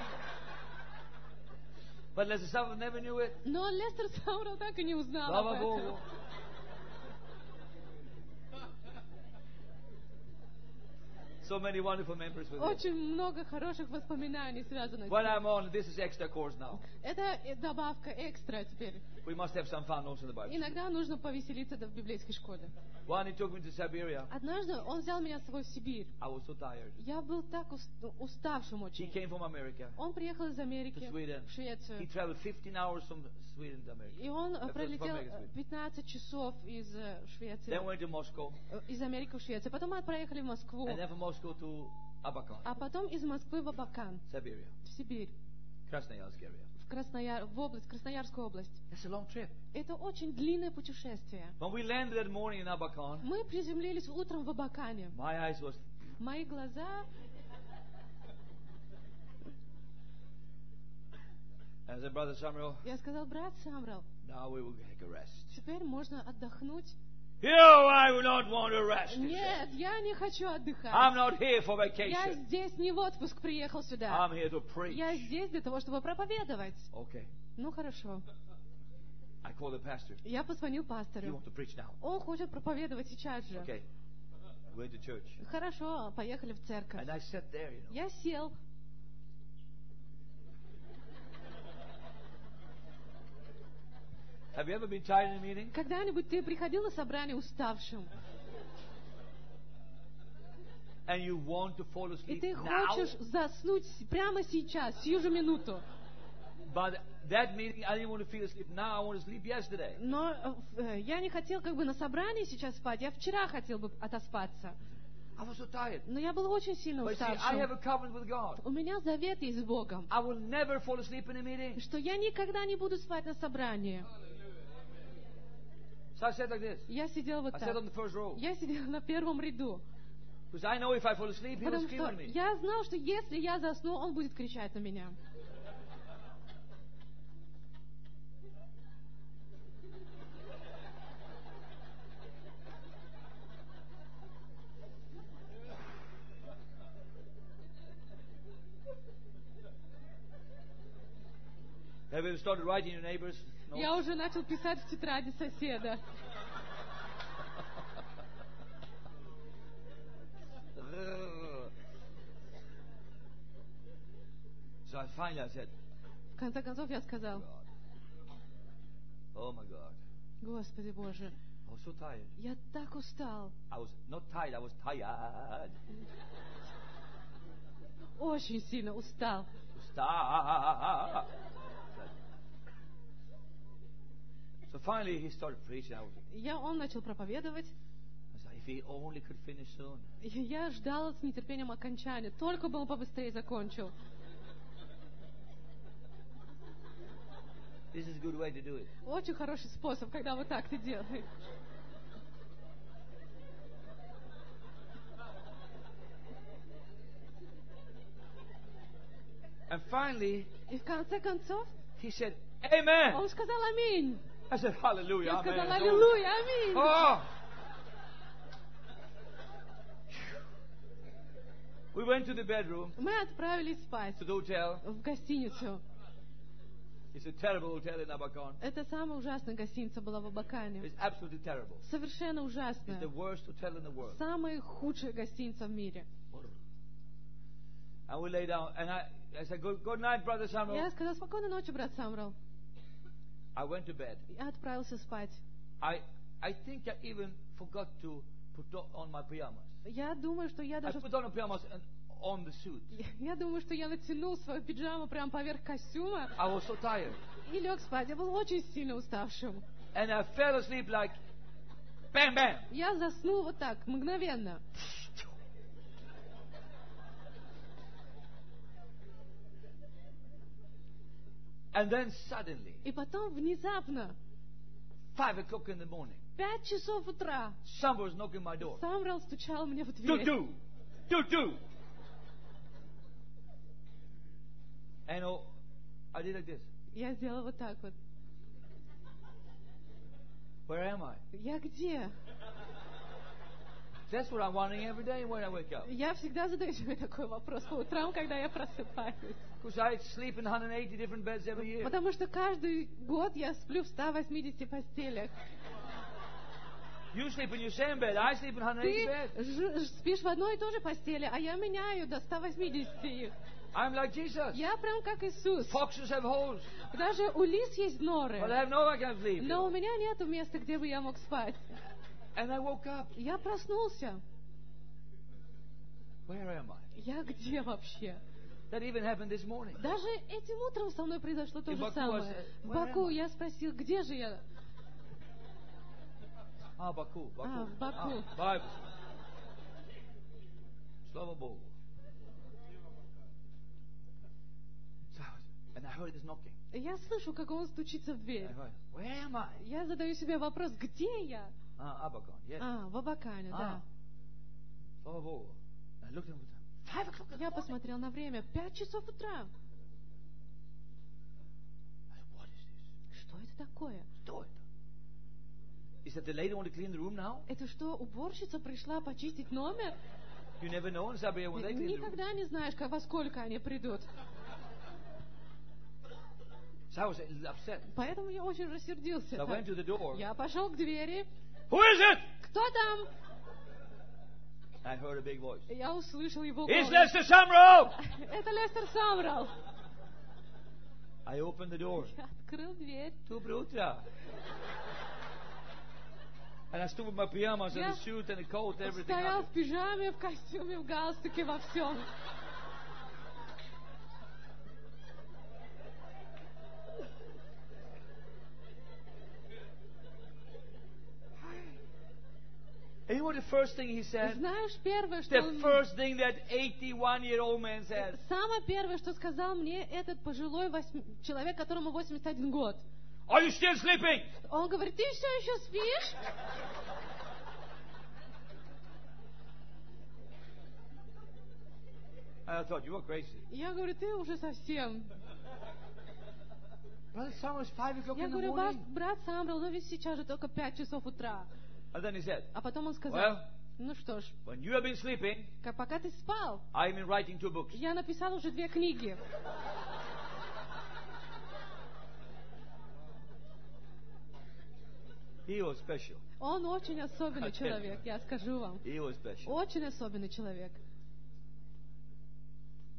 Speaker 1: But Lester Summerall never knew it.
Speaker 2: Но Лестер Самрал так и не узнал об
Speaker 1: Слава
Speaker 2: этом.
Speaker 1: Богу. So many wonderful memories with it.
Speaker 2: Очень много хороших воспоминаний связано с
Speaker 1: When
Speaker 2: ним.
Speaker 1: I'm on, this is extra course now.
Speaker 2: Это э, добавка экстра теперь.
Speaker 1: We must have some fun also in the Bible.
Speaker 2: Иногда нужно повеселиться да, в библейской школе.
Speaker 1: One, he took me to Siberia.
Speaker 2: Однажды он взял меня с собой в Сибирь.
Speaker 1: I was so tired.
Speaker 2: Я был так ус- уставшим
Speaker 1: He
Speaker 2: очень.
Speaker 1: came from America
Speaker 2: Он приехал из Америки
Speaker 1: to Sweden.
Speaker 2: в
Speaker 1: He
Speaker 2: Швецию.
Speaker 1: traveled fifteen hours from Sweden to America.
Speaker 2: И он э,
Speaker 1: Uh, from
Speaker 2: пролетел
Speaker 1: America to
Speaker 2: э,
Speaker 1: Sweden.
Speaker 2: пятнадцать часов из э, Швеции,
Speaker 1: Then went to Moscow.
Speaker 2: э, из Америки в Швецию. Потом мы проехали в Москву,
Speaker 1: And then from Moscow to Abakan,
Speaker 2: а потом из Москвы в Абакан,
Speaker 1: Siberia,
Speaker 2: в Сибирь,
Speaker 1: Krasnoyarsk area.
Speaker 2: в, Краснояр, в область, Красноярскую область.
Speaker 1: That's a long trip.
Speaker 2: Это очень длинное путешествие.
Speaker 1: When we landed that morning in Abakan,
Speaker 2: Мы приземлились утром в Абакане.
Speaker 1: my eyes was,
Speaker 2: Мои глаза,
Speaker 1: and I said, Brother Samuel,
Speaker 2: я сказал, брат Самрал,
Speaker 1: now we will take a rest.
Speaker 2: теперь можно отдохнуть.
Speaker 1: No, I will not want to rest. he said.
Speaker 2: Нет, я не хочу отдыхать.
Speaker 1: I'm not here for
Speaker 2: Я
Speaker 1: vacation.
Speaker 2: здесь не в отпуск приехал сюда.
Speaker 1: I'm here to preach.
Speaker 2: Я здесь для того, чтобы проповедовать.
Speaker 1: Okay.
Speaker 2: Ну хорошо.
Speaker 1: I called the pastor.
Speaker 2: Я позвонил
Speaker 1: He
Speaker 2: пастору.
Speaker 1: wants to preach now.
Speaker 2: Он хочет проповедовать сейчас же.
Speaker 1: Okay. Went to church.
Speaker 2: Хорошо, поехали в церковь.
Speaker 1: And I sat there, you know.
Speaker 2: Я сел.
Speaker 1: Have you ever been tired in a meeting?
Speaker 2: Когда-нибудь ты приходил на собрание уставшим,
Speaker 1: And you want to fall
Speaker 2: и
Speaker 1: asleep
Speaker 2: ты
Speaker 1: now?
Speaker 2: хочешь заснуть с- прямо сейчас, сию же минуту.
Speaker 1: But that meeting, I didn't want to feel asleep now. I want to sleep yesterday.
Speaker 2: Но э, я не хотел как бы на собрании сейчас спать, я вчера хотел бы отоспаться.
Speaker 1: I was so tired.
Speaker 2: Но я был очень сильно
Speaker 1: But see, I have
Speaker 2: уставшим.
Speaker 1: a covenant with God.
Speaker 2: У меня завет есть с Богом,
Speaker 1: I will never fall asleep in a meeting.
Speaker 2: что я никогда не буду спать на собрании.
Speaker 1: So I said like this.
Speaker 2: Я сидел вот
Speaker 1: I sat on
Speaker 2: так.
Speaker 1: the first row.
Speaker 2: Я сидел на первом ряду.
Speaker 1: Because I know if I fall asleep, he will
Speaker 2: Потому
Speaker 1: scream
Speaker 2: что
Speaker 1: at me.
Speaker 2: я знал, что если я засну, он будет кричать на меня.
Speaker 1: Have you started writing your neighbors? No.
Speaker 2: Я уже начал писать в тетради соседа.
Speaker 1: So I finally I said,
Speaker 2: В конце концов я сказал:
Speaker 1: oh my God.
Speaker 2: Господи Боже,
Speaker 1: I was so tired.
Speaker 2: я так устал.
Speaker 1: I was not tired, I was tired.
Speaker 2: Очень сильно устал.
Speaker 1: Stop. So finally he started preaching. I was,
Speaker 2: Я, он начал проповедовать.
Speaker 1: I said, if he only could finish soon.
Speaker 2: И я ждала с нетерпением окончания. Только бы он побыстрее закончил.
Speaker 1: This is a good way to do it.
Speaker 2: Очень хороший способ, когда вот так ты делаешь.
Speaker 1: And finally,
Speaker 2: И в конце концов,
Speaker 1: he said, Amen.
Speaker 2: он сказал аминь.
Speaker 1: I said, Hallelujah.
Speaker 2: Я сказала
Speaker 1: Amen.
Speaker 2: аллилуйя, аминь.
Speaker 1: Oh. We went to the bedroom,
Speaker 2: Мы отправились спать
Speaker 1: to the hotel.
Speaker 2: в гостиницу.
Speaker 1: It's a terrible hotel in Abakan.
Speaker 2: Это самая ужасная гостиница была в Абакане.
Speaker 1: It's absolutely terrible.
Speaker 2: Совершенно
Speaker 1: It's
Speaker 2: ужасная.
Speaker 1: the worst hotel in the world.
Speaker 2: Самая худшая гостиница в мире.
Speaker 1: And we lay down, and I, I said, good, good night, Brother Samuel.
Speaker 2: Я сказала: спокойной ночи, брат Самрал.
Speaker 1: I went to bed.
Speaker 2: Я отправился спать.
Speaker 1: I, I think I even forgot to put on my pajamas.
Speaker 2: Я думаю, что я
Speaker 1: I
Speaker 2: даже...
Speaker 1: put on the pajamas and on the suit.
Speaker 2: Я думаю, что я натянул свою пиджаму прямо поверх костюма
Speaker 1: I was so tired.
Speaker 2: и лег спать. Я был очень сильно уставшим.
Speaker 1: And I fell asleep like, bam, bam.
Speaker 2: Я заснул вот так, мгновенно.
Speaker 1: And then suddenly,
Speaker 2: И потом внезапно,
Speaker 1: five o'clock in the morning,
Speaker 2: пять часов утра,
Speaker 1: someone was knocking my door.
Speaker 2: Самрал стучал мне в
Speaker 1: Do,
Speaker 2: дверь.
Speaker 1: do, do, do. And oh, I did like this.
Speaker 2: Я сделала вот так вот.
Speaker 1: Where am I?
Speaker 2: Я где?
Speaker 1: That's what I'm wondering every day when I wake up.
Speaker 2: Я всегда задаю себе такой вопрос по утрам, когда я просыпаюсь.
Speaker 1: Because I sleep in one hundred eighty different beds every year.
Speaker 2: Потому что каждый год я сплю в ста восьмидесяти постелях.
Speaker 1: You sleep in your same bed. I sleep in one hundred eighty
Speaker 2: Ты
Speaker 1: beds.
Speaker 2: ж- спишь в одной и той же постели, а я меняю до ста восьмидесяти их.
Speaker 1: I'm like Jesus.
Speaker 2: Я прям как Иисус.
Speaker 1: Foxes have holes,
Speaker 2: Даже у лис есть норы.
Speaker 1: but I have no I can sleep.
Speaker 2: Но у меня нету места, где бы я мог спать.
Speaker 1: And I woke up.
Speaker 2: Я проснулся.
Speaker 1: Where am I?
Speaker 2: Я где вообще?
Speaker 1: That even happened this morning.
Speaker 2: Даже этим утром со мной произошло то
Speaker 1: In
Speaker 2: же
Speaker 1: Baku, I
Speaker 2: самое.
Speaker 1: said,
Speaker 2: В
Speaker 1: "Where
Speaker 2: Баку
Speaker 1: am I?"
Speaker 2: я спросил, где же я?
Speaker 1: Ah, Baku, Baku.
Speaker 2: А, в Баку.
Speaker 1: Ah, Bible. Slava Bogu. So, and I heard this knocking.
Speaker 2: Я слышу, как он стучится в дверь.
Speaker 1: I heard, where am I?
Speaker 2: Я задаю себе вопрос, где я?
Speaker 1: Ah, Abakan. Yes.
Speaker 2: А, в Абакане, да.
Speaker 1: Slava Bogu. I looked at him. Five o'clock in the
Speaker 2: Я
Speaker 1: morning.
Speaker 2: посмотрел на время. Пять часов утра.
Speaker 1: I said, what is this?
Speaker 2: Что это такое?
Speaker 1: Что это? Is that the lady want to clean the room now?
Speaker 2: Это что, уборщица пришла почистить номер?
Speaker 1: You never know in Sabia when they clean the room.
Speaker 2: Никогда не знаешь, как- во сколько они придут.
Speaker 1: So I was a little upset.
Speaker 2: Поэтому я очень рассердился.
Speaker 1: So I went to the door.
Speaker 2: Я пошел к двери.
Speaker 1: Who is it?
Speaker 2: Кто там?
Speaker 1: I heard a big voice.
Speaker 2: Я услышал его
Speaker 1: It's
Speaker 2: голос.
Speaker 1: Lester Samro!
Speaker 2: Это Лестер Самрал.
Speaker 1: I opened the door.
Speaker 2: Я открыл дверь.
Speaker 1: Доброе утро. And I stood with my pajamas and
Speaker 2: Я
Speaker 1: the suit and the coat and everything.
Speaker 2: Стоял
Speaker 1: on
Speaker 2: в пижаме, в костюме, в галстуке, во всем.
Speaker 1: And you know what the first thing he said?
Speaker 2: Знаешь, первое, что
Speaker 1: The
Speaker 2: он...
Speaker 1: first thing that eighty-one-year-old man said.
Speaker 2: Самое первое, что сказал мне этот пожилой восьми- человек, которому восемьдесят один год.
Speaker 1: Are you still sleeping?
Speaker 2: Он говорит, ты все еще спишь?
Speaker 1: And I thought, you are crazy.
Speaker 2: Я говорю, ты уже совсем.
Speaker 1: Brother Samuel, it's five o'clock
Speaker 2: Я
Speaker 1: in the
Speaker 2: говорю, ваш
Speaker 1: morning.
Speaker 2: брат Самрал, ну ведь сейчас же только пять часов утра.
Speaker 1: And then he said,
Speaker 2: А потом он сказал,
Speaker 1: well,
Speaker 2: ну что ж,
Speaker 1: when you have been sleeping,
Speaker 2: как пока ты спал,
Speaker 1: I've been writing two books.
Speaker 2: я написал уже две книги.
Speaker 1: He was special.
Speaker 2: Он очень особенный человек, я скажу вам.
Speaker 1: He was special.
Speaker 2: Очень особенный человек.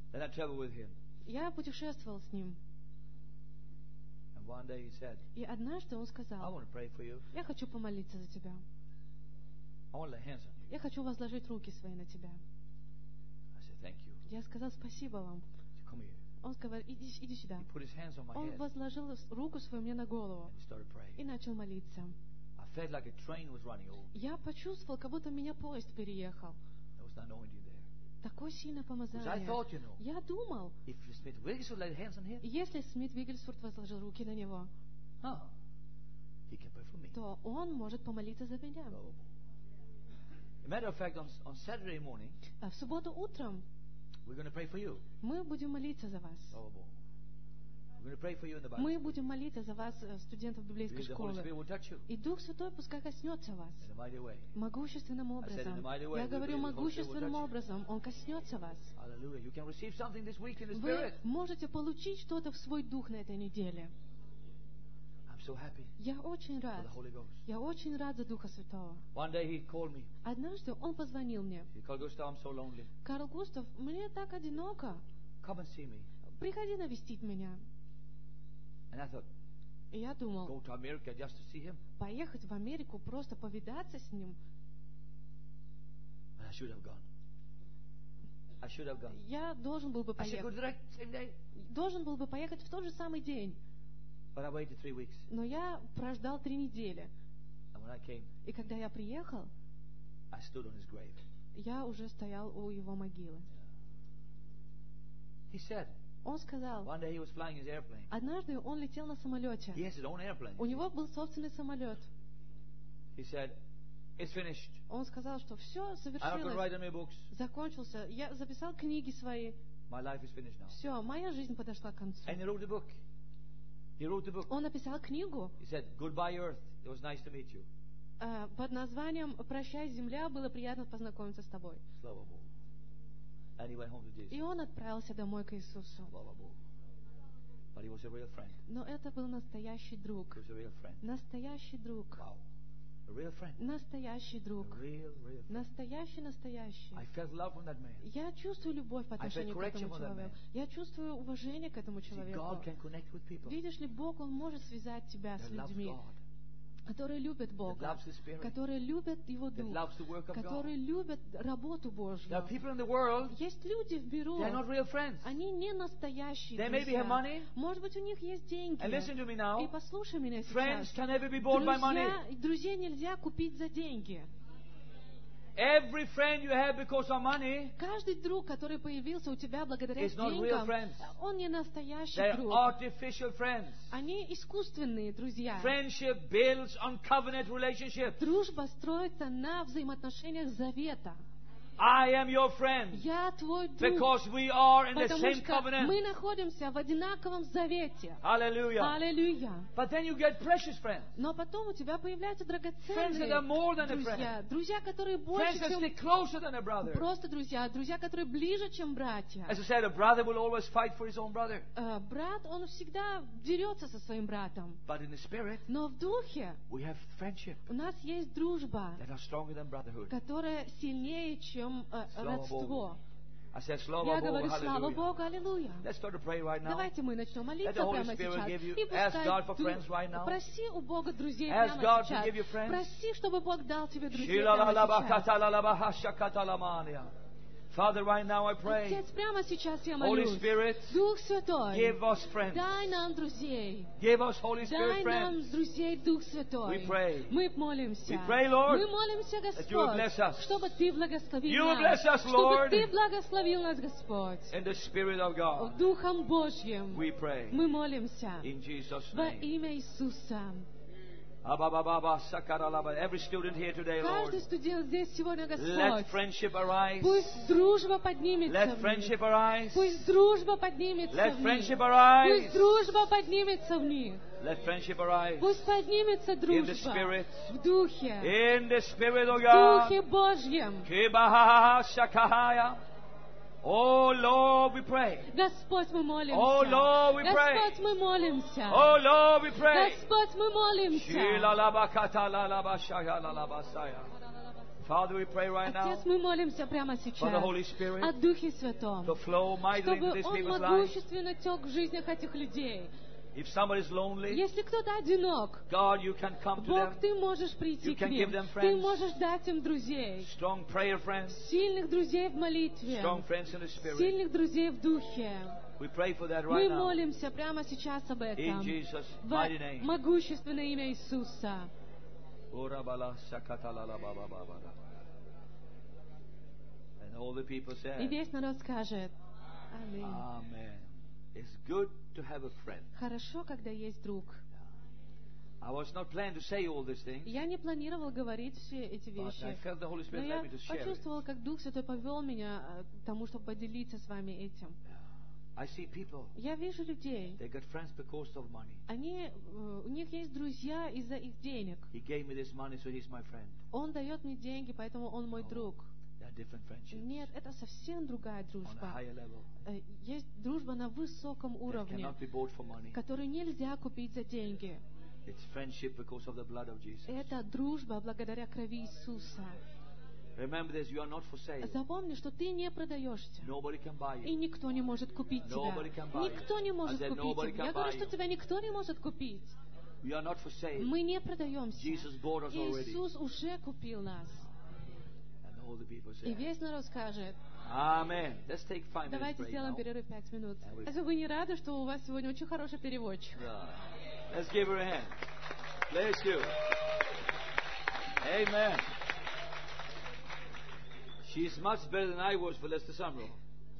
Speaker 1: Then I traveled with him.
Speaker 2: Я путешествовал с ним.
Speaker 1: And one day he said,
Speaker 2: И однажды он
Speaker 1: I
Speaker 2: сказал:
Speaker 1: want to pray for you.
Speaker 2: я хочу помолиться за тебя.
Speaker 1: I want to lay hands on you.
Speaker 2: Я хочу возложить руки свои на тебя.
Speaker 1: I said, thank you.
Speaker 2: Я сказал: спасибо вам.
Speaker 1: He said, come here.
Speaker 2: Он сказал: иди, иди сюда.
Speaker 1: He put his hands on my
Speaker 2: Он
Speaker 1: head
Speaker 2: возложил руку свою мне на голову
Speaker 1: and he started praying.
Speaker 2: и начал молиться.
Speaker 1: I felt like a train was running over.
Speaker 2: Я почувствовал, как будто меня поезд переехал.
Speaker 1: There was an anointing there.
Speaker 2: Такое сильное
Speaker 1: Because I
Speaker 2: помазание.
Speaker 1: thought, you know,
Speaker 2: Я думал,
Speaker 1: if Smith Wigglesworth laid hands on him,
Speaker 2: если Смит Виггельсворт возложил руки на него,
Speaker 1: huh, he can pray for me.
Speaker 2: то он может помолиться за меня.
Speaker 1: As a matter of fact, on, on Saturday morning,
Speaker 2: А в субботу утром
Speaker 1: we're going to pray for you.
Speaker 2: мы будем молиться за вас.
Speaker 1: We're going to pray for you in the Bible.
Speaker 2: Мы будем молиться за вас, э, студентов библейской
Speaker 1: Because the Holy
Speaker 2: школы.
Speaker 1: Spirit will touch you
Speaker 2: И Дух Святой пускай коснется вас
Speaker 1: in a mighty way.
Speaker 2: могущественным
Speaker 1: I said in a
Speaker 2: образом.
Speaker 1: mighty way,
Speaker 2: Я
Speaker 1: we
Speaker 2: говорю
Speaker 1: believe the Holy Spirit will
Speaker 2: могущественным
Speaker 1: touch you.
Speaker 2: образом. Он коснется вас.
Speaker 1: Hallelujah. You can receive something this week in the
Speaker 2: Вы
Speaker 1: Spirit.
Speaker 2: можете получить что-то в свой дух на этой неделе.
Speaker 1: I'm so happy
Speaker 2: Я очень
Speaker 1: for
Speaker 2: рад.
Speaker 1: the Holy Ghost.
Speaker 2: Я очень рад за Духа Святого.
Speaker 1: One day he called me.
Speaker 2: Однажды он позвонил мне.
Speaker 1: He called, Gustav, I'm so lonely.
Speaker 2: Карл Густав, мне так одиноко.
Speaker 1: Come and see me.
Speaker 2: Приходи навестить меня.
Speaker 1: And I thought,
Speaker 2: И я думал,
Speaker 1: go to America just to see him?
Speaker 2: поехать в Америку, просто повидаться с ним.
Speaker 1: But I should have gone. I should have gone.
Speaker 2: Я должен был бы
Speaker 1: I should go
Speaker 2: поехать.
Speaker 1: direct, same day.
Speaker 2: Должен был бы поехать в тот же самый день.
Speaker 1: But I waited three weeks.
Speaker 2: Но я прождал три недели.
Speaker 1: And when I came,
Speaker 2: И когда я приехал,
Speaker 1: I stood on his grave.
Speaker 2: я уже стоял у его могилы.
Speaker 1: He said,
Speaker 2: Он сказал,
Speaker 1: one day he was flying his airplane.
Speaker 2: однажды он летел на самолете.
Speaker 1: He has his own airplane.
Speaker 2: У него был собственный самолет.
Speaker 1: He said, it's finished.
Speaker 2: Он сказал, что все
Speaker 1: I have to write
Speaker 2: совершилось,
Speaker 1: on my books.
Speaker 2: закончился. Я записал книги свои.
Speaker 1: My life is finished now.
Speaker 2: Все, моя жизнь подошла к концу.
Speaker 1: And he wrote the book. He wrote the book.
Speaker 2: Он написал книгу
Speaker 1: He said, goodbye, Earth. It was nice to meet you.
Speaker 2: э, под названием «Прощай, земля, было приятно познакомиться с тобой».
Speaker 1: Slava Bog. And he went home to Jesus.
Speaker 2: И он отправился домой к Иисусу.
Speaker 1: Slava Bog. But he was a real friend.
Speaker 2: Но это был настоящий друг.
Speaker 1: He was a real friend.
Speaker 2: Настоящий друг.
Speaker 1: Wow. A real friend.
Speaker 2: Настоящий
Speaker 1: A
Speaker 2: друг.
Speaker 1: real, real friend.
Speaker 2: Настоящий, настоящий.
Speaker 1: I felt love from that man.
Speaker 2: Я чувствую любовь по
Speaker 1: I felt
Speaker 2: отношению к
Speaker 1: correction
Speaker 2: этому
Speaker 1: from that
Speaker 2: человеку.
Speaker 1: man.
Speaker 2: Я чувствую уважение к этому
Speaker 1: See,
Speaker 2: человеку.
Speaker 1: God can connect with people
Speaker 2: Видишь ли, Бог, Он может связать тебя с
Speaker 1: that loves
Speaker 2: людьми,
Speaker 1: God,
Speaker 2: которые любят
Speaker 1: that
Speaker 2: Бога,
Speaker 1: loves the Spirit,
Speaker 2: которые любят Его
Speaker 1: that
Speaker 2: Дух,
Speaker 1: loves the work of God.
Speaker 2: которые любят работу Божью.
Speaker 1: There are people in the world,
Speaker 2: Есть люди в миру,
Speaker 1: they are not real friends.
Speaker 2: они не настоящие
Speaker 1: They maybe
Speaker 2: друзья.
Speaker 1: have money.
Speaker 2: Может быть, у них есть деньги.
Speaker 1: And listen to me
Speaker 2: И
Speaker 1: now.
Speaker 2: послушай меня
Speaker 1: Friends
Speaker 2: сейчас.
Speaker 1: can never be bought by money.
Speaker 2: Друзья, друзей нельзя купить за деньги.
Speaker 1: Every friend you have because of money,
Speaker 2: Каждый друг, который появился у тебя благодаря
Speaker 1: It's not real
Speaker 2: деньгам,
Speaker 1: friends.
Speaker 2: он не настоящий
Speaker 1: they're
Speaker 2: друг.
Speaker 1: artificial friends.
Speaker 2: Они искусственные друзья.
Speaker 1: Friendship builds on covenant relationship.
Speaker 2: Дружба строится на взаимоотношениях завета.
Speaker 1: I am your friend
Speaker 2: Я твой друг,
Speaker 1: because we are in the
Speaker 2: потому
Speaker 1: same
Speaker 2: что
Speaker 1: covenant.
Speaker 2: мы находимся в одинаковом завете.
Speaker 1: Hallelujah.
Speaker 2: Аллилуйя.
Speaker 1: But then you get precious friends.
Speaker 2: Но потом у тебя появляются
Speaker 1: Friends that
Speaker 2: драгоценные
Speaker 1: are more than a
Speaker 2: друзья.
Speaker 1: friend.
Speaker 2: Друзья, которые
Speaker 1: Friends
Speaker 2: больше,
Speaker 1: that
Speaker 2: чем
Speaker 1: stick closer than a brother.
Speaker 2: просто друзья. Друзья, которые ближе, чем братья.
Speaker 1: As I said, a brother will always fight for his own brother.
Speaker 2: Э, Брат, он всегда дерется со своим братом.
Speaker 1: But in the spirit,
Speaker 2: Но в духе
Speaker 1: we have friendship
Speaker 2: у нас есть дружба,
Speaker 1: that are stronger than brotherhood.
Speaker 2: которая сильнее, чем э,
Speaker 1: Слава
Speaker 2: родство.
Speaker 1: I said, Slava
Speaker 2: Я
Speaker 1: Bogu,
Speaker 2: говорю, слава
Speaker 1: hallelujah.
Speaker 2: Богу, аллилуйя.
Speaker 1: Let's start to pray right now.
Speaker 2: Давайте мы начнем
Speaker 1: Let
Speaker 2: молиться
Speaker 1: the Holy
Speaker 2: прямо
Speaker 1: Spirit
Speaker 2: сейчас.
Speaker 1: give you-
Speaker 2: И
Speaker 1: ask
Speaker 2: пускай
Speaker 1: God for
Speaker 2: Дух-
Speaker 1: friends right now.
Speaker 2: проси у Бога друзей
Speaker 1: Ask
Speaker 2: прямо
Speaker 1: God to
Speaker 2: сейчас.
Speaker 1: give you friends.
Speaker 2: Проси, чтобы Бог дал тебе друзей
Speaker 1: Shila la la ba
Speaker 2: прямо
Speaker 1: kata
Speaker 2: сейчас.
Speaker 1: la la ba ha shakata la mania. Father, right now I pray,
Speaker 2: Отец, прямо сейчас я
Speaker 1: Holy
Speaker 2: молюсь.
Speaker 1: Spirit,
Speaker 2: Дух Святой,
Speaker 1: give us friends.
Speaker 2: дай нам друзей.
Speaker 1: Give us, Holy
Speaker 2: Дай
Speaker 1: Spirit,
Speaker 2: нам
Speaker 1: friends.
Speaker 2: друзей, Дух Святой.
Speaker 1: We pray.
Speaker 2: Мы молимся.
Speaker 1: We pray, Lord,
Speaker 2: Мы молимся,
Speaker 1: that you will bless
Speaker 2: Господь,
Speaker 1: us.
Speaker 2: чтобы Ты благословил
Speaker 1: You will
Speaker 2: нас.
Speaker 1: bless us,
Speaker 2: Чтобы
Speaker 1: Lord.
Speaker 2: Ты благословил нас, Господь.
Speaker 1: In the Spirit of God,
Speaker 2: Духом Божьим
Speaker 1: we pray.
Speaker 2: мы молимся.
Speaker 1: In Jesus'
Speaker 2: Во
Speaker 1: name.
Speaker 2: имя Иисуса.
Speaker 1: Abba-ba-ba-ba, sakara-la-ba. Every student here today, Lord,
Speaker 2: Каждый студент здесь сегодня,
Speaker 1: let
Speaker 2: Господь,
Speaker 1: friendship arise.
Speaker 2: пусть дружба поднимется
Speaker 1: Let
Speaker 2: в них.
Speaker 1: friendship arise.
Speaker 2: Пусть дружба поднимется
Speaker 1: Let
Speaker 2: в них.
Speaker 1: friendship arise.
Speaker 2: Пусть дружба поднимется в них.
Speaker 1: Let friendship arise.
Speaker 2: Пусть поднимется
Speaker 1: In the
Speaker 2: дружба
Speaker 1: Spirit.
Speaker 2: в Духе,
Speaker 1: In the Spirit of
Speaker 2: в
Speaker 1: God.
Speaker 2: Духе Божьем.
Speaker 1: Kibaha shakahaya. Oh Lord, we pray.
Speaker 2: Господь, мы молимся.
Speaker 1: Oh, Lord, we pray.
Speaker 2: Господь, мы молимся.
Speaker 1: Oh Lord, we pray.
Speaker 2: Господь, мы молимся.
Speaker 1: Shilalabakatalalabashayalabasaya. Father, we pray right now
Speaker 2: Отец, мы молимся прямо
Speaker 1: for the
Speaker 2: сейчас
Speaker 1: Holy Spirit
Speaker 2: о Духе Святом,
Speaker 1: to flow mightily into
Speaker 2: чтобы
Speaker 1: these
Speaker 2: Он
Speaker 1: people's lives.
Speaker 2: могущественно тек в жизнях этих людей.
Speaker 1: If somebody is lonely,
Speaker 2: Если кто-то одинок,
Speaker 1: God, you can come to
Speaker 2: Бог,
Speaker 1: them.
Speaker 2: Ты можешь прийти
Speaker 1: You
Speaker 2: к
Speaker 1: can
Speaker 2: ним.
Speaker 1: give them
Speaker 2: Ты
Speaker 1: friends.
Speaker 2: можешь дать им друзей,
Speaker 1: Strong prayer friends,
Speaker 2: сильных друзей в молитве,
Speaker 1: strong friends in the Spirit.
Speaker 2: сильных друзей в Духе.
Speaker 1: We pray for that
Speaker 2: Мы
Speaker 1: right now.
Speaker 2: молимся прямо сейчас об
Speaker 1: In
Speaker 2: этом.
Speaker 1: Jesus'
Speaker 2: В
Speaker 1: mighty name.
Speaker 2: могущественное имя Иисуса.
Speaker 1: And all the people
Speaker 2: И
Speaker 1: said,
Speaker 2: весь народ скажет: Аминь.
Speaker 1: Amen. It's good to have a friend.
Speaker 2: Хорошо, когда есть друг.
Speaker 1: I was not planning to say all these things,
Speaker 2: Я не планировал говорить все эти
Speaker 1: but I
Speaker 2: вещи,
Speaker 1: felt the Holy
Speaker 2: но
Speaker 1: Spirit
Speaker 2: я
Speaker 1: led me to share it.
Speaker 2: почувствовал, как Дух Святой повел меня э, к тому, чтобы поделиться с вами этим.
Speaker 1: I see people,
Speaker 2: Я вижу людей,
Speaker 1: they got friends because of money.
Speaker 2: они, э, у них есть друзья из-за их денег.
Speaker 1: He gave me this money, so he's my friend.
Speaker 2: Он дает мне деньги, поэтому он мой друг.
Speaker 1: There are different friendships
Speaker 2: Нет, это совсем другая
Speaker 1: on a
Speaker 2: дружба.
Speaker 1: higher level.
Speaker 2: Э, Есть дружба на высоком
Speaker 1: That
Speaker 2: уровне,
Speaker 1: cannot be bought for money.
Speaker 2: которую нельзя купить за деньги.
Speaker 1: It's friendship because of the blood of Jesus.
Speaker 2: Это дружба благодаря крови Иисуса.
Speaker 1: Remember this, you are not for sale.
Speaker 2: Запомни, что ты не продаешься.
Speaker 1: Nobody can buy
Speaker 2: И
Speaker 1: you.
Speaker 2: никто не может купить тебя.
Speaker 1: Nobody can buy you.
Speaker 2: Никто не может
Speaker 1: I said,
Speaker 2: купить
Speaker 1: nobody
Speaker 2: тебя.
Speaker 1: can
Speaker 2: Я говорю,
Speaker 1: buy
Speaker 2: что
Speaker 1: you.
Speaker 2: тебя никто не может купить.
Speaker 1: We are not for sale.
Speaker 2: Мы не продаемся.
Speaker 1: Jesus bought us already.
Speaker 2: Иисус уже купил нас.
Speaker 1: And all the people
Speaker 2: И
Speaker 1: say,
Speaker 2: весь народ скажет:
Speaker 1: Amen. Let's take five minutes
Speaker 2: давайте
Speaker 1: break
Speaker 2: сделаем
Speaker 1: now.
Speaker 2: перерыв пять минут.
Speaker 1: And we-
Speaker 2: Разве вы не рады, что у вас сегодня очень хороший переводчик?
Speaker 1: Yeah. Let's give her a hand. Bless you. Amen. She's much better than I was for Lester Summerall.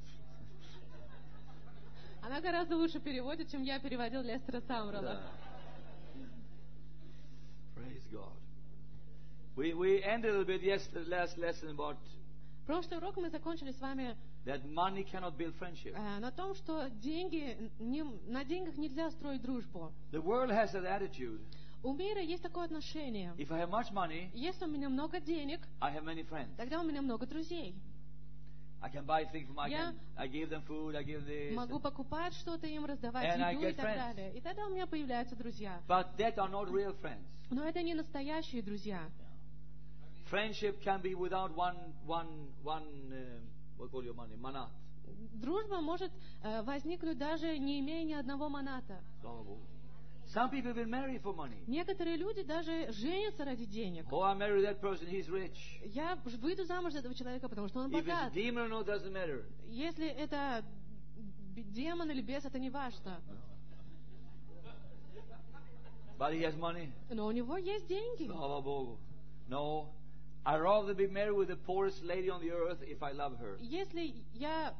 Speaker 2: Она гораздо лучше переводит, чем я переводил Лестера Самрела.
Speaker 1: Yeah. Praise God. We, we ended a little bit yesterday, last lesson about
Speaker 2: Прошлый урок мы закончили с вами
Speaker 1: that money cannot build friendship.
Speaker 2: э, на том, что деньги, не- на деньгах нельзя строить дружбу.
Speaker 1: The world has that attitude.
Speaker 2: У мира есть такое отношение.
Speaker 1: If I have much money,
Speaker 2: Если у меня много денег,
Speaker 1: I have many friends.
Speaker 2: тогда у меня много друзей.
Speaker 1: I can buy things for my
Speaker 2: Я
Speaker 1: can, I give them food, I give this.
Speaker 2: Могу покупать что-то им, раздавать
Speaker 1: And I
Speaker 2: еду и
Speaker 1: get
Speaker 2: так
Speaker 1: friends.
Speaker 2: далее. И тогда у меня появляются друзья.
Speaker 1: But that are not real friends.
Speaker 2: Но это не настоящие друзья.
Speaker 1: Friendship can be without one, one, one, uh, what call your money, manat.
Speaker 2: Дружба может э, возникнуть даже не имея ни одного маната.
Speaker 1: Some people will marry for money.
Speaker 2: Некоторые люди даже женятся ради денег.
Speaker 1: Oh, I marry that person, he's rich.
Speaker 2: Я выйду замуж за этого человека, потому что он
Speaker 1: If
Speaker 2: богат.
Speaker 1: it's demon or not, doesn't matter.
Speaker 2: Если это б- демон или бес, это не важно.
Speaker 1: But he has money.
Speaker 2: Но у него есть деньги.
Speaker 1: Slava Bogu. No, I'd rather be married with the poorest lady on the earth if I love her.
Speaker 2: Если я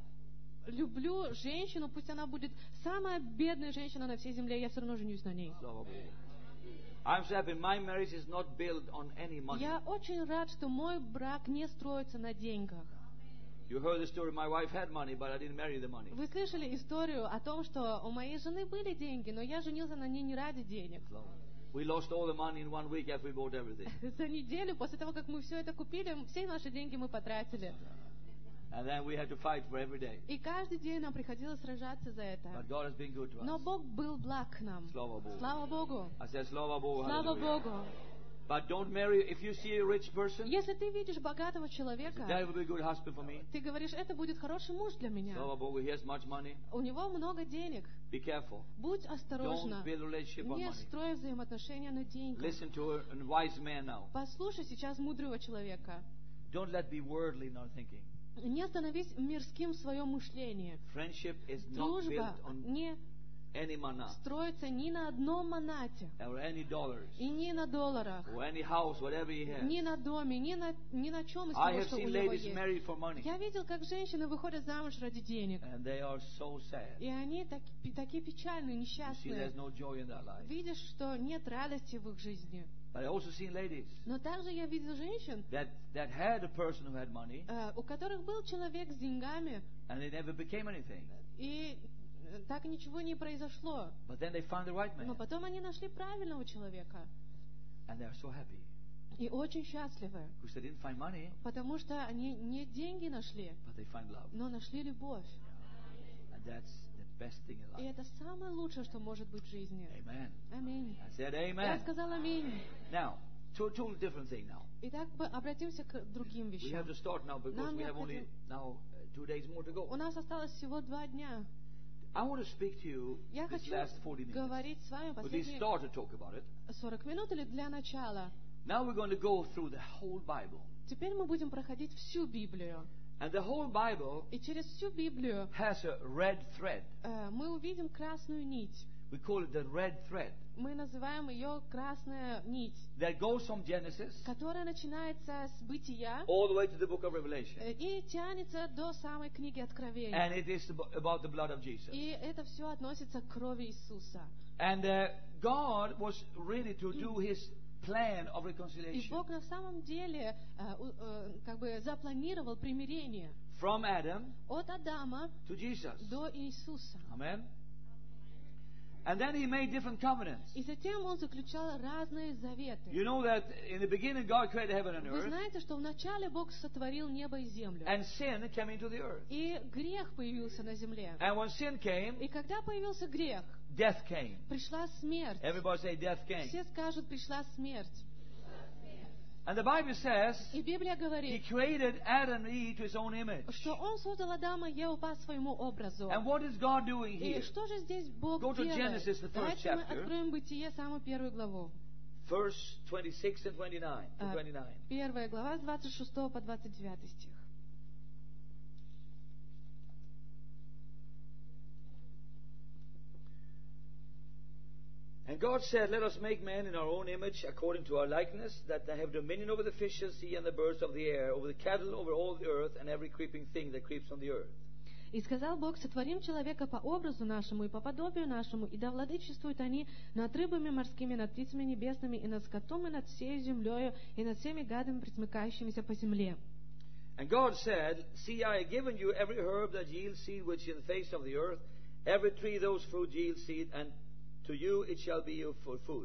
Speaker 2: люблю женщину, пусть она будет самая бедная женщина на всей земле, я все равно женюсь на ней.
Speaker 1: Slava Bogu. I'm so happy my marriage is not built on any money.
Speaker 2: Я очень рад, что мой брак не строится на деньгах.
Speaker 1: You heard the story, my wife had money, but I didn't marry the money.
Speaker 2: Вы слышали историю о том, что у моей жены были деньги, но я женился на ней не ради денег.
Speaker 1: We lost all the money in one week after we bought everything.
Speaker 2: За неделю, после того, как мы все это купили, все наши деньги мы потратили.
Speaker 1: And then we had to fight for every day.
Speaker 2: И каждый день нам приходилось сражаться за это.
Speaker 1: But God has been good to
Speaker 2: Но
Speaker 1: us.
Speaker 2: Бог был благ к нам.
Speaker 1: Slava Bogu.
Speaker 2: Слава Богу!
Speaker 1: I said, Slava Bogu,
Speaker 2: Слава
Speaker 1: hallelujah.
Speaker 2: Богу!
Speaker 1: But don't marry, if you see a rich person,
Speaker 2: Если ты видишь богатого
Speaker 1: that
Speaker 2: человека,
Speaker 1: will be a good husband for me.
Speaker 2: ты говоришь, это будет хороший муж для меня.
Speaker 1: Slava Bogu, he has much money.
Speaker 2: У него много денег.
Speaker 1: Be careful.
Speaker 2: Будь осторожна.
Speaker 1: Don't build a relationship on
Speaker 2: Не
Speaker 1: money.
Speaker 2: строй взаимоотношения на деньгах.
Speaker 1: Listen to a, a wise man now.
Speaker 2: Послушай сейчас мудрого человека.
Speaker 1: Don't let be worldly in our thinking.
Speaker 2: Не становись мирским в своем мышлении.
Speaker 1: Friendship is not
Speaker 2: Дружба
Speaker 1: built on
Speaker 2: не
Speaker 1: any mana
Speaker 2: строится ни на одном манате,
Speaker 1: or any dollars
Speaker 2: и ни на долларах,
Speaker 1: or any house, whatever he has.
Speaker 2: ни на доме, ни на, ни на чем из
Speaker 1: I
Speaker 2: того,
Speaker 1: have
Speaker 2: что у
Speaker 1: seen
Speaker 2: него
Speaker 1: ladies
Speaker 2: есть.
Speaker 1: married for money,
Speaker 2: Я видел, как женщины выходят замуж ради денег.
Speaker 1: and they are so sad.
Speaker 2: И они так- пи- такие печальные,
Speaker 1: You see,
Speaker 2: несчастные.
Speaker 1: there's no joy in their life.
Speaker 2: Видишь, что нет радости в их жизни.
Speaker 1: But I also seen ladies
Speaker 2: Но также я видел женщин,
Speaker 1: that that had a person who had money,
Speaker 2: э, у которых был человек с деньгами,
Speaker 1: and they never became anything.
Speaker 2: и э, так ничего не произошло.
Speaker 1: But then they found the right
Speaker 2: Но
Speaker 1: man,
Speaker 2: потом они нашли правильного человека.
Speaker 1: and they are so happy
Speaker 2: И очень счастливы.
Speaker 1: because they didn't find money,
Speaker 2: Потому что они не деньги нашли,
Speaker 1: but they find love,
Speaker 2: но нашли любовь.
Speaker 1: and that's the best thing in
Speaker 2: И
Speaker 1: life.
Speaker 2: это самое лучшее, что может быть в жизни.
Speaker 1: Amen.
Speaker 2: Аминь.
Speaker 1: I said
Speaker 2: Я
Speaker 1: amen.
Speaker 2: сказала аминь.
Speaker 1: Now, to a totally different thing now.
Speaker 2: Итак, мы обратимся к другим
Speaker 1: We have
Speaker 2: вещам.
Speaker 1: to start now because
Speaker 2: Нам
Speaker 1: we have only
Speaker 2: необходимо-
Speaker 1: now uh, two days more to
Speaker 2: У
Speaker 1: go.
Speaker 2: нас осталось всего два дня.
Speaker 1: I want to speak to you
Speaker 2: Я
Speaker 1: this
Speaker 2: хочу
Speaker 1: last forty minutes.
Speaker 2: говорить с вами
Speaker 1: But we
Speaker 2: последние
Speaker 1: start to talk about it.
Speaker 2: сорок минут или для начала.
Speaker 1: Now we're going to go through the whole Bible.
Speaker 2: Теперь мы будем проходить всю Библию.
Speaker 1: And the whole Bible
Speaker 2: И через всю Библию
Speaker 1: has a red thread.
Speaker 2: э, мы увидим красную нить.
Speaker 1: We call it the red thread
Speaker 2: Мы называем ее красная нить,
Speaker 1: that goes from Genesis
Speaker 2: которая начинается с бытия
Speaker 1: all the way to the book of Revelation.
Speaker 2: э, и тянется до самой книги Откровения.
Speaker 1: And it is abo- about the blood of Jesus.
Speaker 2: И это все относится к крови Иисуса.
Speaker 1: And uh, God was ready to do His plan of
Speaker 2: И
Speaker 1: reconciliation
Speaker 2: Бог на самом деле э, у- э, как бы запланировал примирение
Speaker 1: from Adam
Speaker 2: от Адама
Speaker 1: to Jesus.
Speaker 2: до Иисуса.
Speaker 1: Amen. And then He made different covenants.
Speaker 2: И затем Он заключал разные заветы.
Speaker 1: You know that in the beginning God created heaven and
Speaker 2: Вы
Speaker 1: earth,
Speaker 2: знаете, что вначале Бог сотворил небо и землю.
Speaker 1: and sin came into the earth.
Speaker 2: И грех появился на земле.
Speaker 1: And when sin came,
Speaker 2: И когда появился грех,
Speaker 1: death came.
Speaker 2: пришла смерть.
Speaker 1: Everybody say death came.
Speaker 2: Все скажут, пришла смерть.
Speaker 1: And the Bible says
Speaker 2: И Библия
Speaker 1: He
Speaker 2: говорит,
Speaker 1: created Adam and Eve to His own image.
Speaker 2: что Он создал Адама и Еву по своему образу.
Speaker 1: And what is God doing
Speaker 2: И
Speaker 1: here?
Speaker 2: что же здесь Бог
Speaker 1: Go to
Speaker 2: делает?
Speaker 1: Genesis, the first
Speaker 2: Давайте мы
Speaker 1: chapter.
Speaker 2: откроем Бытие, самую первую главу.
Speaker 1: Verse twenty-six and twenty-nine. to
Speaker 2: А,
Speaker 1: twenty-nine.
Speaker 2: Первая глава с двадцать шестого по двадцать девятый стих.
Speaker 1: And God said, Let us make man in our own image, according to our likeness, that they have dominion over the fish of the sea and the birds of the air, over the cattle, over all the earth, and every creeping thing that creeps on the earth.
Speaker 2: «И сказал Бог, сотворим человека по образу нашему и по подобию нашему, и да владычествуют они над рыбами морскими, над птицами небесными, и над скотом, и над всей землею, и над всеми гадами, пресмыкающимися по земле».
Speaker 1: And God said, See, I have given you every herb that yields seed which is in the face of the earth, every tree those fruit yields seed, and to you it shall be you for food.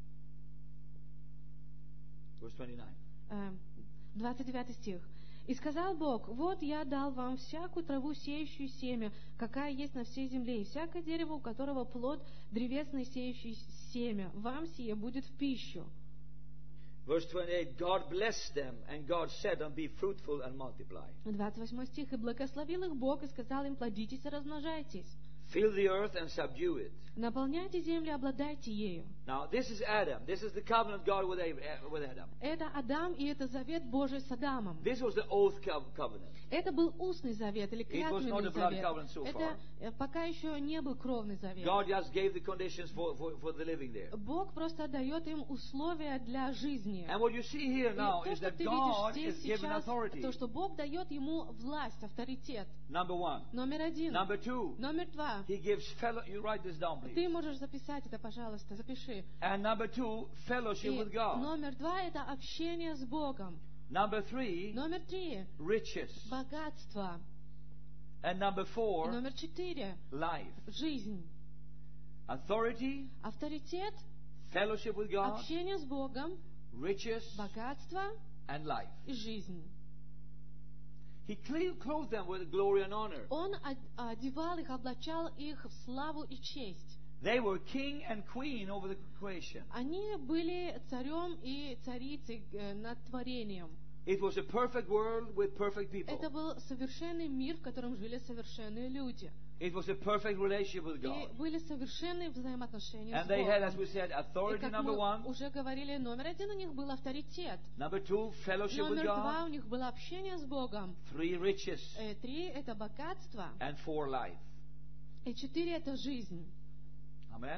Speaker 1: Verse twenty-nine.
Speaker 2: Э, двадцать девятый стих. «И сказал Бог, вот я дал вам всякую траву, сеющую семя, какая есть на всей земле, и всякое дерево, у которого плод древесный, сеющий семя, вам сие будет в пищу».
Speaker 1: Verse twenty-eight. God blessed them, and God said, and be fruitful and multiply.
Speaker 2: двадцать восьмой стих. «И благословил их Бог, и сказал им, плодитесь и размножайтесь,
Speaker 1: Fill the earth and subdue it.
Speaker 2: наполняйте землю, обладайте ею».
Speaker 1: Now, this is Adam. This is the covenant God with Ab- with Adam.
Speaker 2: Это Адам, и это завет Божий с Адамом.
Speaker 1: This was the oath co- covenant.
Speaker 2: Это был устный завет или
Speaker 1: It was not
Speaker 2: клятвенный
Speaker 1: a blood
Speaker 2: завет.
Speaker 1: covenant so
Speaker 2: Это
Speaker 1: far.
Speaker 2: э, пока еще не был кровный завет.
Speaker 1: God just gave the conditions for, for, for the living there.
Speaker 2: Бог просто дает им условия для жизни.
Speaker 1: And what you see here
Speaker 2: И
Speaker 1: now
Speaker 2: то,
Speaker 1: is
Speaker 2: что
Speaker 1: that
Speaker 2: ты
Speaker 1: God
Speaker 2: видишь
Speaker 1: is
Speaker 2: здесь
Speaker 1: given
Speaker 2: сейчас,
Speaker 1: authority.
Speaker 2: то, что Бог дает ему власть, авторитет.
Speaker 1: Number one.
Speaker 2: Номер один.
Speaker 1: Number two.
Speaker 2: Номер два.
Speaker 1: He gives fellow. You write this down,
Speaker 2: Ты
Speaker 1: please.
Speaker 2: можешь записать это, пожалуйста, запиши.
Speaker 1: And number two, fellowship
Speaker 2: И
Speaker 1: with God.
Speaker 2: номер два — это общение с Богом.
Speaker 1: Number three,
Speaker 2: Номер три —
Speaker 1: riches.
Speaker 2: богатство.
Speaker 1: And number
Speaker 2: И
Speaker 1: four,
Speaker 2: номер четыре
Speaker 1: life.
Speaker 2: — жизнь.
Speaker 1: Authority,
Speaker 2: Авторитет,
Speaker 1: fellowship with God,
Speaker 2: общение с Богом,
Speaker 1: riches,
Speaker 2: богатство
Speaker 1: and life.
Speaker 2: и жизнь.
Speaker 1: He cle- clothed them with glory and honor.
Speaker 2: Он од- одевал их, облачал их в славу и честь.
Speaker 1: They were king and queen over the creation.
Speaker 2: Они были царем и царицей э, над творением.
Speaker 1: It was a perfect world with perfect people.
Speaker 2: Это был совершенный мир, в котором жили совершенные люди.
Speaker 1: It was a perfect relationship with
Speaker 2: И
Speaker 1: God.
Speaker 2: были совершенные взаимоотношения
Speaker 1: And
Speaker 2: с
Speaker 1: they had, as
Speaker 2: Богом.
Speaker 1: we said,
Speaker 2: И
Speaker 1: authority,
Speaker 2: как
Speaker 1: number
Speaker 2: мы
Speaker 1: one.
Speaker 2: уже говорили, номер один у них был авторитет.
Speaker 1: Number two, fellowship with
Speaker 2: Номер два
Speaker 1: God.
Speaker 2: у них было общение с Богом.
Speaker 1: Three, riches.
Speaker 2: Э, Три — это богатство.
Speaker 1: And four, life.
Speaker 2: И четыре — это жизнь.
Speaker 1: Amen.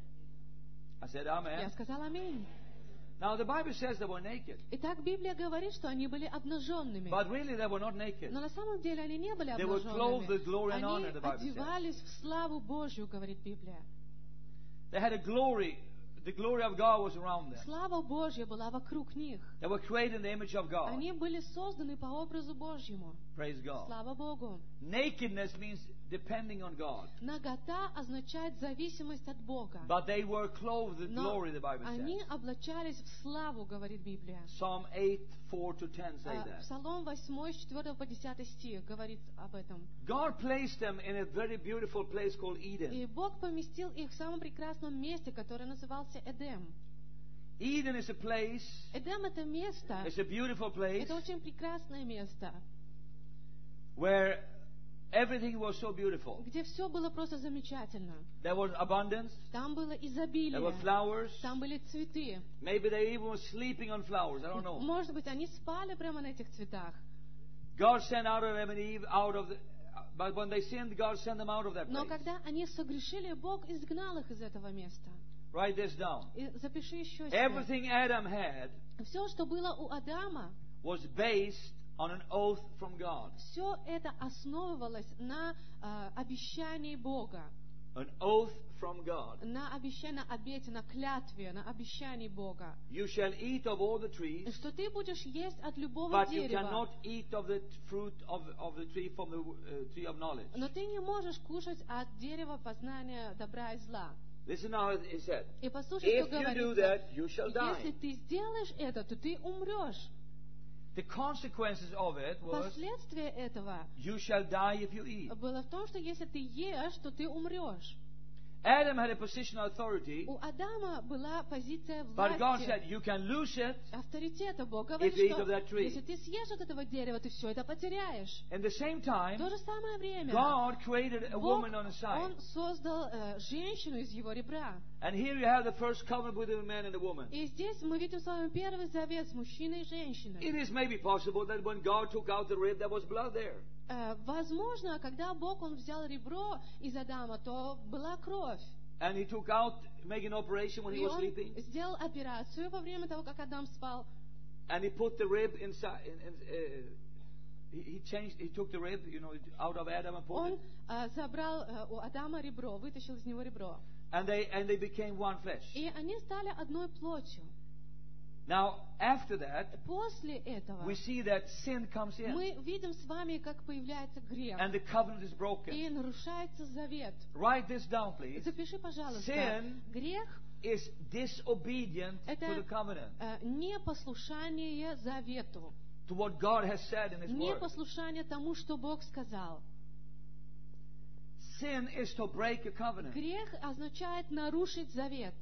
Speaker 1: I said
Speaker 2: Я
Speaker 1: amen.
Speaker 2: сказала аминь.
Speaker 1: Now the Bible says they were naked.
Speaker 2: Итак, Библия говорит, что они были обнаженными.
Speaker 1: But really they were not naked.
Speaker 2: Но на самом деле они не были
Speaker 1: They were clothed with glory and
Speaker 2: обнаженными.
Speaker 1: honor, the
Speaker 2: Они
Speaker 1: Bible says.
Speaker 2: одевались в славу Божью, говорит Библия.
Speaker 1: They had a glory. The glory of God was around them.
Speaker 2: Слава Божья была вокруг них.
Speaker 1: They were created in the image of God.
Speaker 2: Они были созданы по образу Божьему.
Speaker 1: Praise God.
Speaker 2: Слава Богу.
Speaker 1: Nakedness means depending on God.
Speaker 2: Нагота означает зависимость от Бога.
Speaker 1: But they were clothed with
Speaker 2: Но
Speaker 1: glory, the Bible
Speaker 2: они
Speaker 1: says.
Speaker 2: облачались в славу, говорит Библия.
Speaker 1: Psalm eight, four to ten say
Speaker 2: А,
Speaker 1: that.
Speaker 2: Псалом восьмой, с четвёртого по десятый стих говорит об этом.
Speaker 1: God placed them in a very beautiful place called
Speaker 2: И
Speaker 1: Eden.
Speaker 2: Бог поместил их в самом прекрасном месте, которое назывался Эдем.
Speaker 1: Eden is a place,
Speaker 2: Эдем — это место,
Speaker 1: it's a beautiful place,
Speaker 2: это очень прекрасное место,
Speaker 1: where everything was so beautiful.
Speaker 2: где все было просто замечательно.
Speaker 1: There was abundance,
Speaker 2: Там было
Speaker 1: there were
Speaker 2: изобилие,
Speaker 1: flowers.
Speaker 2: там были цветы.
Speaker 1: Maybe they even were sleeping on flowers, I don't know.
Speaker 2: Может быть, они спали прямо на этих цветах.
Speaker 1: God sent Adam and Eve out of the, but when they sinned, God sent them out of that
Speaker 2: Но
Speaker 1: place.
Speaker 2: когда они согрешили, Бог изгнал их из этого места.
Speaker 1: Write this down.
Speaker 2: И запиши еще себе.
Speaker 1: Everything Adam had
Speaker 2: Все, что было у Адама,
Speaker 1: was based on an oath from God.
Speaker 2: все это основывалось на э, обещании Бога,
Speaker 1: An oath from God.
Speaker 2: на обещании, на обете, на клятве, на обещании Бога.
Speaker 1: You shall eat of all the trees,
Speaker 2: Что ты будешь есть от любого
Speaker 1: but you
Speaker 2: дерева,
Speaker 1: cannot eat of the fruit of, of the tree from the uh, tree of knowledge.
Speaker 2: но ты не можешь кушать от дерева познания добра и зла.
Speaker 1: Listen how it is said.
Speaker 2: И послушай,
Speaker 1: If
Speaker 2: что
Speaker 1: you do
Speaker 2: говорится.
Speaker 1: that, you shall
Speaker 2: Если
Speaker 1: die.
Speaker 2: ты сделаешь это, то ты умрешь.
Speaker 1: The consequences of it was,
Speaker 2: Последствие этого
Speaker 1: you shall die if you eat.
Speaker 2: было в том, что если ты ешь, то ты умрешь.
Speaker 1: Adam had a position of authority,
Speaker 2: У Адама была позиция
Speaker 1: but God
Speaker 2: власти,
Speaker 1: said, you can lose it.
Speaker 2: авторитета. Бог говорит,
Speaker 1: If you eat
Speaker 2: что
Speaker 1: of that tree.
Speaker 2: если ты съешь от этого дерева, ты все это потеряешь.
Speaker 1: In the same
Speaker 2: В
Speaker 1: time,
Speaker 2: то же самое время
Speaker 1: God created a
Speaker 2: Бог,
Speaker 1: woman on the side.
Speaker 2: Он создал э, женщину из его ребра.
Speaker 1: And here you have the first covenant between the man and the woman.
Speaker 2: И здесь мы видим с вами первый завет с мужчиной и женщиной.
Speaker 1: It is maybe possible that when God took out the rib, there was blood there.
Speaker 2: Э, возможно, когда Бог он взял ребро из Адама, то была кровь.
Speaker 1: And he took out, making an operation when he
Speaker 2: И
Speaker 1: was
Speaker 2: он
Speaker 1: sleeping.
Speaker 2: сделал операцию во время того, как Адам спал.
Speaker 1: And he put the rib inside. In, in, uh, he, he changed. He took the rib, you know, out of Adam and put
Speaker 2: Он
Speaker 1: it.
Speaker 2: э, забрал э, у Адама ребро, вытащил из него ребро.
Speaker 1: And they and they became one flesh.
Speaker 2: И они стали одной плотью.
Speaker 1: Now after that,
Speaker 2: После этого
Speaker 1: we see that sin comes in,
Speaker 2: мы видим с вами, как появляется грех.
Speaker 1: and the covenant is broken.
Speaker 2: И нарушается завет.
Speaker 1: Write this down, please.
Speaker 2: Запиши, пожалуйста.
Speaker 1: Sin
Speaker 2: Грех
Speaker 1: is disobedient
Speaker 2: Это
Speaker 1: to the covenant,
Speaker 2: э, непослушание завету.
Speaker 1: to what God has said in His Word.
Speaker 2: Непослушание тому, что Бог сказал.
Speaker 1: Sin is to break a covenant.
Speaker 2: Грех означает нарушить завет.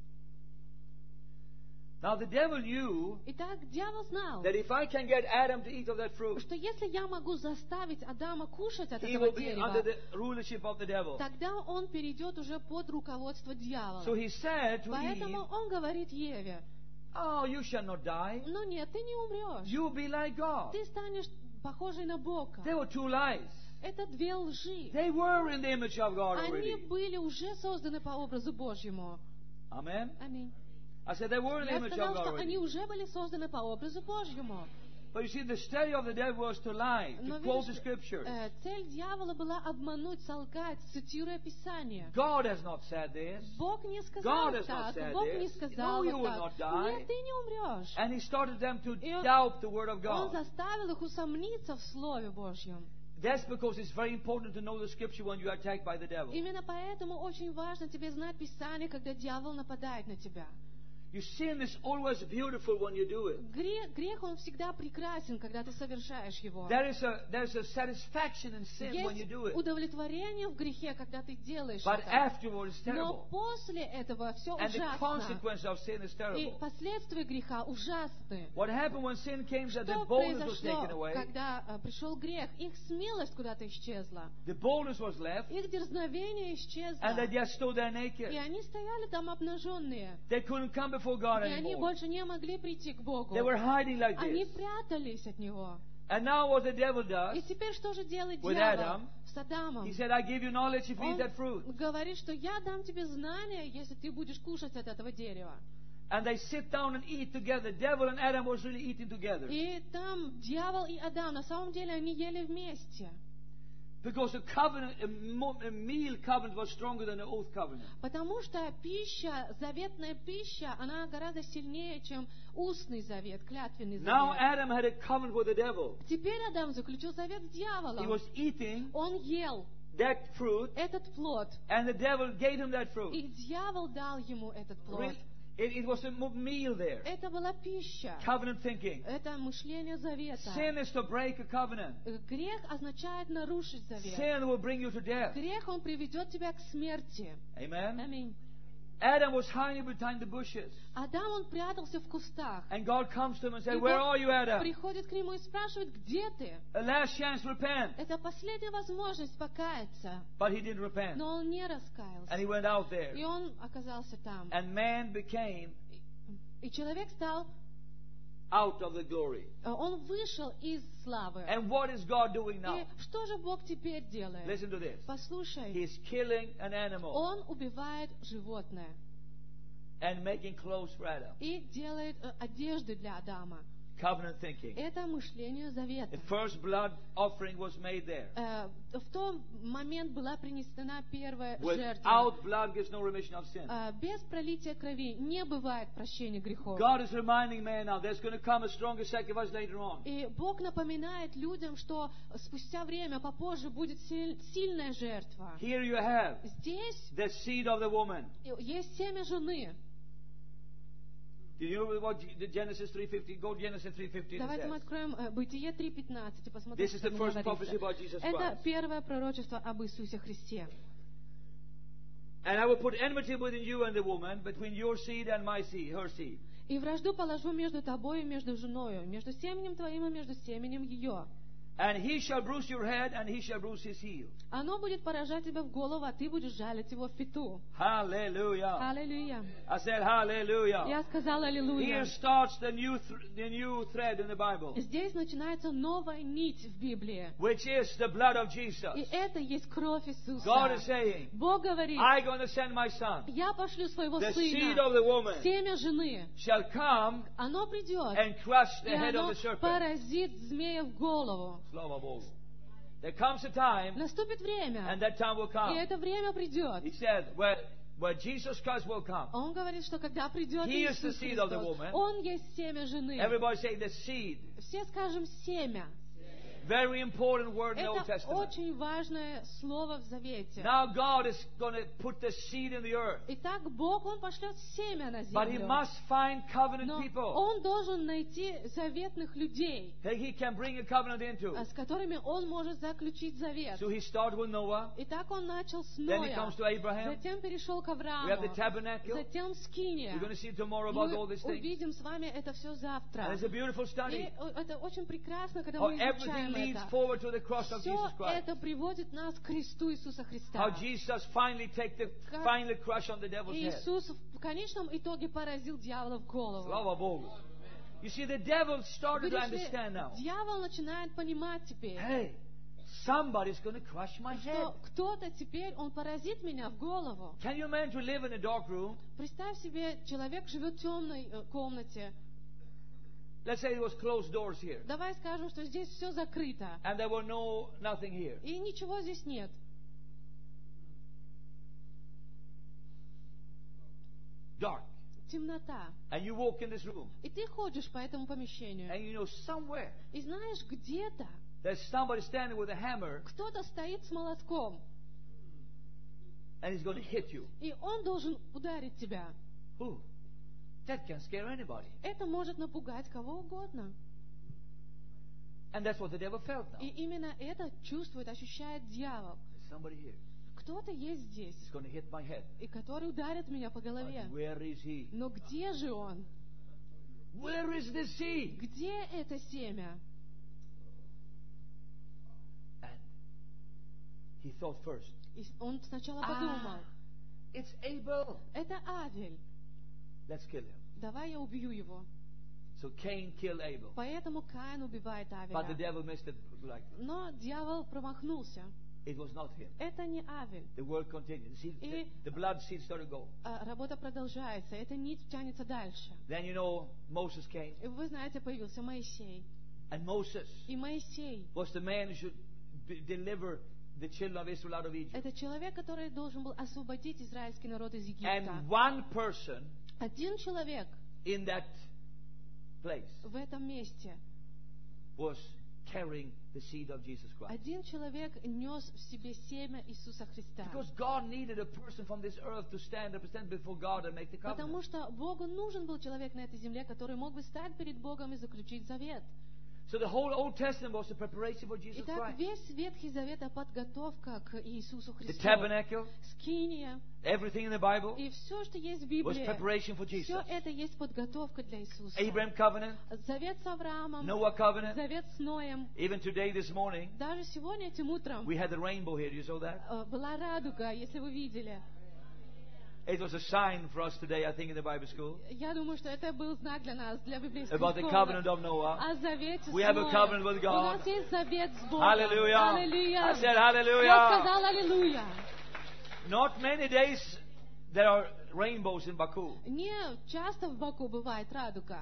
Speaker 1: Now the devil knew
Speaker 2: Итак, дьявол знал,
Speaker 1: that if I can get Adam to eat of that fruit,
Speaker 2: что если я могу заставить Адама кушать от
Speaker 1: he
Speaker 2: этого
Speaker 1: will be under
Speaker 2: дерева,
Speaker 1: the rulership of the devil.
Speaker 2: тогда он перейдет уже под руководство дьявола.
Speaker 1: So he said to Eve,
Speaker 2: Поэтому он говорит Еве:
Speaker 1: "Oh, you shall not die.
Speaker 2: ну нет, ты не умрешь.
Speaker 1: You will be like God."
Speaker 2: Ты станешь похожей на Бога.
Speaker 1: There were two lies.
Speaker 2: Это две лжи.
Speaker 1: They were in the image of God
Speaker 2: Они
Speaker 1: already.
Speaker 2: были уже созданы по образу Божьему.
Speaker 1: Amen.
Speaker 2: Аминь.
Speaker 1: I said they were in the
Speaker 2: Я
Speaker 1: image of
Speaker 2: сказал,
Speaker 1: God
Speaker 2: что они
Speaker 1: already.
Speaker 2: уже были созданы по образу Божьему.
Speaker 1: But you see, the study of the devil was to lie,
Speaker 2: Но
Speaker 1: to quote the
Speaker 2: видишь,
Speaker 1: scriptures.
Speaker 2: э, цель дьявола была обмануть, солгать, цитируя Писание.
Speaker 1: God has not said this.
Speaker 2: Бог не сказал
Speaker 1: God has not
Speaker 2: так,
Speaker 1: said
Speaker 2: Бог не
Speaker 1: this.
Speaker 2: сказал
Speaker 1: No, you
Speaker 2: вот
Speaker 1: will
Speaker 2: так.
Speaker 1: not die.
Speaker 2: Нет, ты не умрешь.
Speaker 1: And he started them to
Speaker 2: И он-
Speaker 1: doubt the word of
Speaker 2: Он
Speaker 1: God.
Speaker 2: заставил их усомниться в Слове Божьем.
Speaker 1: That's because it's very important to know the scripture when you are attacked by the devil.
Speaker 2: Именно поэтому очень важно тебе знать Писание, когда дьявол нападает на тебя.
Speaker 1: Your sin is always beautiful when you do it.
Speaker 2: Грех, грех, он всегда прекрасен, когда ты совершаешь его.
Speaker 1: There is a there's a satisfaction in sin when you
Speaker 2: Есть
Speaker 1: do it.
Speaker 2: удовлетворение в грехе, когда ты делаешь
Speaker 1: But
Speaker 2: это.
Speaker 1: afterwards it's
Speaker 2: Но
Speaker 1: terrible.
Speaker 2: после этого все
Speaker 1: And the
Speaker 2: ужасно.
Speaker 1: consequence of sin is
Speaker 2: И
Speaker 1: terrible.
Speaker 2: последствия греха ужасны.
Speaker 1: What happened when sin came is that the
Speaker 2: Что
Speaker 1: boldness was taken
Speaker 2: произошло,
Speaker 1: away.
Speaker 2: когда э, пришел грех? Их смелость куда-то исчезла.
Speaker 1: The boldness was left.
Speaker 2: Их дерзновение исчезло.
Speaker 1: And they just stood there
Speaker 2: И
Speaker 1: naked.
Speaker 2: они стояли там обнаженные.
Speaker 1: They couldn't come before God
Speaker 2: И они
Speaker 1: anymore.
Speaker 2: больше не могли прийти к Богу.
Speaker 1: They were hiding like
Speaker 2: Они
Speaker 1: this.
Speaker 2: прятались от Него.
Speaker 1: And now what the devil does,
Speaker 2: И теперь что же делает
Speaker 1: With
Speaker 2: дьявол
Speaker 1: Adam,
Speaker 2: с Адамом?
Speaker 1: he said, I give you knowledge if you eat
Speaker 2: Он
Speaker 1: that fruit.
Speaker 2: говорит, что я дам тебе знания, если ты будешь кушать от этого дерева.
Speaker 1: And they sit down and eat together. Devil and Adam was really eating together.
Speaker 2: И там дьявол и Адам, на самом деле они ели вместе.
Speaker 1: Because the covenant, a mo- a meal covenant was stronger than the oath covenant.
Speaker 2: Потому что пища, заветная пища, она гораздо сильнее, чем устный завет, клятвенный
Speaker 1: Now
Speaker 2: завет.
Speaker 1: Adam had a covenant with the devil.
Speaker 2: Теперь Адам заключил завет с
Speaker 1: He
Speaker 2: дьяволом.
Speaker 1: was eating
Speaker 2: Он ел
Speaker 1: that fruit,
Speaker 2: этот плод,
Speaker 1: and the devil gave him that fruit.
Speaker 2: и дьявол дал ему этот плод.
Speaker 1: Really, It, it was a mo- meal there.
Speaker 2: Это была пища.
Speaker 1: Covenant thinking.
Speaker 2: Это мышление завета.
Speaker 1: Sin is to break a covenant.
Speaker 2: Грех означает нарушить завет.
Speaker 1: Sin will bring you to death.
Speaker 2: Грех, он приведет тебя к смерти.
Speaker 1: Amen.
Speaker 2: Аминь.
Speaker 1: Adam was hiding behind the bushes.
Speaker 2: Адам, он прятался в кустах.
Speaker 1: And God comes to him and
Speaker 2: И
Speaker 1: says, Where
Speaker 2: Бог
Speaker 1: are you, Adam?
Speaker 2: приходит к нему и спрашивает, где ты?
Speaker 1: A last chance, repent.
Speaker 2: Это последняя возможность покаяться.
Speaker 1: But he didn't repent.
Speaker 2: Но он не
Speaker 1: And he
Speaker 2: раскаялся.
Speaker 1: went out there.
Speaker 2: И он оказался там.
Speaker 1: And man became
Speaker 2: И человек стал,
Speaker 1: out of the glory.
Speaker 2: он вышел из славы.
Speaker 1: And what is God doing now?
Speaker 2: И что же Бог теперь делает?
Speaker 1: Listen to this.
Speaker 2: Послушай,
Speaker 1: He's killing an animal
Speaker 2: он убивает животное
Speaker 1: and making clothes for Adam.
Speaker 2: и делает э, одежды для Адама.
Speaker 1: Covenant thinking.
Speaker 2: Это мышление завета.
Speaker 1: The first blood offering was made there.
Speaker 2: Э, В тот момент была принесена первая жертва.
Speaker 1: Without blood gives no remission of sin.
Speaker 2: Э, Без пролития крови не бывает прощения грехов.
Speaker 1: God is reminding man now there's going to come a stronger sacrifice later on.
Speaker 2: И Бог напоминает людям, что спустя время, попозже, будет силь- сильная жертва.
Speaker 1: Here you have
Speaker 2: Здесь
Speaker 1: the seed of the woman.
Speaker 2: есть семя жены.
Speaker 1: Do you know what the Genesis three fifteen? Go to Genesis three fifteen.
Speaker 2: Давайте мы
Speaker 1: Says.
Speaker 2: откроем э, Бытие три пятнадцать и посмотрим,
Speaker 1: This is
Speaker 2: что
Speaker 1: the
Speaker 2: там
Speaker 1: first prophecy
Speaker 2: говорится.
Speaker 1: about Jesus
Speaker 2: Это
Speaker 1: Christ.
Speaker 2: первое пророчество об Иисусе Христе.
Speaker 1: And I will put enmity between you and the woman, between your seed and my seed, her seed.
Speaker 2: «И вражду положу между тобою и между женою, между семенем твоим и между семенем ее.
Speaker 1: And he shall bruise your head, and he shall bruise his heel.
Speaker 2: Оно будет поражать тебя в голову, а ты будешь жалить его в пяту».
Speaker 1: Hallelujah.
Speaker 2: Аллилуйя.
Speaker 1: I said hallelujah.
Speaker 2: Я сказала аллилуйя.
Speaker 1: Here starts the new, th- the new thread in the Bible,
Speaker 2: Здесь начинается новая нить в Библии.
Speaker 1: which is the blood of Jesus.
Speaker 2: И это есть кровь Иисуса.
Speaker 1: God is saying,
Speaker 2: Бог говорит,
Speaker 1: I'm going to send my son.
Speaker 2: я пошлю своего
Speaker 1: The seed
Speaker 2: сына,
Speaker 1: of the woman
Speaker 2: семя жены.
Speaker 1: shall come
Speaker 2: Оно придет,
Speaker 1: and crush the
Speaker 2: и
Speaker 1: head
Speaker 2: оно
Speaker 1: of the serpent.
Speaker 2: поразит змея в голову.
Speaker 1: Slava Bogu. There comes a time,
Speaker 2: Наступит время,
Speaker 1: and that time will
Speaker 2: и
Speaker 1: come.
Speaker 2: это время придет.
Speaker 1: He said, where, where Jesus Christ will come.
Speaker 2: Он говорит, что когда придет
Speaker 1: He is the
Speaker 2: Иисус
Speaker 1: seed of the
Speaker 2: Христос,
Speaker 1: woman.
Speaker 2: Он есть семя жены.
Speaker 1: Everybody say the seed.
Speaker 2: Все скажем семя.
Speaker 1: Very important word in the Old
Speaker 2: Это
Speaker 1: Testament.
Speaker 2: очень важное слово в Завете.
Speaker 1: Now God is going to put the seed in the earth.
Speaker 2: Итак, Бог, Он пошлет семя на
Speaker 1: But He
Speaker 2: землю.
Speaker 1: must find covenant
Speaker 2: Но
Speaker 1: people
Speaker 2: Он должен найти заветных людей,
Speaker 1: that He can bring a covenant into.
Speaker 2: с которыми Он может заключить завет.
Speaker 1: So He started with Noah.
Speaker 2: Итак, Он начал с
Speaker 1: Then He
Speaker 2: Ноя,
Speaker 1: comes to Abraham.
Speaker 2: затем перешел к
Speaker 1: We have the
Speaker 2: Аврааму,
Speaker 1: tabernacle.
Speaker 2: затем Скиния.
Speaker 1: We're going to see tomorrow about all
Speaker 2: Мы
Speaker 1: these things.
Speaker 2: увидим с вами это все завтра.
Speaker 1: And it's a beautiful
Speaker 2: И
Speaker 1: study.
Speaker 2: это очень прекрасно, когда
Speaker 1: How
Speaker 2: мы
Speaker 1: everything
Speaker 2: изучаем
Speaker 1: leads
Speaker 2: это.
Speaker 1: forward to the cross of
Speaker 2: Все
Speaker 1: Jesus Christ.
Speaker 2: это приводит нас к кресту Иисуса Христа.
Speaker 1: How Jesus finally take the
Speaker 2: Как
Speaker 1: finally crush on the devil's head.
Speaker 2: Иисус в конечном итоге поразил дьявола в голову.
Speaker 1: Slava Bogu. You see, the devil started to
Speaker 2: Видишь ли,
Speaker 1: understand now.
Speaker 2: дьявол начинает понимать теперь,
Speaker 1: Hey, somebody's going to crush my head.
Speaker 2: что кто-то теперь, он поразит меня в голову.
Speaker 1: Can you imagine to live in a dark room?
Speaker 2: Представь себе, человек живет в темной э, комнате.
Speaker 1: Let's say there was closed doors here,
Speaker 2: Давай скажем, что здесь все закрыто.
Speaker 1: and there were no nothing here.
Speaker 2: И ничего здесь нет.
Speaker 1: Dark.
Speaker 2: Темнота.
Speaker 1: And you walk in this room,
Speaker 2: И ты ходишь по этому помещению.
Speaker 1: and you know somewhere
Speaker 2: И знаешь, где-то
Speaker 1: there's somebody standing with a hammer,
Speaker 2: кто-то стоит с молотком.
Speaker 1: and he's going to hit you.
Speaker 2: И он должен ударить тебя.
Speaker 1: Ooh, that can scare anybody.
Speaker 2: Это может напугать кого угодно.
Speaker 1: And that's what the devil felt now.
Speaker 2: И именно это чувствует, ощущает дьявол.
Speaker 1: There's somebody here.
Speaker 2: Кто-то есть здесь,
Speaker 1: He's going to hit my head.
Speaker 2: и который ударит меня по голове.
Speaker 1: But where is he?
Speaker 2: Но где же он?
Speaker 1: Where is the seed?
Speaker 2: Где это семя?
Speaker 1: And he thought first,
Speaker 2: И он сначала
Speaker 1: Ah.
Speaker 2: подумал,
Speaker 1: it's Abel.
Speaker 2: это Авель,
Speaker 1: Let's kill him.
Speaker 2: давай я убью его.
Speaker 1: So Cain killed Abel.
Speaker 2: Поэтому Каин убивает
Speaker 1: But the
Speaker 2: Авеля.
Speaker 1: devil missed it like
Speaker 2: Но дьявол промахнулся.
Speaker 1: it was not him.
Speaker 2: Это не Авель.
Speaker 1: The word continued. The, seed, the,
Speaker 2: И-
Speaker 1: the blood seed started to go.
Speaker 2: А работа продолжается. Эта нить тянется дальше.
Speaker 1: Then you know Moses came.
Speaker 2: И вы знаете, появился Моисей.
Speaker 1: And Moses
Speaker 2: И Моисей
Speaker 1: was the man who should be, deliver the children of Israel out of Egypt.
Speaker 2: — это человек, который должен был освободить израильский народ из Египта.
Speaker 1: And one person
Speaker 2: Один человек
Speaker 1: in that place
Speaker 2: в этом месте,
Speaker 1: was carrying the seed of Jesus Christ.
Speaker 2: один человек нес в себе семя Иисуса Христа.
Speaker 1: Because God needed a person from this earth to stand and stand before God and make the
Speaker 2: Потому
Speaker 1: covenant.
Speaker 2: что Богу нужен был человек на этой земле, который мог бы стать перед Богом и заключить завет.
Speaker 1: So the whole Old Testament was the preparation for Jesus
Speaker 2: Итак,
Speaker 1: Christ.
Speaker 2: весь Ветхий Завет — это подготовка к Иисусу
Speaker 1: The
Speaker 2: Христу.
Speaker 1: tabernacle,
Speaker 2: Скиния
Speaker 1: everything in the Bible
Speaker 2: и все, что есть в
Speaker 1: was
Speaker 2: Библии,
Speaker 1: preparation for Jesus.
Speaker 2: все это есть подготовка для Иисуса.
Speaker 1: Abraham covenant,
Speaker 2: Завет с Авраамом,
Speaker 1: Noah covenant.
Speaker 2: завет с Ноем.
Speaker 1: Even today, this morning,
Speaker 2: Даже сегодня, этим утром,
Speaker 1: we had the rainbow here. You saw that?
Speaker 2: э, была радуга, если вы видели.
Speaker 1: It was a sign for us today, I think, in the Bible school
Speaker 2: Я думаю, что это был знак для нас, для библейской
Speaker 1: about the
Speaker 2: школы.
Speaker 1: covenant of Noah.
Speaker 2: О завете с
Speaker 1: We have a
Speaker 2: Ноем.
Speaker 1: covenant with
Speaker 2: У
Speaker 1: God.
Speaker 2: нас есть завет с Богом.
Speaker 1: Hallelujah.
Speaker 2: Аллилуйя.
Speaker 1: I said
Speaker 2: Я
Speaker 1: hallelujah.
Speaker 2: сказал аллилуйя.
Speaker 1: Not many days there are rainbows in Baku.
Speaker 2: Не часто в Баку бывает радуга.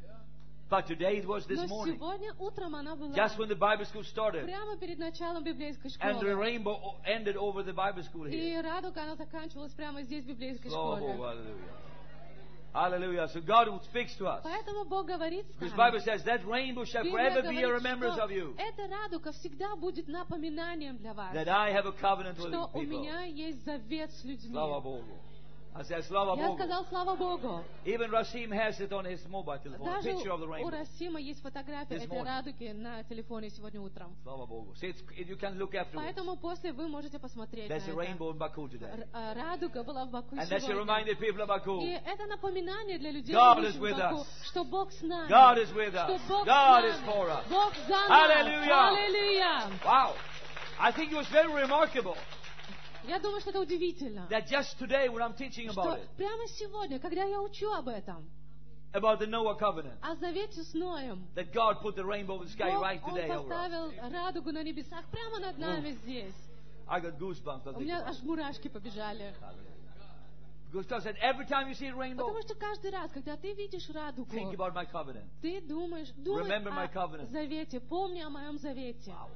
Speaker 1: But today it was this
Speaker 2: Но
Speaker 1: morning.
Speaker 2: сегодня утром она была.
Speaker 1: Just when the Bible school started.
Speaker 2: Прямо перед началом библейской
Speaker 1: And the
Speaker 2: школы.
Speaker 1: rainbow o- ended over the Bible school
Speaker 2: И
Speaker 1: here.
Speaker 2: радуга, она заканчивалась прямо здесь, в библейской
Speaker 1: Oh,
Speaker 2: школе.
Speaker 1: hallelujah. Hallelujah. So God speaks to us.
Speaker 2: Поэтому Бог говорит с
Speaker 1: Because the
Speaker 2: нами.
Speaker 1: Bible says that rainbow shall
Speaker 2: Библия
Speaker 1: forever be a
Speaker 2: говорит,
Speaker 1: remembrance
Speaker 2: что
Speaker 1: of you.
Speaker 2: эта радуга всегда будет напоминанием для вас,
Speaker 1: That I have a covenant with
Speaker 2: что у
Speaker 1: people.
Speaker 2: меня есть завет с людьми.
Speaker 1: Slava Bogu. I said, Slava
Speaker 2: Я
Speaker 1: Bogu.
Speaker 2: сказал, слава Богу.
Speaker 1: Even Rasim has it on his mobile telephone, a
Speaker 2: Даже
Speaker 1: picture of the
Speaker 2: у
Speaker 1: rainbow.
Speaker 2: Расима есть фотография
Speaker 1: This
Speaker 2: этой
Speaker 1: morning.
Speaker 2: радуги на телефоне сегодня утром.
Speaker 1: Slava Bogu. See, it's, you can look afterwards.
Speaker 2: Поэтому после вы можете посмотреть на
Speaker 1: There's a
Speaker 2: это.
Speaker 1: rainbow in Baku today.
Speaker 2: Р- а, Радуга была в Баку
Speaker 1: And that should
Speaker 2: сегодня.
Speaker 1: remind the people of Baku.
Speaker 2: И это напоминание для людей,
Speaker 1: God
Speaker 2: живущих
Speaker 1: is
Speaker 2: в
Speaker 1: with
Speaker 2: Баку,
Speaker 1: us.
Speaker 2: что Бог с нами.
Speaker 1: God is with us.
Speaker 2: Что Бог
Speaker 1: God
Speaker 2: с
Speaker 1: is
Speaker 2: нами.
Speaker 1: for us.
Speaker 2: Бог за нас.
Speaker 1: Hallelujah.
Speaker 2: Аллилуйя.
Speaker 1: Wow. I think it was very remarkable
Speaker 2: Я думаю, что это удивительно.
Speaker 1: that just today when I'm teaching about
Speaker 2: Что
Speaker 1: it,
Speaker 2: прямо сегодня, когда я учу об этом,
Speaker 1: about the Noah covenant,
Speaker 2: о завете с Ноем,
Speaker 1: that God put the rainbow in the sky
Speaker 2: Бог,
Speaker 1: right
Speaker 2: Он
Speaker 1: today over us.
Speaker 2: поставил радугу на небесах прямо над нами здесь.
Speaker 1: I got goosebumps. I
Speaker 2: У
Speaker 1: think
Speaker 2: меня
Speaker 1: about
Speaker 2: аж
Speaker 1: it.
Speaker 2: мурашки побежали.
Speaker 1: Because God said, every time you see a rainbow,
Speaker 2: Потому что каждый раз, когда ты видишь радугу,
Speaker 1: think about my covenant.
Speaker 2: ты думаешь, думай
Speaker 1: Remember my
Speaker 2: о
Speaker 1: covenant.
Speaker 2: завете, помни о моем завете.
Speaker 1: Wow.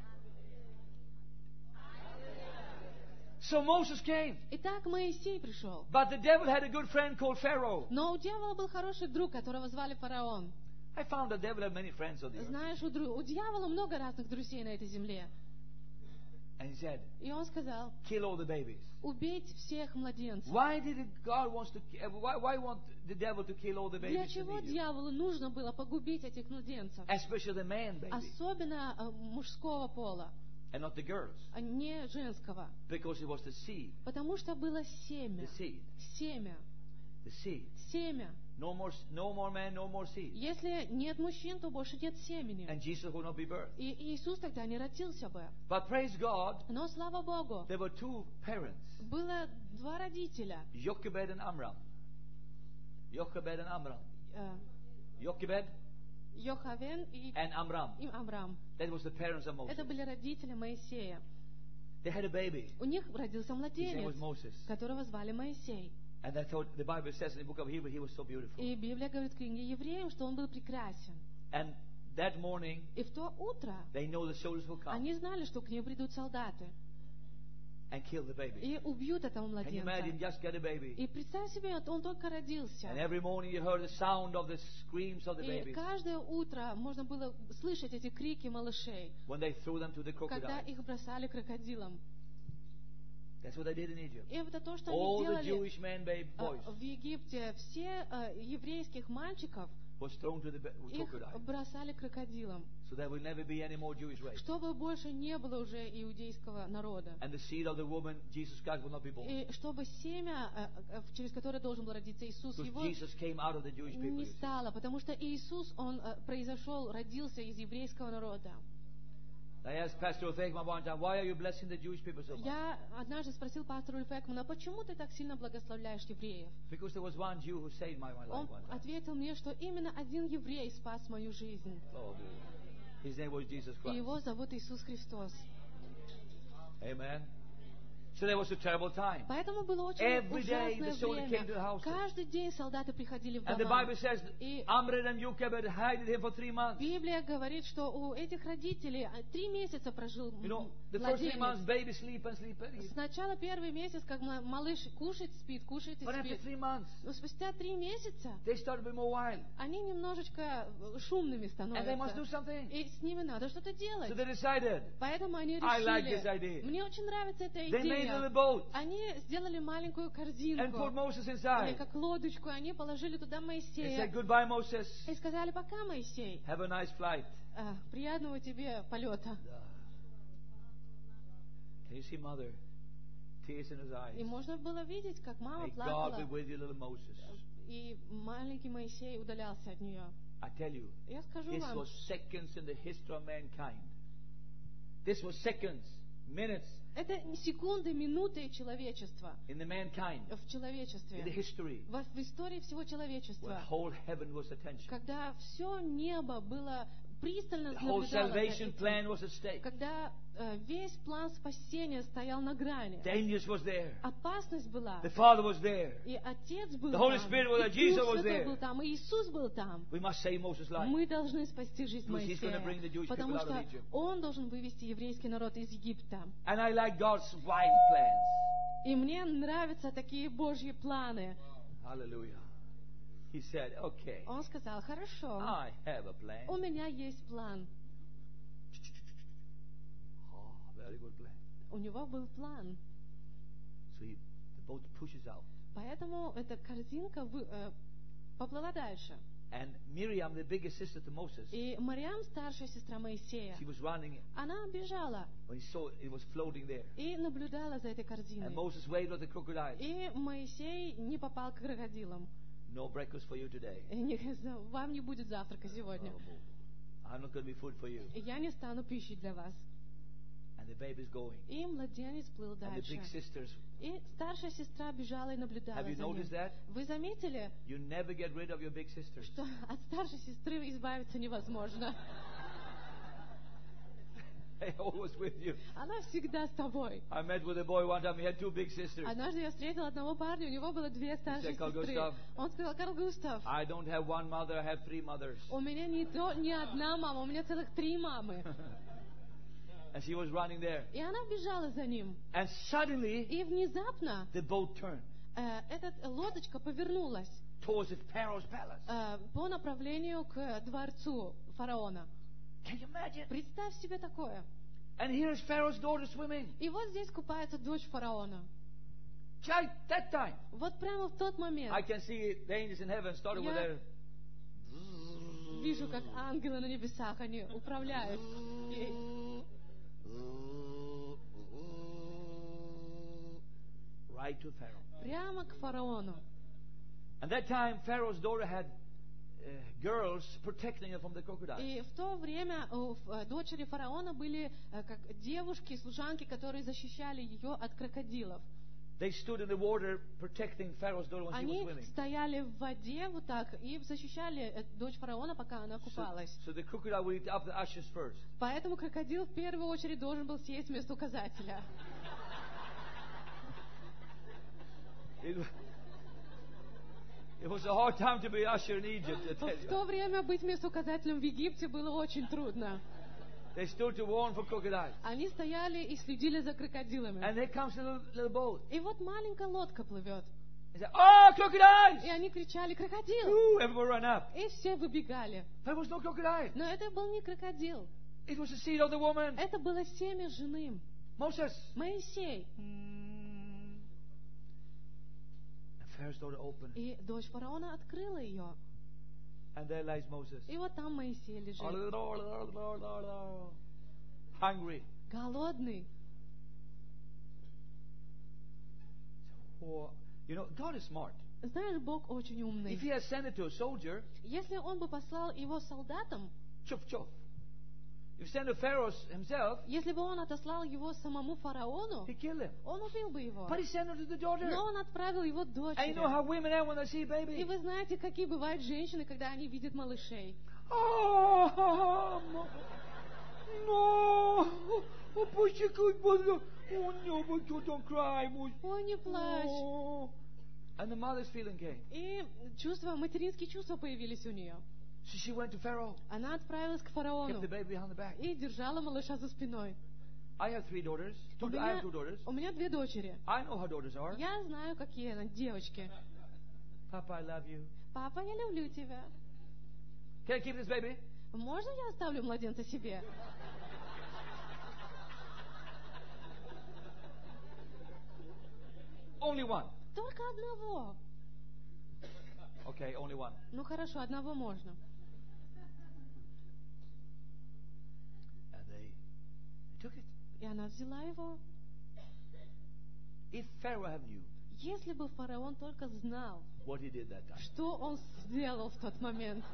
Speaker 1: So Moses came.
Speaker 2: Итак, Моисей пришел.
Speaker 1: But the devil had a good friend called Pharaoh.
Speaker 2: Но у дьявола был хороший друг, которого звали фараон.
Speaker 1: I found the devil had many friends on the earth.
Speaker 2: Знаешь, у, дру- у дьявола много разных друзей на этой земле.
Speaker 1: And he said,
Speaker 2: И он сказал,
Speaker 1: kill all the babies.
Speaker 2: убейте всех младенцев.
Speaker 1: Why did it, God wants to? Why, why want the devil to kill all the
Speaker 2: Для
Speaker 1: babies in
Speaker 2: чего
Speaker 1: Egypt?
Speaker 2: дьяволу нужно было погубить этих младенцев?
Speaker 1: Especially the man baby
Speaker 2: Особенно э, мужского пола,
Speaker 1: and not the girls,
Speaker 2: а не женского.
Speaker 1: because it was the seed,
Speaker 2: Потому что было семя.
Speaker 1: the seed,
Speaker 2: Семя.
Speaker 1: the seed.
Speaker 2: Семя.
Speaker 1: No more, no more man, no more seed.
Speaker 2: Если нет мужчин, то больше нет семени.
Speaker 1: And Jesus will not be birthed.
Speaker 2: И Иисус тогда не родился бы.
Speaker 1: But praise God,
Speaker 2: Но, слава Богу,
Speaker 1: there were two parents,
Speaker 2: было два родителя.
Speaker 1: Jochebed and Amram. Jochebed and Amram.
Speaker 2: э,
Speaker 1: Jochebed
Speaker 2: Йохавен и,
Speaker 1: and Amram.
Speaker 2: и Амрам.
Speaker 1: That was the parents of Moses.
Speaker 2: Это были родители Моисея.
Speaker 1: They had a baby.
Speaker 2: У них родился
Speaker 1: His name
Speaker 2: младенец,
Speaker 1: was Moses.
Speaker 2: которого звали Моисей.
Speaker 1: And I thought the Bible says in the book of Hebrew he was so beautiful.
Speaker 2: И Библия говорит в книге Евреям, что он был прекрасен.
Speaker 1: And that morning
Speaker 2: И в то утро
Speaker 1: they know the soldiers will come
Speaker 2: они знали, что к ним придут солдаты
Speaker 1: and kill the baby.
Speaker 2: и убьют этого
Speaker 1: Can you imagine?
Speaker 2: младенца.
Speaker 1: Just get a baby.
Speaker 2: И представь себе, он только родился.
Speaker 1: And every morning you heard the sound of the screams of the
Speaker 2: И
Speaker 1: babies
Speaker 2: каждое утро можно было слышать эти крики малышей,
Speaker 1: when they threw them to the
Speaker 2: когда
Speaker 1: crocodile.
Speaker 2: их бросали крокодилам.
Speaker 1: That's what they did in Egypt.
Speaker 2: И это то, что
Speaker 1: All
Speaker 2: они
Speaker 1: the
Speaker 2: делали
Speaker 1: Jewish men, baby,
Speaker 2: а,
Speaker 1: boys
Speaker 2: в Египте. Все а, еврейских мальчиков,
Speaker 1: was thrown to the ba-
Speaker 2: их
Speaker 1: crocodile.
Speaker 2: бросали крокодилам,
Speaker 1: So there will never be any more Jewish race.
Speaker 2: чтобы больше не было уже иудейского народа.
Speaker 1: And the seed of the woman, Jesus Christ, will not be born.
Speaker 2: И чтобы семя, а, а, через которое должен был родиться Иисус,
Speaker 1: Because
Speaker 2: его
Speaker 1: Jesus came out of the Jewish people.
Speaker 2: не
Speaker 1: you see.
Speaker 2: стало, потому что Иисус, он а, произошел, родился из еврейского народа.
Speaker 1: I asked Pastor Ofekman one time, why are you blessing the Jewish people so much?
Speaker 2: Я однажды спросил пастора Ульфекмана, почему ты так сильно благословляешь евреев?
Speaker 1: Because there was one Jew who saved my, my life
Speaker 2: Он
Speaker 1: one time.
Speaker 2: ответил мне, что именно один еврей спас мою жизнь.
Speaker 1: Oh, his name was Jesus
Speaker 2: И
Speaker 1: Christ.
Speaker 2: его зовут Иисус Христос.
Speaker 1: Amen. So there was a terrible time.
Speaker 2: Поэтому было очень
Speaker 1: Every day the
Speaker 2: ужасное
Speaker 1: soldier came to the
Speaker 2: время.
Speaker 1: house.
Speaker 2: Каждый день солдаты приходили в
Speaker 1: And the
Speaker 2: дома.
Speaker 1: Bible says
Speaker 2: И
Speaker 1: Amram and Jochebed hid him for three months.
Speaker 2: Библия говорит, что у этих родителей а, три месяца прожил
Speaker 1: You know, the first three months,
Speaker 2: младенец.
Speaker 1: baby sleep and sleep and eat.
Speaker 2: Сначала первый месяц, как ма- малыш кушает, спит, кушает и
Speaker 1: But after
Speaker 2: спит.
Speaker 1: three months,
Speaker 2: Но спустя три месяца
Speaker 1: they started to be more wild.
Speaker 2: они немножечко э, шумными
Speaker 1: And they must do
Speaker 2: становятся.
Speaker 1: something.
Speaker 2: И с ними надо что-то делать.
Speaker 1: So they decided,
Speaker 2: Поэтому они
Speaker 1: I like this
Speaker 2: решили,
Speaker 1: idea.
Speaker 2: мне очень нравится эта
Speaker 1: They made made a little
Speaker 2: семья.
Speaker 1: boat
Speaker 2: Они сделали маленькую
Speaker 1: and put
Speaker 2: корзинку,
Speaker 1: Moses
Speaker 2: или
Speaker 1: inside.
Speaker 2: как лодочку, и они положили туда
Speaker 1: They
Speaker 2: Моисея.
Speaker 1: said, goodbye, Moses.
Speaker 2: И сказали, пока, Моисей,
Speaker 1: Have a nice flight.
Speaker 2: а, приятного тебе полета.
Speaker 1: Can you see mother? Tears in his eyes.
Speaker 2: И можно было видеть, как мама
Speaker 1: May God be
Speaker 2: плакала,
Speaker 1: with you, little Moses.
Speaker 2: и маленький Моисей удалялся от нее.
Speaker 1: I tell you,
Speaker 2: Я скажу
Speaker 1: this
Speaker 2: вам,
Speaker 1: was seconds in the history of mankind. This was seconds, minutes
Speaker 2: это не секунды, минуты человечества,
Speaker 1: in the mankind,
Speaker 2: в
Speaker 1: in the
Speaker 2: человечестве,
Speaker 1: history,
Speaker 2: в, в истории всего
Speaker 1: where
Speaker 2: человечества,
Speaker 1: whole heaven was attention.
Speaker 2: когда все небо было пристально
Speaker 1: The whole
Speaker 2: наблюдало за
Speaker 1: salvation
Speaker 2: этим,
Speaker 1: plan was at stake.
Speaker 2: когда э, весь план спасения стоял на грани,
Speaker 1: Dangers was there.
Speaker 2: опасность была,
Speaker 1: The Father was there.
Speaker 2: и Отец был
Speaker 1: The Holy
Speaker 2: там,
Speaker 1: Spirit was there.
Speaker 2: и
Speaker 1: Jesus
Speaker 2: Дух
Speaker 1: was
Speaker 2: Святой
Speaker 1: there.
Speaker 2: был там, и Иисус был там.
Speaker 1: We must save Moses' life.
Speaker 2: Мы должны спасти жизнь
Speaker 1: Because he's gonna
Speaker 2: Моисея,
Speaker 1: bring the Jewish
Speaker 2: потому
Speaker 1: people out of
Speaker 2: что
Speaker 1: Egypt.
Speaker 2: Он должен вывести еврейский народ из Египта.
Speaker 1: And I like God's wide plans.
Speaker 2: И мне нравятся такие Божьи планы.
Speaker 1: Hallelujah. He said, okay,
Speaker 2: Он сказал, хорошо,
Speaker 1: I have a plan.
Speaker 2: у меня есть план.
Speaker 1: Oh, very good plan.
Speaker 2: У него был план.
Speaker 1: So he, the boat pushes out.
Speaker 2: Поэтому эта корзинка вы- э, поплыла дальше.
Speaker 1: And Miriam, the biggest sister to Moses,
Speaker 2: И Мариам, старшая сестра Моисея,
Speaker 1: she was running
Speaker 2: она бежала
Speaker 1: when he saw it was floating there.
Speaker 2: и наблюдала за этой корзиной.
Speaker 1: And Moses waved at the crocodile.
Speaker 2: И Моисей не попал к крокодилам.
Speaker 1: No breakfast for you today.
Speaker 2: И не- Вам не будет завтрака сегодня.
Speaker 1: I'm not going to be food for you.
Speaker 2: И я не стану пищей для вас.
Speaker 1: And the baby's going.
Speaker 2: И младенец плыл
Speaker 1: And the
Speaker 2: дальше.
Speaker 1: big sisters,
Speaker 2: И старшая сестра бежала и наблюдала
Speaker 1: have you
Speaker 2: за ним.
Speaker 1: noticed that?
Speaker 2: Вы заметили,
Speaker 1: You never get rid of your big sisters.
Speaker 2: что от старшей сестры избавиться невозможно?
Speaker 1: They always with you.
Speaker 2: Она всегда с тобой.
Speaker 1: I met with a boy one time. He had two big sisters.
Speaker 2: Однажды я встретила одного парня, у него было две старшие
Speaker 1: said, "Carl
Speaker 2: сестры.
Speaker 1: Gustav,
Speaker 2: Он сказал, Карл Густав,
Speaker 1: I don't have one mother. I have three mothers.
Speaker 2: у меня не, то, не одна мама, у меня целых три мамы.
Speaker 1: And she was running there.
Speaker 2: И она бежала за ним.
Speaker 1: And suddenly,
Speaker 2: И внезапно
Speaker 1: the boat turned
Speaker 2: э, эта лодочка повернулась
Speaker 1: towards the Pharaoh's palace.
Speaker 2: э, по направлению к дворцу фараона.
Speaker 1: Can you imagine?
Speaker 2: Представь себе такое.
Speaker 1: And here's Pharaoh's daughter swimming.
Speaker 2: И вот здесь купается дочь фараона.
Speaker 1: Child, that time,
Speaker 2: Вот прямо в тот момент
Speaker 1: I can see the angels in heaven started with
Speaker 2: Я-
Speaker 1: their
Speaker 2: вижу, как ангелы на небесах, они управляют ей.
Speaker 1: right to Pharaoh.
Speaker 2: Прямо к фараону.
Speaker 1: And that time, Pharaoh's daughter had uh, girls protecting her from the crocodile.
Speaker 2: И в то время у э, дочери фараона были э, как девушки, служанки, которые защищали ее от крокодилов.
Speaker 1: They stood in the water protecting Pharaoh's daughter when she was
Speaker 2: Они
Speaker 1: swimming.
Speaker 2: стояли в воде вот так и защищали э, дочь фараона, пока она
Speaker 1: So,
Speaker 2: купалась.
Speaker 1: so the crocodile would eat up the ashes first.
Speaker 2: Поэтому крокодил в первую очередь должен был съесть вместо указателя.
Speaker 1: It, wa- it was a hard time to be usher in Egypt, I tell
Speaker 2: В
Speaker 1: you.
Speaker 2: то время быть вместо указателем в Египте было очень трудно.
Speaker 1: They stood to warn for crocodiles.
Speaker 2: Они стояли и следили за крокодилами.
Speaker 1: And there comes a little, little boat.
Speaker 2: И вот маленькая лодка плывет.
Speaker 1: They said, "Oh, crocodiles!"
Speaker 2: И они кричали «Крокодил!»
Speaker 1: Ooh, everyone ran up.
Speaker 2: И все выбегали.
Speaker 1: There was no crocodile.
Speaker 2: Но это был не крокодил.
Speaker 1: It was the seed of the woman.
Speaker 2: Это было семя жены.
Speaker 1: Moses.
Speaker 2: Моисей.
Speaker 1: And Pharaoh's daughter opened.
Speaker 2: И дочь фараона открыла ее.
Speaker 1: And there lies Moses.
Speaker 2: И вот там Моисей лежит.
Speaker 1: Hungry.
Speaker 2: Голодный.
Speaker 1: Oh, you know, God is smart.
Speaker 2: Знаешь, Бог очень умный.
Speaker 1: If he had sent it to a soldier,
Speaker 2: Если он бы послал его солдатам,
Speaker 1: chuff chuff. If he sent it to Pharaoh himself,
Speaker 2: если бы он отослал его самому фараону,
Speaker 1: he killed him.
Speaker 2: он убил бы его.
Speaker 1: But he sent it to the daughter.
Speaker 2: Но он отправил его
Speaker 1: And you
Speaker 2: дочери.
Speaker 1: know how women are when they see a
Speaker 2: И
Speaker 1: baby.
Speaker 2: вы знаете, какие бывают женщины, когда они видят малышей.
Speaker 1: Oh, no. Oh, push your good boy. Oh, no, but you don't cry. boy.
Speaker 2: Ой, не плачь.
Speaker 1: Oh. And the mother's feeling came.
Speaker 2: И чувства, материнские чувства появились у нее.
Speaker 1: So she went to Pharaoh,
Speaker 2: Она отправилась к
Speaker 1: kept
Speaker 2: фараону
Speaker 1: the baby behind the back.
Speaker 2: и держала малыша за спиной.
Speaker 1: I have three daughters.
Speaker 2: У
Speaker 1: Two, I have
Speaker 2: меня,
Speaker 1: two daughters.
Speaker 2: у меня две дочери.
Speaker 1: I know how daughters are.
Speaker 2: Я знаю, какие они, девочки.
Speaker 1: Papa, I love you.
Speaker 2: Папа, я люблю тебя.
Speaker 1: Can I keep this baby?
Speaker 2: Можно я оставлю младенца себе?
Speaker 1: only one.
Speaker 2: Только одного.
Speaker 1: Okay, only one.
Speaker 2: Ну хорошо, одного можно.
Speaker 1: And they, they took it.
Speaker 2: И она взяла его.
Speaker 1: If Pharaoh had knew
Speaker 2: Если бы фараон только знал,
Speaker 1: what he did that time,
Speaker 2: что он сделал в тот момент.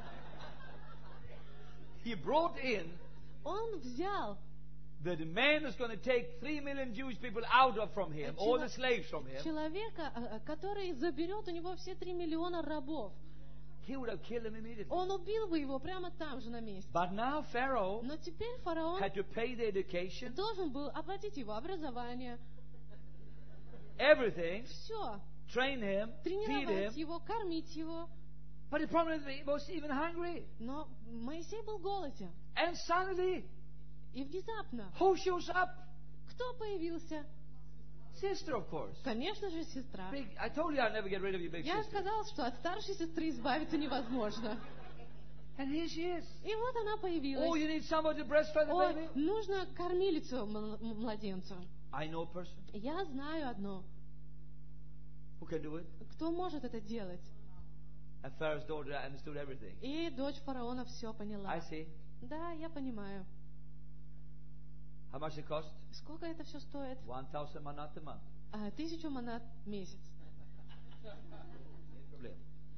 Speaker 1: he brought in
Speaker 2: Он взял
Speaker 1: the man who's going to take three million Jewish people out of from him, all the slaves from him.
Speaker 2: человека, э, который заберет у него все три миллиона рабов.
Speaker 1: He would have killed him immediately.
Speaker 2: Он убил бы его прямо там же на месте.
Speaker 1: But now Pharaoh
Speaker 2: Но теперь фараон
Speaker 1: had to pay the education,
Speaker 2: должен был оплатить его образование,
Speaker 1: everything,
Speaker 2: все,
Speaker 1: train him, feed
Speaker 2: тренировать
Speaker 1: him.
Speaker 2: его, кормить его.
Speaker 1: But the problem is he was even hungry.
Speaker 2: Но Моисей был голоден.
Speaker 1: And suddenly,
Speaker 2: И внезапно,
Speaker 1: who shows up?
Speaker 2: кто появился?
Speaker 1: Sister, of course.
Speaker 2: Конечно же, сестра.
Speaker 1: Big, I told you I'd never get rid of your big
Speaker 2: Я
Speaker 1: sister.
Speaker 2: сказала, что от старшей сестры избавиться невозможно.
Speaker 1: And here she is.
Speaker 2: И вот она
Speaker 1: Oh,
Speaker 2: появилась.
Speaker 1: you need somebody to breastfeed the
Speaker 2: Ой,
Speaker 1: baby?
Speaker 2: нужно кормилицу мл- младенцу.
Speaker 1: I know a person
Speaker 2: Я знаю одно.
Speaker 1: who can do it.
Speaker 2: Кто может это делать?
Speaker 1: And Pharaoh's daughter understood everything.
Speaker 2: И дочь фараона все поняла.
Speaker 1: I see.
Speaker 2: Да, я понимаю.
Speaker 1: How much it cost?
Speaker 2: Сколько это все стоит?
Speaker 1: One thousand manat a month.
Speaker 2: А, тысячу манат в месяц.
Speaker 1: Problem.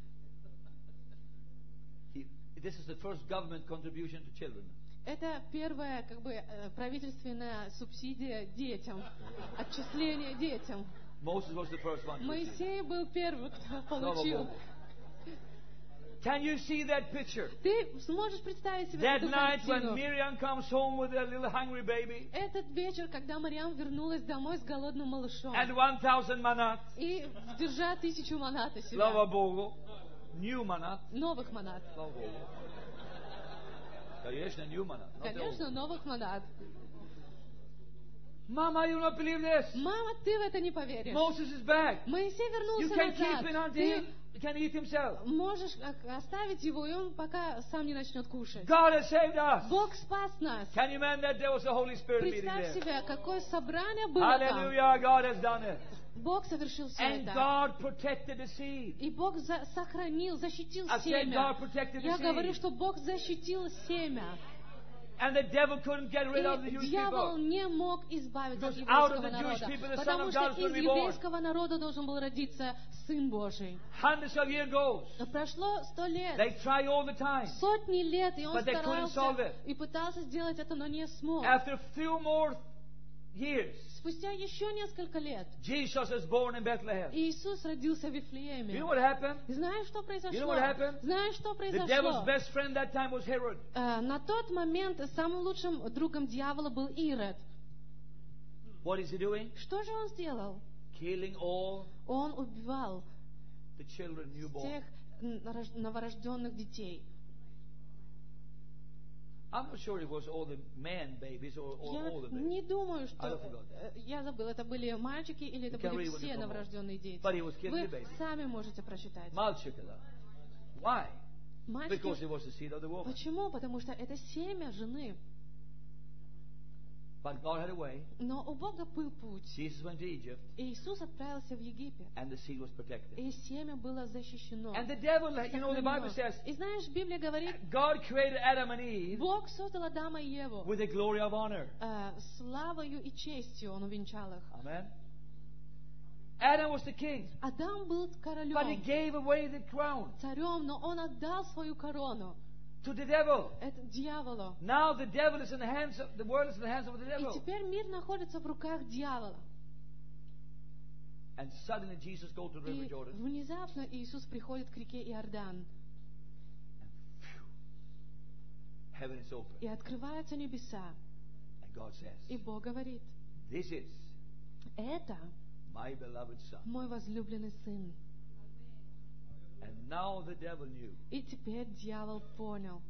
Speaker 1: He, this is the first government contribution to children.
Speaker 2: Это первая как бы э, правительственная субсидия детям, отчисление детям.
Speaker 1: Moses was the first one. To receive.
Speaker 2: Моисей был первый, кто
Speaker 1: Слава
Speaker 2: получил.
Speaker 1: Богу. Can you see that picture?
Speaker 2: Ты сможешь представить себе
Speaker 1: That
Speaker 2: эту
Speaker 1: night when
Speaker 2: картину?
Speaker 1: Miriam comes home with a little hungry baby
Speaker 2: Этот вечер, когда Мариам вернулась домой с голодным малышом
Speaker 1: and one thousand manat.
Speaker 2: и держа тысячу манат у
Speaker 1: Slava
Speaker 2: себя,
Speaker 1: Bogu. New manat.
Speaker 2: новых манат.
Speaker 1: Slava Bogu. Конечно, new manat. not the old.
Speaker 2: Конечно, новых манат.
Speaker 1: Mama, you not believe this?
Speaker 2: Мама, ты в это не поверишь.
Speaker 1: Moses is back.
Speaker 2: Моисей
Speaker 1: You
Speaker 2: вернулся
Speaker 1: can keep it
Speaker 2: назад.
Speaker 1: until
Speaker 2: Ты
Speaker 1: he can eat himself.
Speaker 2: можешь о- оставить его, и он пока сам не начнет кушать.
Speaker 1: God has saved us.
Speaker 2: Бог спас нас.
Speaker 1: Can you imagine that there was a Holy Spirit meeting
Speaker 2: Представь
Speaker 1: there?
Speaker 2: себе, какое собрание было там.
Speaker 1: Hallelujah, God has done it.
Speaker 2: Бог совершил все
Speaker 1: And
Speaker 2: это.
Speaker 1: God protected the seed.
Speaker 2: И Бог за- сохранил, защитил
Speaker 1: I said
Speaker 2: семя.
Speaker 1: God protected the
Speaker 2: Я говорю,
Speaker 1: seed.
Speaker 2: что Бог защитил семя.
Speaker 1: And the devil couldn't get rid of the
Speaker 2: И
Speaker 1: Jewish
Speaker 2: дьявол
Speaker 1: people.
Speaker 2: не мог избавиться от
Speaker 1: Because out of
Speaker 2: еврейского
Speaker 1: the Jewish
Speaker 2: народа,
Speaker 1: people, the Son
Speaker 2: потому
Speaker 1: of
Speaker 2: что
Speaker 1: God is going
Speaker 2: из
Speaker 1: to be born.
Speaker 2: еврейского народа должен был родиться Сын Божий.
Speaker 1: Hundreds of years goes.
Speaker 2: Но прошло сто лет,
Speaker 1: They try all the time.
Speaker 2: сотни лет, и он
Speaker 1: But they couldn't solve
Speaker 2: старался
Speaker 1: it.
Speaker 2: и пытался сделать это, но не смог.
Speaker 1: After a few more years,
Speaker 2: Спустя еще несколько лет
Speaker 1: Jesus is born in Bethlehem.
Speaker 2: Иисус родился в
Speaker 1: You
Speaker 2: Вифлееме.
Speaker 1: know what happened?
Speaker 2: И знаешь, что
Speaker 1: You know
Speaker 2: произошло?
Speaker 1: what happened?
Speaker 2: Знаешь, что
Speaker 1: The devil's
Speaker 2: произошло?
Speaker 1: best friend that time was Herod.
Speaker 2: Э, На тот момент самым лучшим другом дьявола был Ирод.
Speaker 1: What is he doing?
Speaker 2: Что же он сделал?
Speaker 1: Killing all
Speaker 2: Он убивал
Speaker 1: the children newborn.
Speaker 2: тех м, рож- новорожденных детей.
Speaker 1: I'm not sure it was all the man babies or, or
Speaker 2: Я
Speaker 1: all the babies.
Speaker 2: не думаю,
Speaker 1: I
Speaker 2: что...
Speaker 1: forgot.
Speaker 2: э, Я забыл, это были мальчики или это
Speaker 1: You can
Speaker 2: были
Speaker 1: read when you
Speaker 2: все
Speaker 1: come home.
Speaker 2: новорожденные дети.
Speaker 1: But he was killing the
Speaker 2: Вы
Speaker 1: baby.
Speaker 2: сами можете прочитать.
Speaker 1: Malchikala. Why?
Speaker 2: Мальчики...
Speaker 1: Because it was the seed of the woman.
Speaker 2: Почему? Потому что это семя жены.
Speaker 1: But God had a way.
Speaker 2: Но у Бога был путь.
Speaker 1: Jesus went to Egypt
Speaker 2: И Иисус отправился в Египет.
Speaker 1: and the seed was protected.
Speaker 2: И семя было защищено.
Speaker 1: And the devil, you know, the Bible
Speaker 2: сохранено.
Speaker 1: says
Speaker 2: И знаешь, Библия говорит,
Speaker 1: God created Adam and Eve
Speaker 2: Бог создал Адама и Еву.
Speaker 1: with the glory of honor.
Speaker 2: Э, славою и честью Он увенчал их.
Speaker 1: Amen. Adam was the king,
Speaker 2: Адам был
Speaker 1: but he
Speaker 2: королем,
Speaker 1: gave away the crown
Speaker 2: царем, но он отдал свою корону
Speaker 1: to the devil.
Speaker 2: это дьяволу.
Speaker 1: Now the devil is in the hands of the world is in the hands of the
Speaker 2: И
Speaker 1: devil.
Speaker 2: теперь мир находится в руках дьявола.
Speaker 1: And suddenly Jesus goes to the river
Speaker 2: И
Speaker 1: Jordan.
Speaker 2: внезапно Иисус приходит к реке Иордан.
Speaker 1: Phew, heaven is open.
Speaker 2: И открываются небеса.
Speaker 1: And God says,
Speaker 2: И Бог говорит,
Speaker 1: this is
Speaker 2: это
Speaker 1: my beloved son.
Speaker 2: мой возлюбленный сын.
Speaker 1: And now the devil knew.
Speaker 2: И теперь дьявол понял.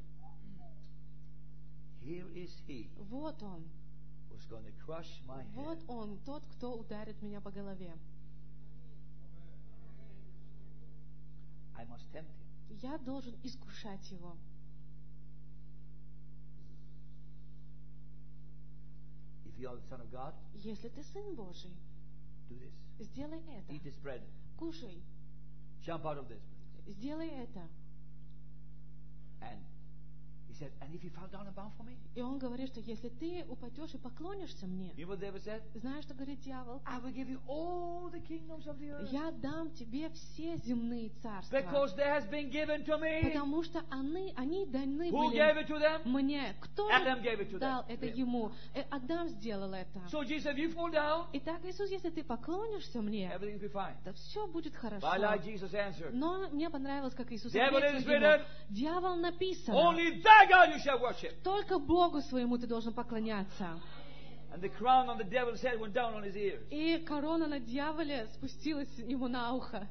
Speaker 1: Here is he
Speaker 2: Вот он.
Speaker 1: who's going to crush my head.
Speaker 2: Вот он, тот, кто ударит меня по голове.
Speaker 1: I must tempt him.
Speaker 2: Я должен искушать его.
Speaker 1: If you are the son of God,
Speaker 2: Если ты сын Божий,
Speaker 1: Do this.
Speaker 2: Сделай это.
Speaker 1: Eat this bread.
Speaker 2: Кушай.
Speaker 1: Jump out of this.
Speaker 2: Сделай это.
Speaker 1: And he said, and if you fall down and bow for me,
Speaker 2: И он говорит, что если ты упадешь и поклонишься мне,
Speaker 1: you know what the devil said?
Speaker 2: знаешь, что говорит дьявол?
Speaker 1: I will give you all the kingdoms of the earth.
Speaker 2: Я дам тебе все земные царства.
Speaker 1: Because there has been given to me.
Speaker 2: Потому что они, они даны
Speaker 1: Who
Speaker 2: были
Speaker 1: gave it to them?
Speaker 2: мне. Кто
Speaker 1: Adam gave it to
Speaker 2: дал
Speaker 1: them.
Speaker 2: это
Speaker 1: Him.
Speaker 2: ему? Э, Адам сделал это.
Speaker 1: So Jesus, if you fall down,
Speaker 2: Итак, Иисус, если ты поклонишься мне,
Speaker 1: everything will be fine.
Speaker 2: то все будет хорошо.
Speaker 1: But I like Jesus' answer.
Speaker 2: Но мне понравилось, как Иисус
Speaker 1: Devil
Speaker 2: ответил
Speaker 1: is
Speaker 2: ему.
Speaker 1: written,
Speaker 2: Дьявол написано.
Speaker 1: Only thy God you shall worship.
Speaker 2: Только Богу своему ты должен поклоняться.
Speaker 1: And the crown on the devil's head went down on his ears.
Speaker 2: И корона на дьяволе спустилась ему на ухо.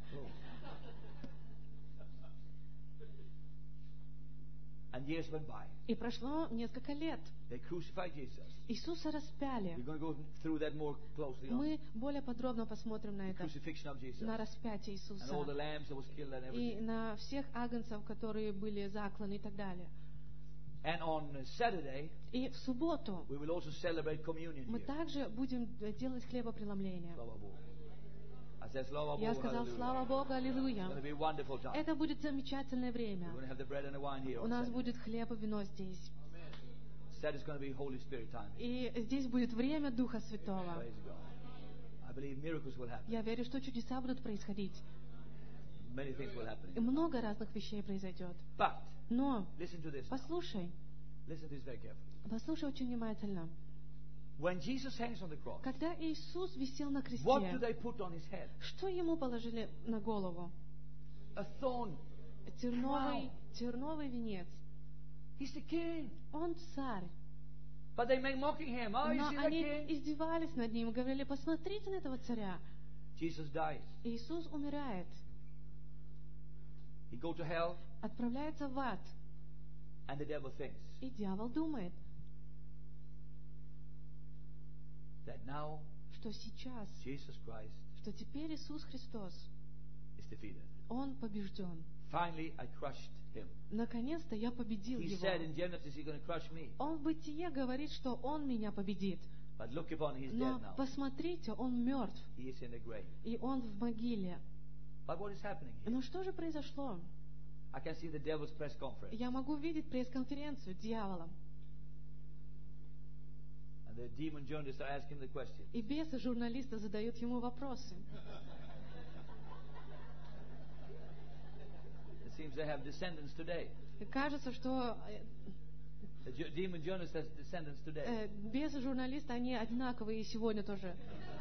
Speaker 1: And years went by.
Speaker 2: И прошло несколько лет.
Speaker 1: They crucified Jesus.
Speaker 2: Иисуса распяли.
Speaker 1: We're going to go through that more closely on
Speaker 2: Мы более подробно посмотрим на
Speaker 1: the
Speaker 2: это,
Speaker 1: crucifixion of Jesus.
Speaker 2: на распятие
Speaker 1: And all the
Speaker 2: Иисуса.
Speaker 1: lambs that was killed and
Speaker 2: И
Speaker 1: everything.
Speaker 2: на всех агнцев, которые были закланы и так далее.
Speaker 1: And on Saturday,
Speaker 2: И в субботу
Speaker 1: we will also celebrate communion
Speaker 2: мы
Speaker 1: here.
Speaker 2: также будем делать хлебопреломление.
Speaker 1: Slava Bogu. I said, Slava
Speaker 2: Я
Speaker 1: Bogu,
Speaker 2: сказал,
Speaker 1: hallelujah.
Speaker 2: слава Богу,
Speaker 1: It's
Speaker 2: аллилуйя.
Speaker 1: going to be a wonderful time.
Speaker 2: Это будет замечательное время.
Speaker 1: We're going to have the bread and the wine here
Speaker 2: У
Speaker 1: on
Speaker 2: нас
Speaker 1: Saturday.
Speaker 2: будет хлеб и вино здесь.
Speaker 1: Saturday is going to be Holy Spirit time.
Speaker 2: И здесь будет время Духа Святого.
Speaker 1: Praise God. I believe miracles will happen.
Speaker 2: Я верю, что чудеса будут происходить.
Speaker 1: Many things will happen.
Speaker 2: И много разных вещей произойдет.
Speaker 1: But,
Speaker 2: Но
Speaker 1: listen to this now.
Speaker 2: послушай,
Speaker 1: Listen to this very carefully.
Speaker 2: послушай очень внимательно.
Speaker 1: When Jesus hangs on the cross,
Speaker 2: Когда Иисус висел на
Speaker 1: what do
Speaker 2: кресте,
Speaker 1: they put on his head?
Speaker 2: что ему положили на голову?
Speaker 1: A thorn.
Speaker 2: Терновый,
Speaker 1: Wow.
Speaker 2: терновый венец.
Speaker 1: He's the king.
Speaker 2: Он царь.
Speaker 1: But they make mocking him. Oh, you
Speaker 2: Но
Speaker 1: see that
Speaker 2: они
Speaker 1: king?
Speaker 2: издевались над ним и говорили, посмотрите на этого царя.
Speaker 1: Jesus dies.
Speaker 2: Иисус умирает,
Speaker 1: He go to hell,
Speaker 2: отправляется в ад.
Speaker 1: and the devil thinks
Speaker 2: И дьявол думает,
Speaker 1: that now
Speaker 2: что сейчас,
Speaker 1: Jesus Christ
Speaker 2: что теперь Иисус Христос,
Speaker 1: is defeated.
Speaker 2: Он побежден.
Speaker 1: Finally, I crushed him.
Speaker 2: Наконец-то я победил
Speaker 1: He
Speaker 2: его.
Speaker 1: said in Genesis, he's going to crush me.
Speaker 2: Он в Бытие говорит, что он меня победит.
Speaker 1: But look upon, he's
Speaker 2: Но
Speaker 1: dead now.
Speaker 2: посмотрите, он мертв,
Speaker 1: He is in the grave.
Speaker 2: и он в могиле.
Speaker 1: But what is happening here?
Speaker 2: Но что же произошло?
Speaker 1: I can see the devil's press conference.
Speaker 2: Я могу видеть пресс-конференцию дьявола.
Speaker 1: And the demon journalists are asking the question.
Speaker 2: И бесы журналисты задают ему вопросы.
Speaker 1: It seems they have descendants today.
Speaker 2: И кажется, что э,
Speaker 1: The ju- demon journalist has descendants today.
Speaker 2: э, бесы журналисты, они одинаковые и сегодня тоже.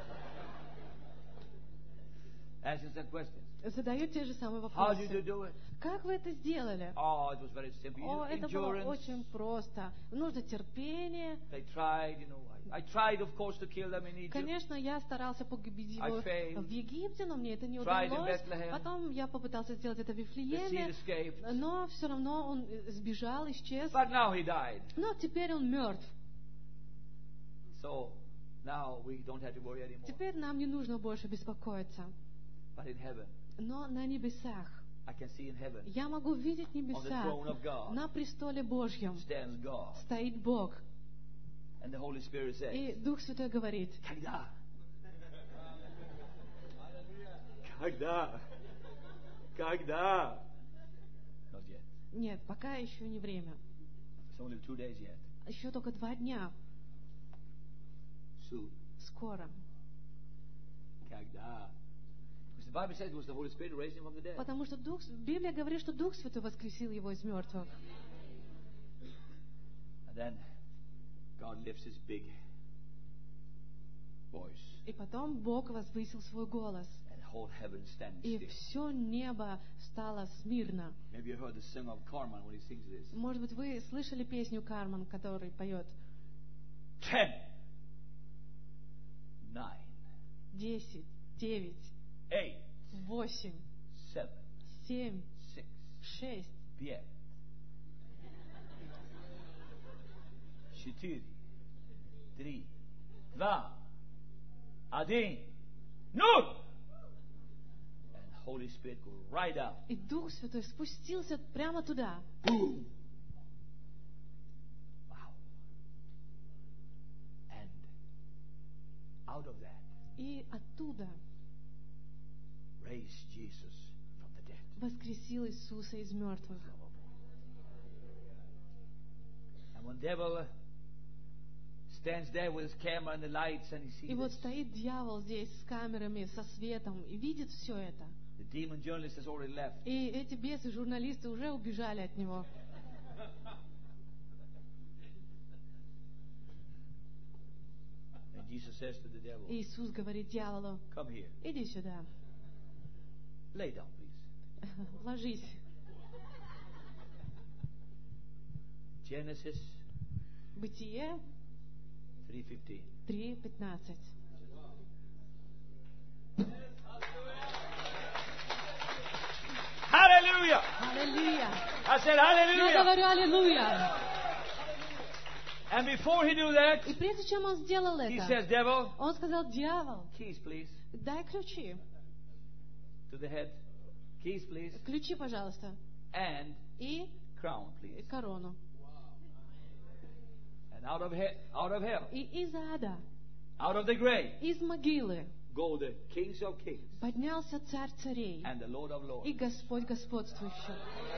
Speaker 1: Asking some questions.
Speaker 2: Задают те же самые
Speaker 1: How did you
Speaker 2: вопросы.
Speaker 1: do it?
Speaker 2: Как вы это сделали?
Speaker 1: Oh, it was very simple. You
Speaker 2: О,
Speaker 1: use
Speaker 2: это было
Speaker 1: endurance.
Speaker 2: очень просто. Нужно терпение.
Speaker 1: They tried, you know. I, I tried, of course, to kill them in Egypt.
Speaker 2: Конечно, я старался погубить
Speaker 1: I
Speaker 2: его
Speaker 1: failed.
Speaker 2: в Египте, но мне это не
Speaker 1: Tried in
Speaker 2: удалось.
Speaker 1: Bethlehem.
Speaker 2: Потом я попытался сделать это в
Speaker 1: The seed
Speaker 2: Вифлееме,
Speaker 1: escaped.
Speaker 2: но все равно он э, сбежал, исчез.
Speaker 1: But now he died.
Speaker 2: Но теперь он мертв.
Speaker 1: So now we don't have to worry anymore.
Speaker 2: Теперь нам не нужно больше беспокоиться.
Speaker 1: But in heaven,
Speaker 2: Но на небесах
Speaker 1: I can see in heaven,
Speaker 2: я могу видеть
Speaker 1: on the
Speaker 2: небеса.
Speaker 1: throne of God,
Speaker 2: На престоле Божьем
Speaker 1: stands God.
Speaker 2: стоит Бог.
Speaker 1: And the Holy Spirit says,
Speaker 2: И Дух Святой говорит,
Speaker 1: Когда? Когда? Когда? Not yet.
Speaker 2: нет, пока еще не время.
Speaker 1: It's only two days yet.
Speaker 2: Еще только два дня.
Speaker 1: Soon.
Speaker 2: Скоро.
Speaker 1: Когда? Because the Bible says it was the Holy Spirit who raised him from the dead.
Speaker 2: Потому что Дух, Библия говорит, что Дух Святой воскресил его из мертвых.
Speaker 1: And then God lifts his big voice,
Speaker 2: И потом Бог возвысил свой голос.
Speaker 1: and whole heaven stands
Speaker 2: И
Speaker 1: still.
Speaker 2: все небо стало смирно.
Speaker 1: Maybe you heard the song of Carmen when he sings this.
Speaker 2: Может быть, вы слышали песню Кармен, который поет
Speaker 1: Ten, nine,
Speaker 2: десять, девять,
Speaker 1: eight,
Speaker 2: восемь,
Speaker 1: seven,
Speaker 2: семь,
Speaker 1: six,
Speaker 2: шесть,
Speaker 1: пять, четыре, три, два, один, ноль. And Holy Spirit go right out.
Speaker 2: И Дух Святой спустился прямо туда.
Speaker 1: Boom. Wow. And out of that,
Speaker 2: И оттуда
Speaker 1: raised Jesus from the dead.
Speaker 2: воскресил Иисуса из мертвых.
Speaker 1: And when devil stands there with his camera and the lights and he sees
Speaker 2: И вот
Speaker 1: this,
Speaker 2: стоит дьявол здесь с камерами, со светом, и видит все это.
Speaker 1: the demon journalist has already left.
Speaker 2: И эти бесы, журналисты уже убежали от него.
Speaker 1: And Jesus says to the devil,
Speaker 2: И Иисус говорит дьяволу:
Speaker 1: come here,
Speaker 2: иди сюда,
Speaker 1: lay down please.
Speaker 2: ложись.
Speaker 1: Genesis
Speaker 2: Бытие
Speaker 1: three fifteen.
Speaker 2: три пятнадцать.
Speaker 1: Hallelujah!
Speaker 2: Аллилуйя!
Speaker 1: I said
Speaker 2: Я
Speaker 1: hallelujah!
Speaker 2: говорю аллилуйя!
Speaker 1: And before he knew that,
Speaker 2: И прежде чем он сделал
Speaker 1: he
Speaker 2: это,
Speaker 1: says, devil,
Speaker 2: он сказал: дьявол,
Speaker 1: keys please,
Speaker 2: дай ключи.
Speaker 1: to the head. Keys please.
Speaker 2: Ключи, пожалуйста.
Speaker 1: And
Speaker 2: И
Speaker 1: crown please.
Speaker 2: корону.
Speaker 1: And out of, he- out of hell,
Speaker 2: И из ада,
Speaker 1: out of the grave,
Speaker 2: из могилы
Speaker 1: go the kings of kings
Speaker 2: поднялся царь царей
Speaker 1: and the Lord of lords.
Speaker 2: и Господь господствующий.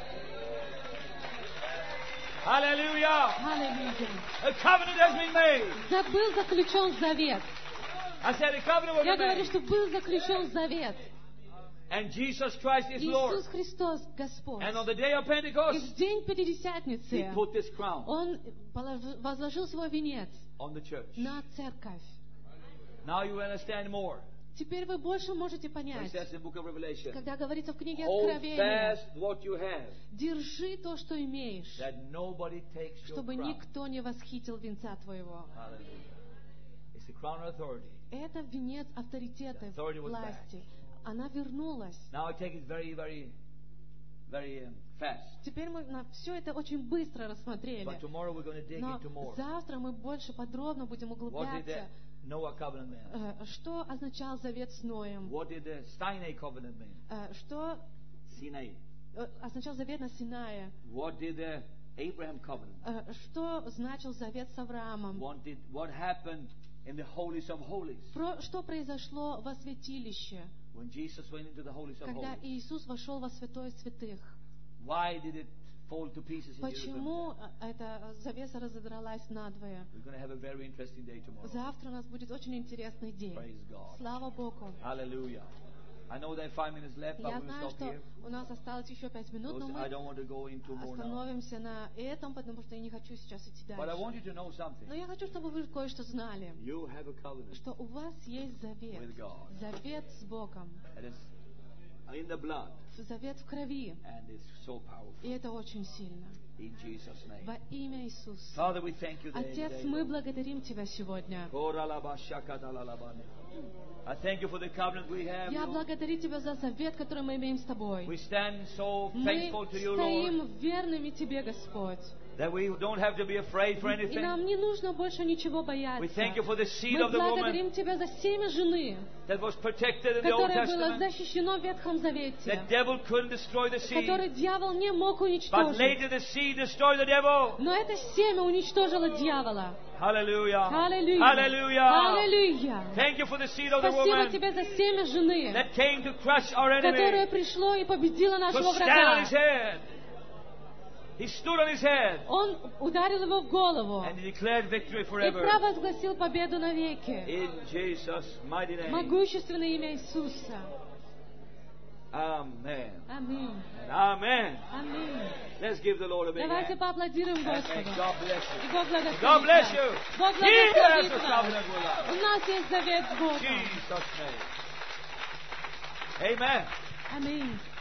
Speaker 1: Hallelujah!
Speaker 2: Аллилуйя!
Speaker 1: A covenant has been made.
Speaker 2: Да был заключен завет.
Speaker 1: I said a covenant was
Speaker 2: Я говорю,
Speaker 1: made.
Speaker 2: что был заключен завет.
Speaker 1: And Jesus Christ is Lord.
Speaker 2: Иисус Христос Господь.
Speaker 1: And on the day of
Speaker 2: И
Speaker 1: Pentecost,
Speaker 2: в день
Speaker 1: He
Speaker 2: Пятидесятницы
Speaker 1: put this crown
Speaker 2: Он полож- возложил свой венец
Speaker 1: on the church.
Speaker 2: на церковь.
Speaker 1: Now you understand more.
Speaker 2: Теперь вы больше можете
Speaker 1: It
Speaker 2: понять,
Speaker 1: says in the book of Revelation,
Speaker 2: когда говорится в книге
Speaker 1: hold
Speaker 2: Откровения:
Speaker 1: fast what you have,
Speaker 2: держи то, что имеешь,
Speaker 1: that nobody takes your
Speaker 2: чтобы
Speaker 1: crown.
Speaker 2: никто не восхитил венца твоего.
Speaker 1: Hallelujah. It's the crown of authority.
Speaker 2: Это венец авторитета,
Speaker 1: The authority was
Speaker 2: власти. Она вернулась.
Speaker 1: Now I take it very, very, very um, fast.
Speaker 2: Теперь мы на все это очень быстро рассмотрели.
Speaker 1: But tomorrow we're going to dig
Speaker 2: Но
Speaker 1: into more.
Speaker 2: завтра мы больше подробно будем
Speaker 1: What did the
Speaker 2: углубляться.
Speaker 1: Noah covenant mean?
Speaker 2: Э, Что означал завет с Ноем?
Speaker 1: What did the Sinai covenant mean?
Speaker 2: Э, Что
Speaker 1: Sinai.
Speaker 2: э, означал завет на Синае?
Speaker 1: What did the Abraham covenant?
Speaker 2: Э, Что значил завет с Авраамом?
Speaker 1: What did what happened in the holies of holies
Speaker 2: Про- Что произошло во святилище,
Speaker 1: when Jesus went into the holies of
Speaker 2: когда
Speaker 1: holies?
Speaker 2: Иисус вошел во святое святых?
Speaker 1: Why did it fall to pieces in
Speaker 2: Почему
Speaker 1: Jerusalem?
Speaker 2: э, эта завеса разодралась надвое?
Speaker 1: We're going to have a very interesting day tomorrow.
Speaker 2: Завтра у нас будет очень интересный день.
Speaker 1: Praise God.
Speaker 2: Слава Богу.
Speaker 1: Hallelujah. I know there are five minutes left, but
Speaker 2: Я
Speaker 1: we'll
Speaker 2: знаю,
Speaker 1: stop
Speaker 2: что
Speaker 1: here.
Speaker 2: у нас осталось еще пять минут, но
Speaker 1: Because I
Speaker 2: мы
Speaker 1: don't want to go into more now.
Speaker 2: остановимся на этом, потому что я не хочу сейчас идти
Speaker 1: But I
Speaker 2: дальше.
Speaker 1: want you to know something.
Speaker 2: Но я хочу, чтобы вы кое-что знали,
Speaker 1: You have a covenant
Speaker 2: что у вас есть завет.
Speaker 1: with God.
Speaker 2: Завет с Богом.
Speaker 1: That is in the blood,
Speaker 2: Завет в крови.
Speaker 1: and it's so powerful.
Speaker 2: И это очень сильно.
Speaker 1: In Jesus' name.
Speaker 2: Во имя Иисуса.
Speaker 1: Father, we thank you
Speaker 2: Отец,
Speaker 1: today.
Speaker 2: мы благодарим Тебя сегодня.
Speaker 1: I thank you for the covenant we have.
Speaker 2: Я
Speaker 1: Lord.
Speaker 2: благодарю Тебя за завет, который мы имеем с Тобой.
Speaker 1: We stand so
Speaker 2: Мы
Speaker 1: thankful to you, Lord,
Speaker 2: стоим верными Тебе, Господь.
Speaker 1: that we don't have to be afraid for
Speaker 2: И нам
Speaker 1: anything.
Speaker 2: не нужно больше ничего бояться.
Speaker 1: We thank you for the seed
Speaker 2: Мы
Speaker 1: of the woman
Speaker 2: благодарим Тебя за семя жены,
Speaker 1: that was protected in the Old
Speaker 2: которое было
Speaker 1: Testament.
Speaker 2: защищено в Ветхом Завете,
Speaker 1: The devil couldn't destroy the seed,
Speaker 2: который дьявол не мог
Speaker 1: but
Speaker 2: уничтожить.
Speaker 1: later the seed destroyed the devil.
Speaker 2: Но это семя уничтожило дьявола.
Speaker 1: Hallelujah.
Speaker 2: Аллилуйя!
Speaker 1: Hallelujah.
Speaker 2: Аллилуйя!
Speaker 1: Thank you for the seed of the
Speaker 2: Спасибо
Speaker 1: woman
Speaker 2: Тебе за семя жены,
Speaker 1: that came to crush our
Speaker 2: которое
Speaker 1: enemy,
Speaker 2: пришло и победило
Speaker 1: to
Speaker 2: нашего
Speaker 1: stand on
Speaker 2: врага.
Speaker 1: his head. He stood on his head
Speaker 2: Он ударил его в голову
Speaker 1: and he declared victory
Speaker 2: и
Speaker 1: forever.
Speaker 2: провозгласил победу навеки.
Speaker 1: In Jesus' mighty name.
Speaker 2: Могущественное имя Иисуса.
Speaker 1: Amen.
Speaker 2: Аминь.
Speaker 1: And amen.
Speaker 2: Аминь.
Speaker 1: Let's give the Lord a big
Speaker 2: Давайте
Speaker 1: hand.
Speaker 2: поаплодируем
Speaker 1: And may
Speaker 2: Господу.
Speaker 1: God bless
Speaker 2: И
Speaker 1: you.
Speaker 2: Бог благословит
Speaker 1: God bless
Speaker 2: нас.
Speaker 1: you.
Speaker 2: Бог
Speaker 1: He has
Speaker 2: благословит
Speaker 1: a
Speaker 2: нас.
Speaker 1: covenant with us.
Speaker 2: У нас есть завет с
Speaker 1: In
Speaker 2: Богом.
Speaker 1: Jesus' name. Amen.
Speaker 2: Аминь.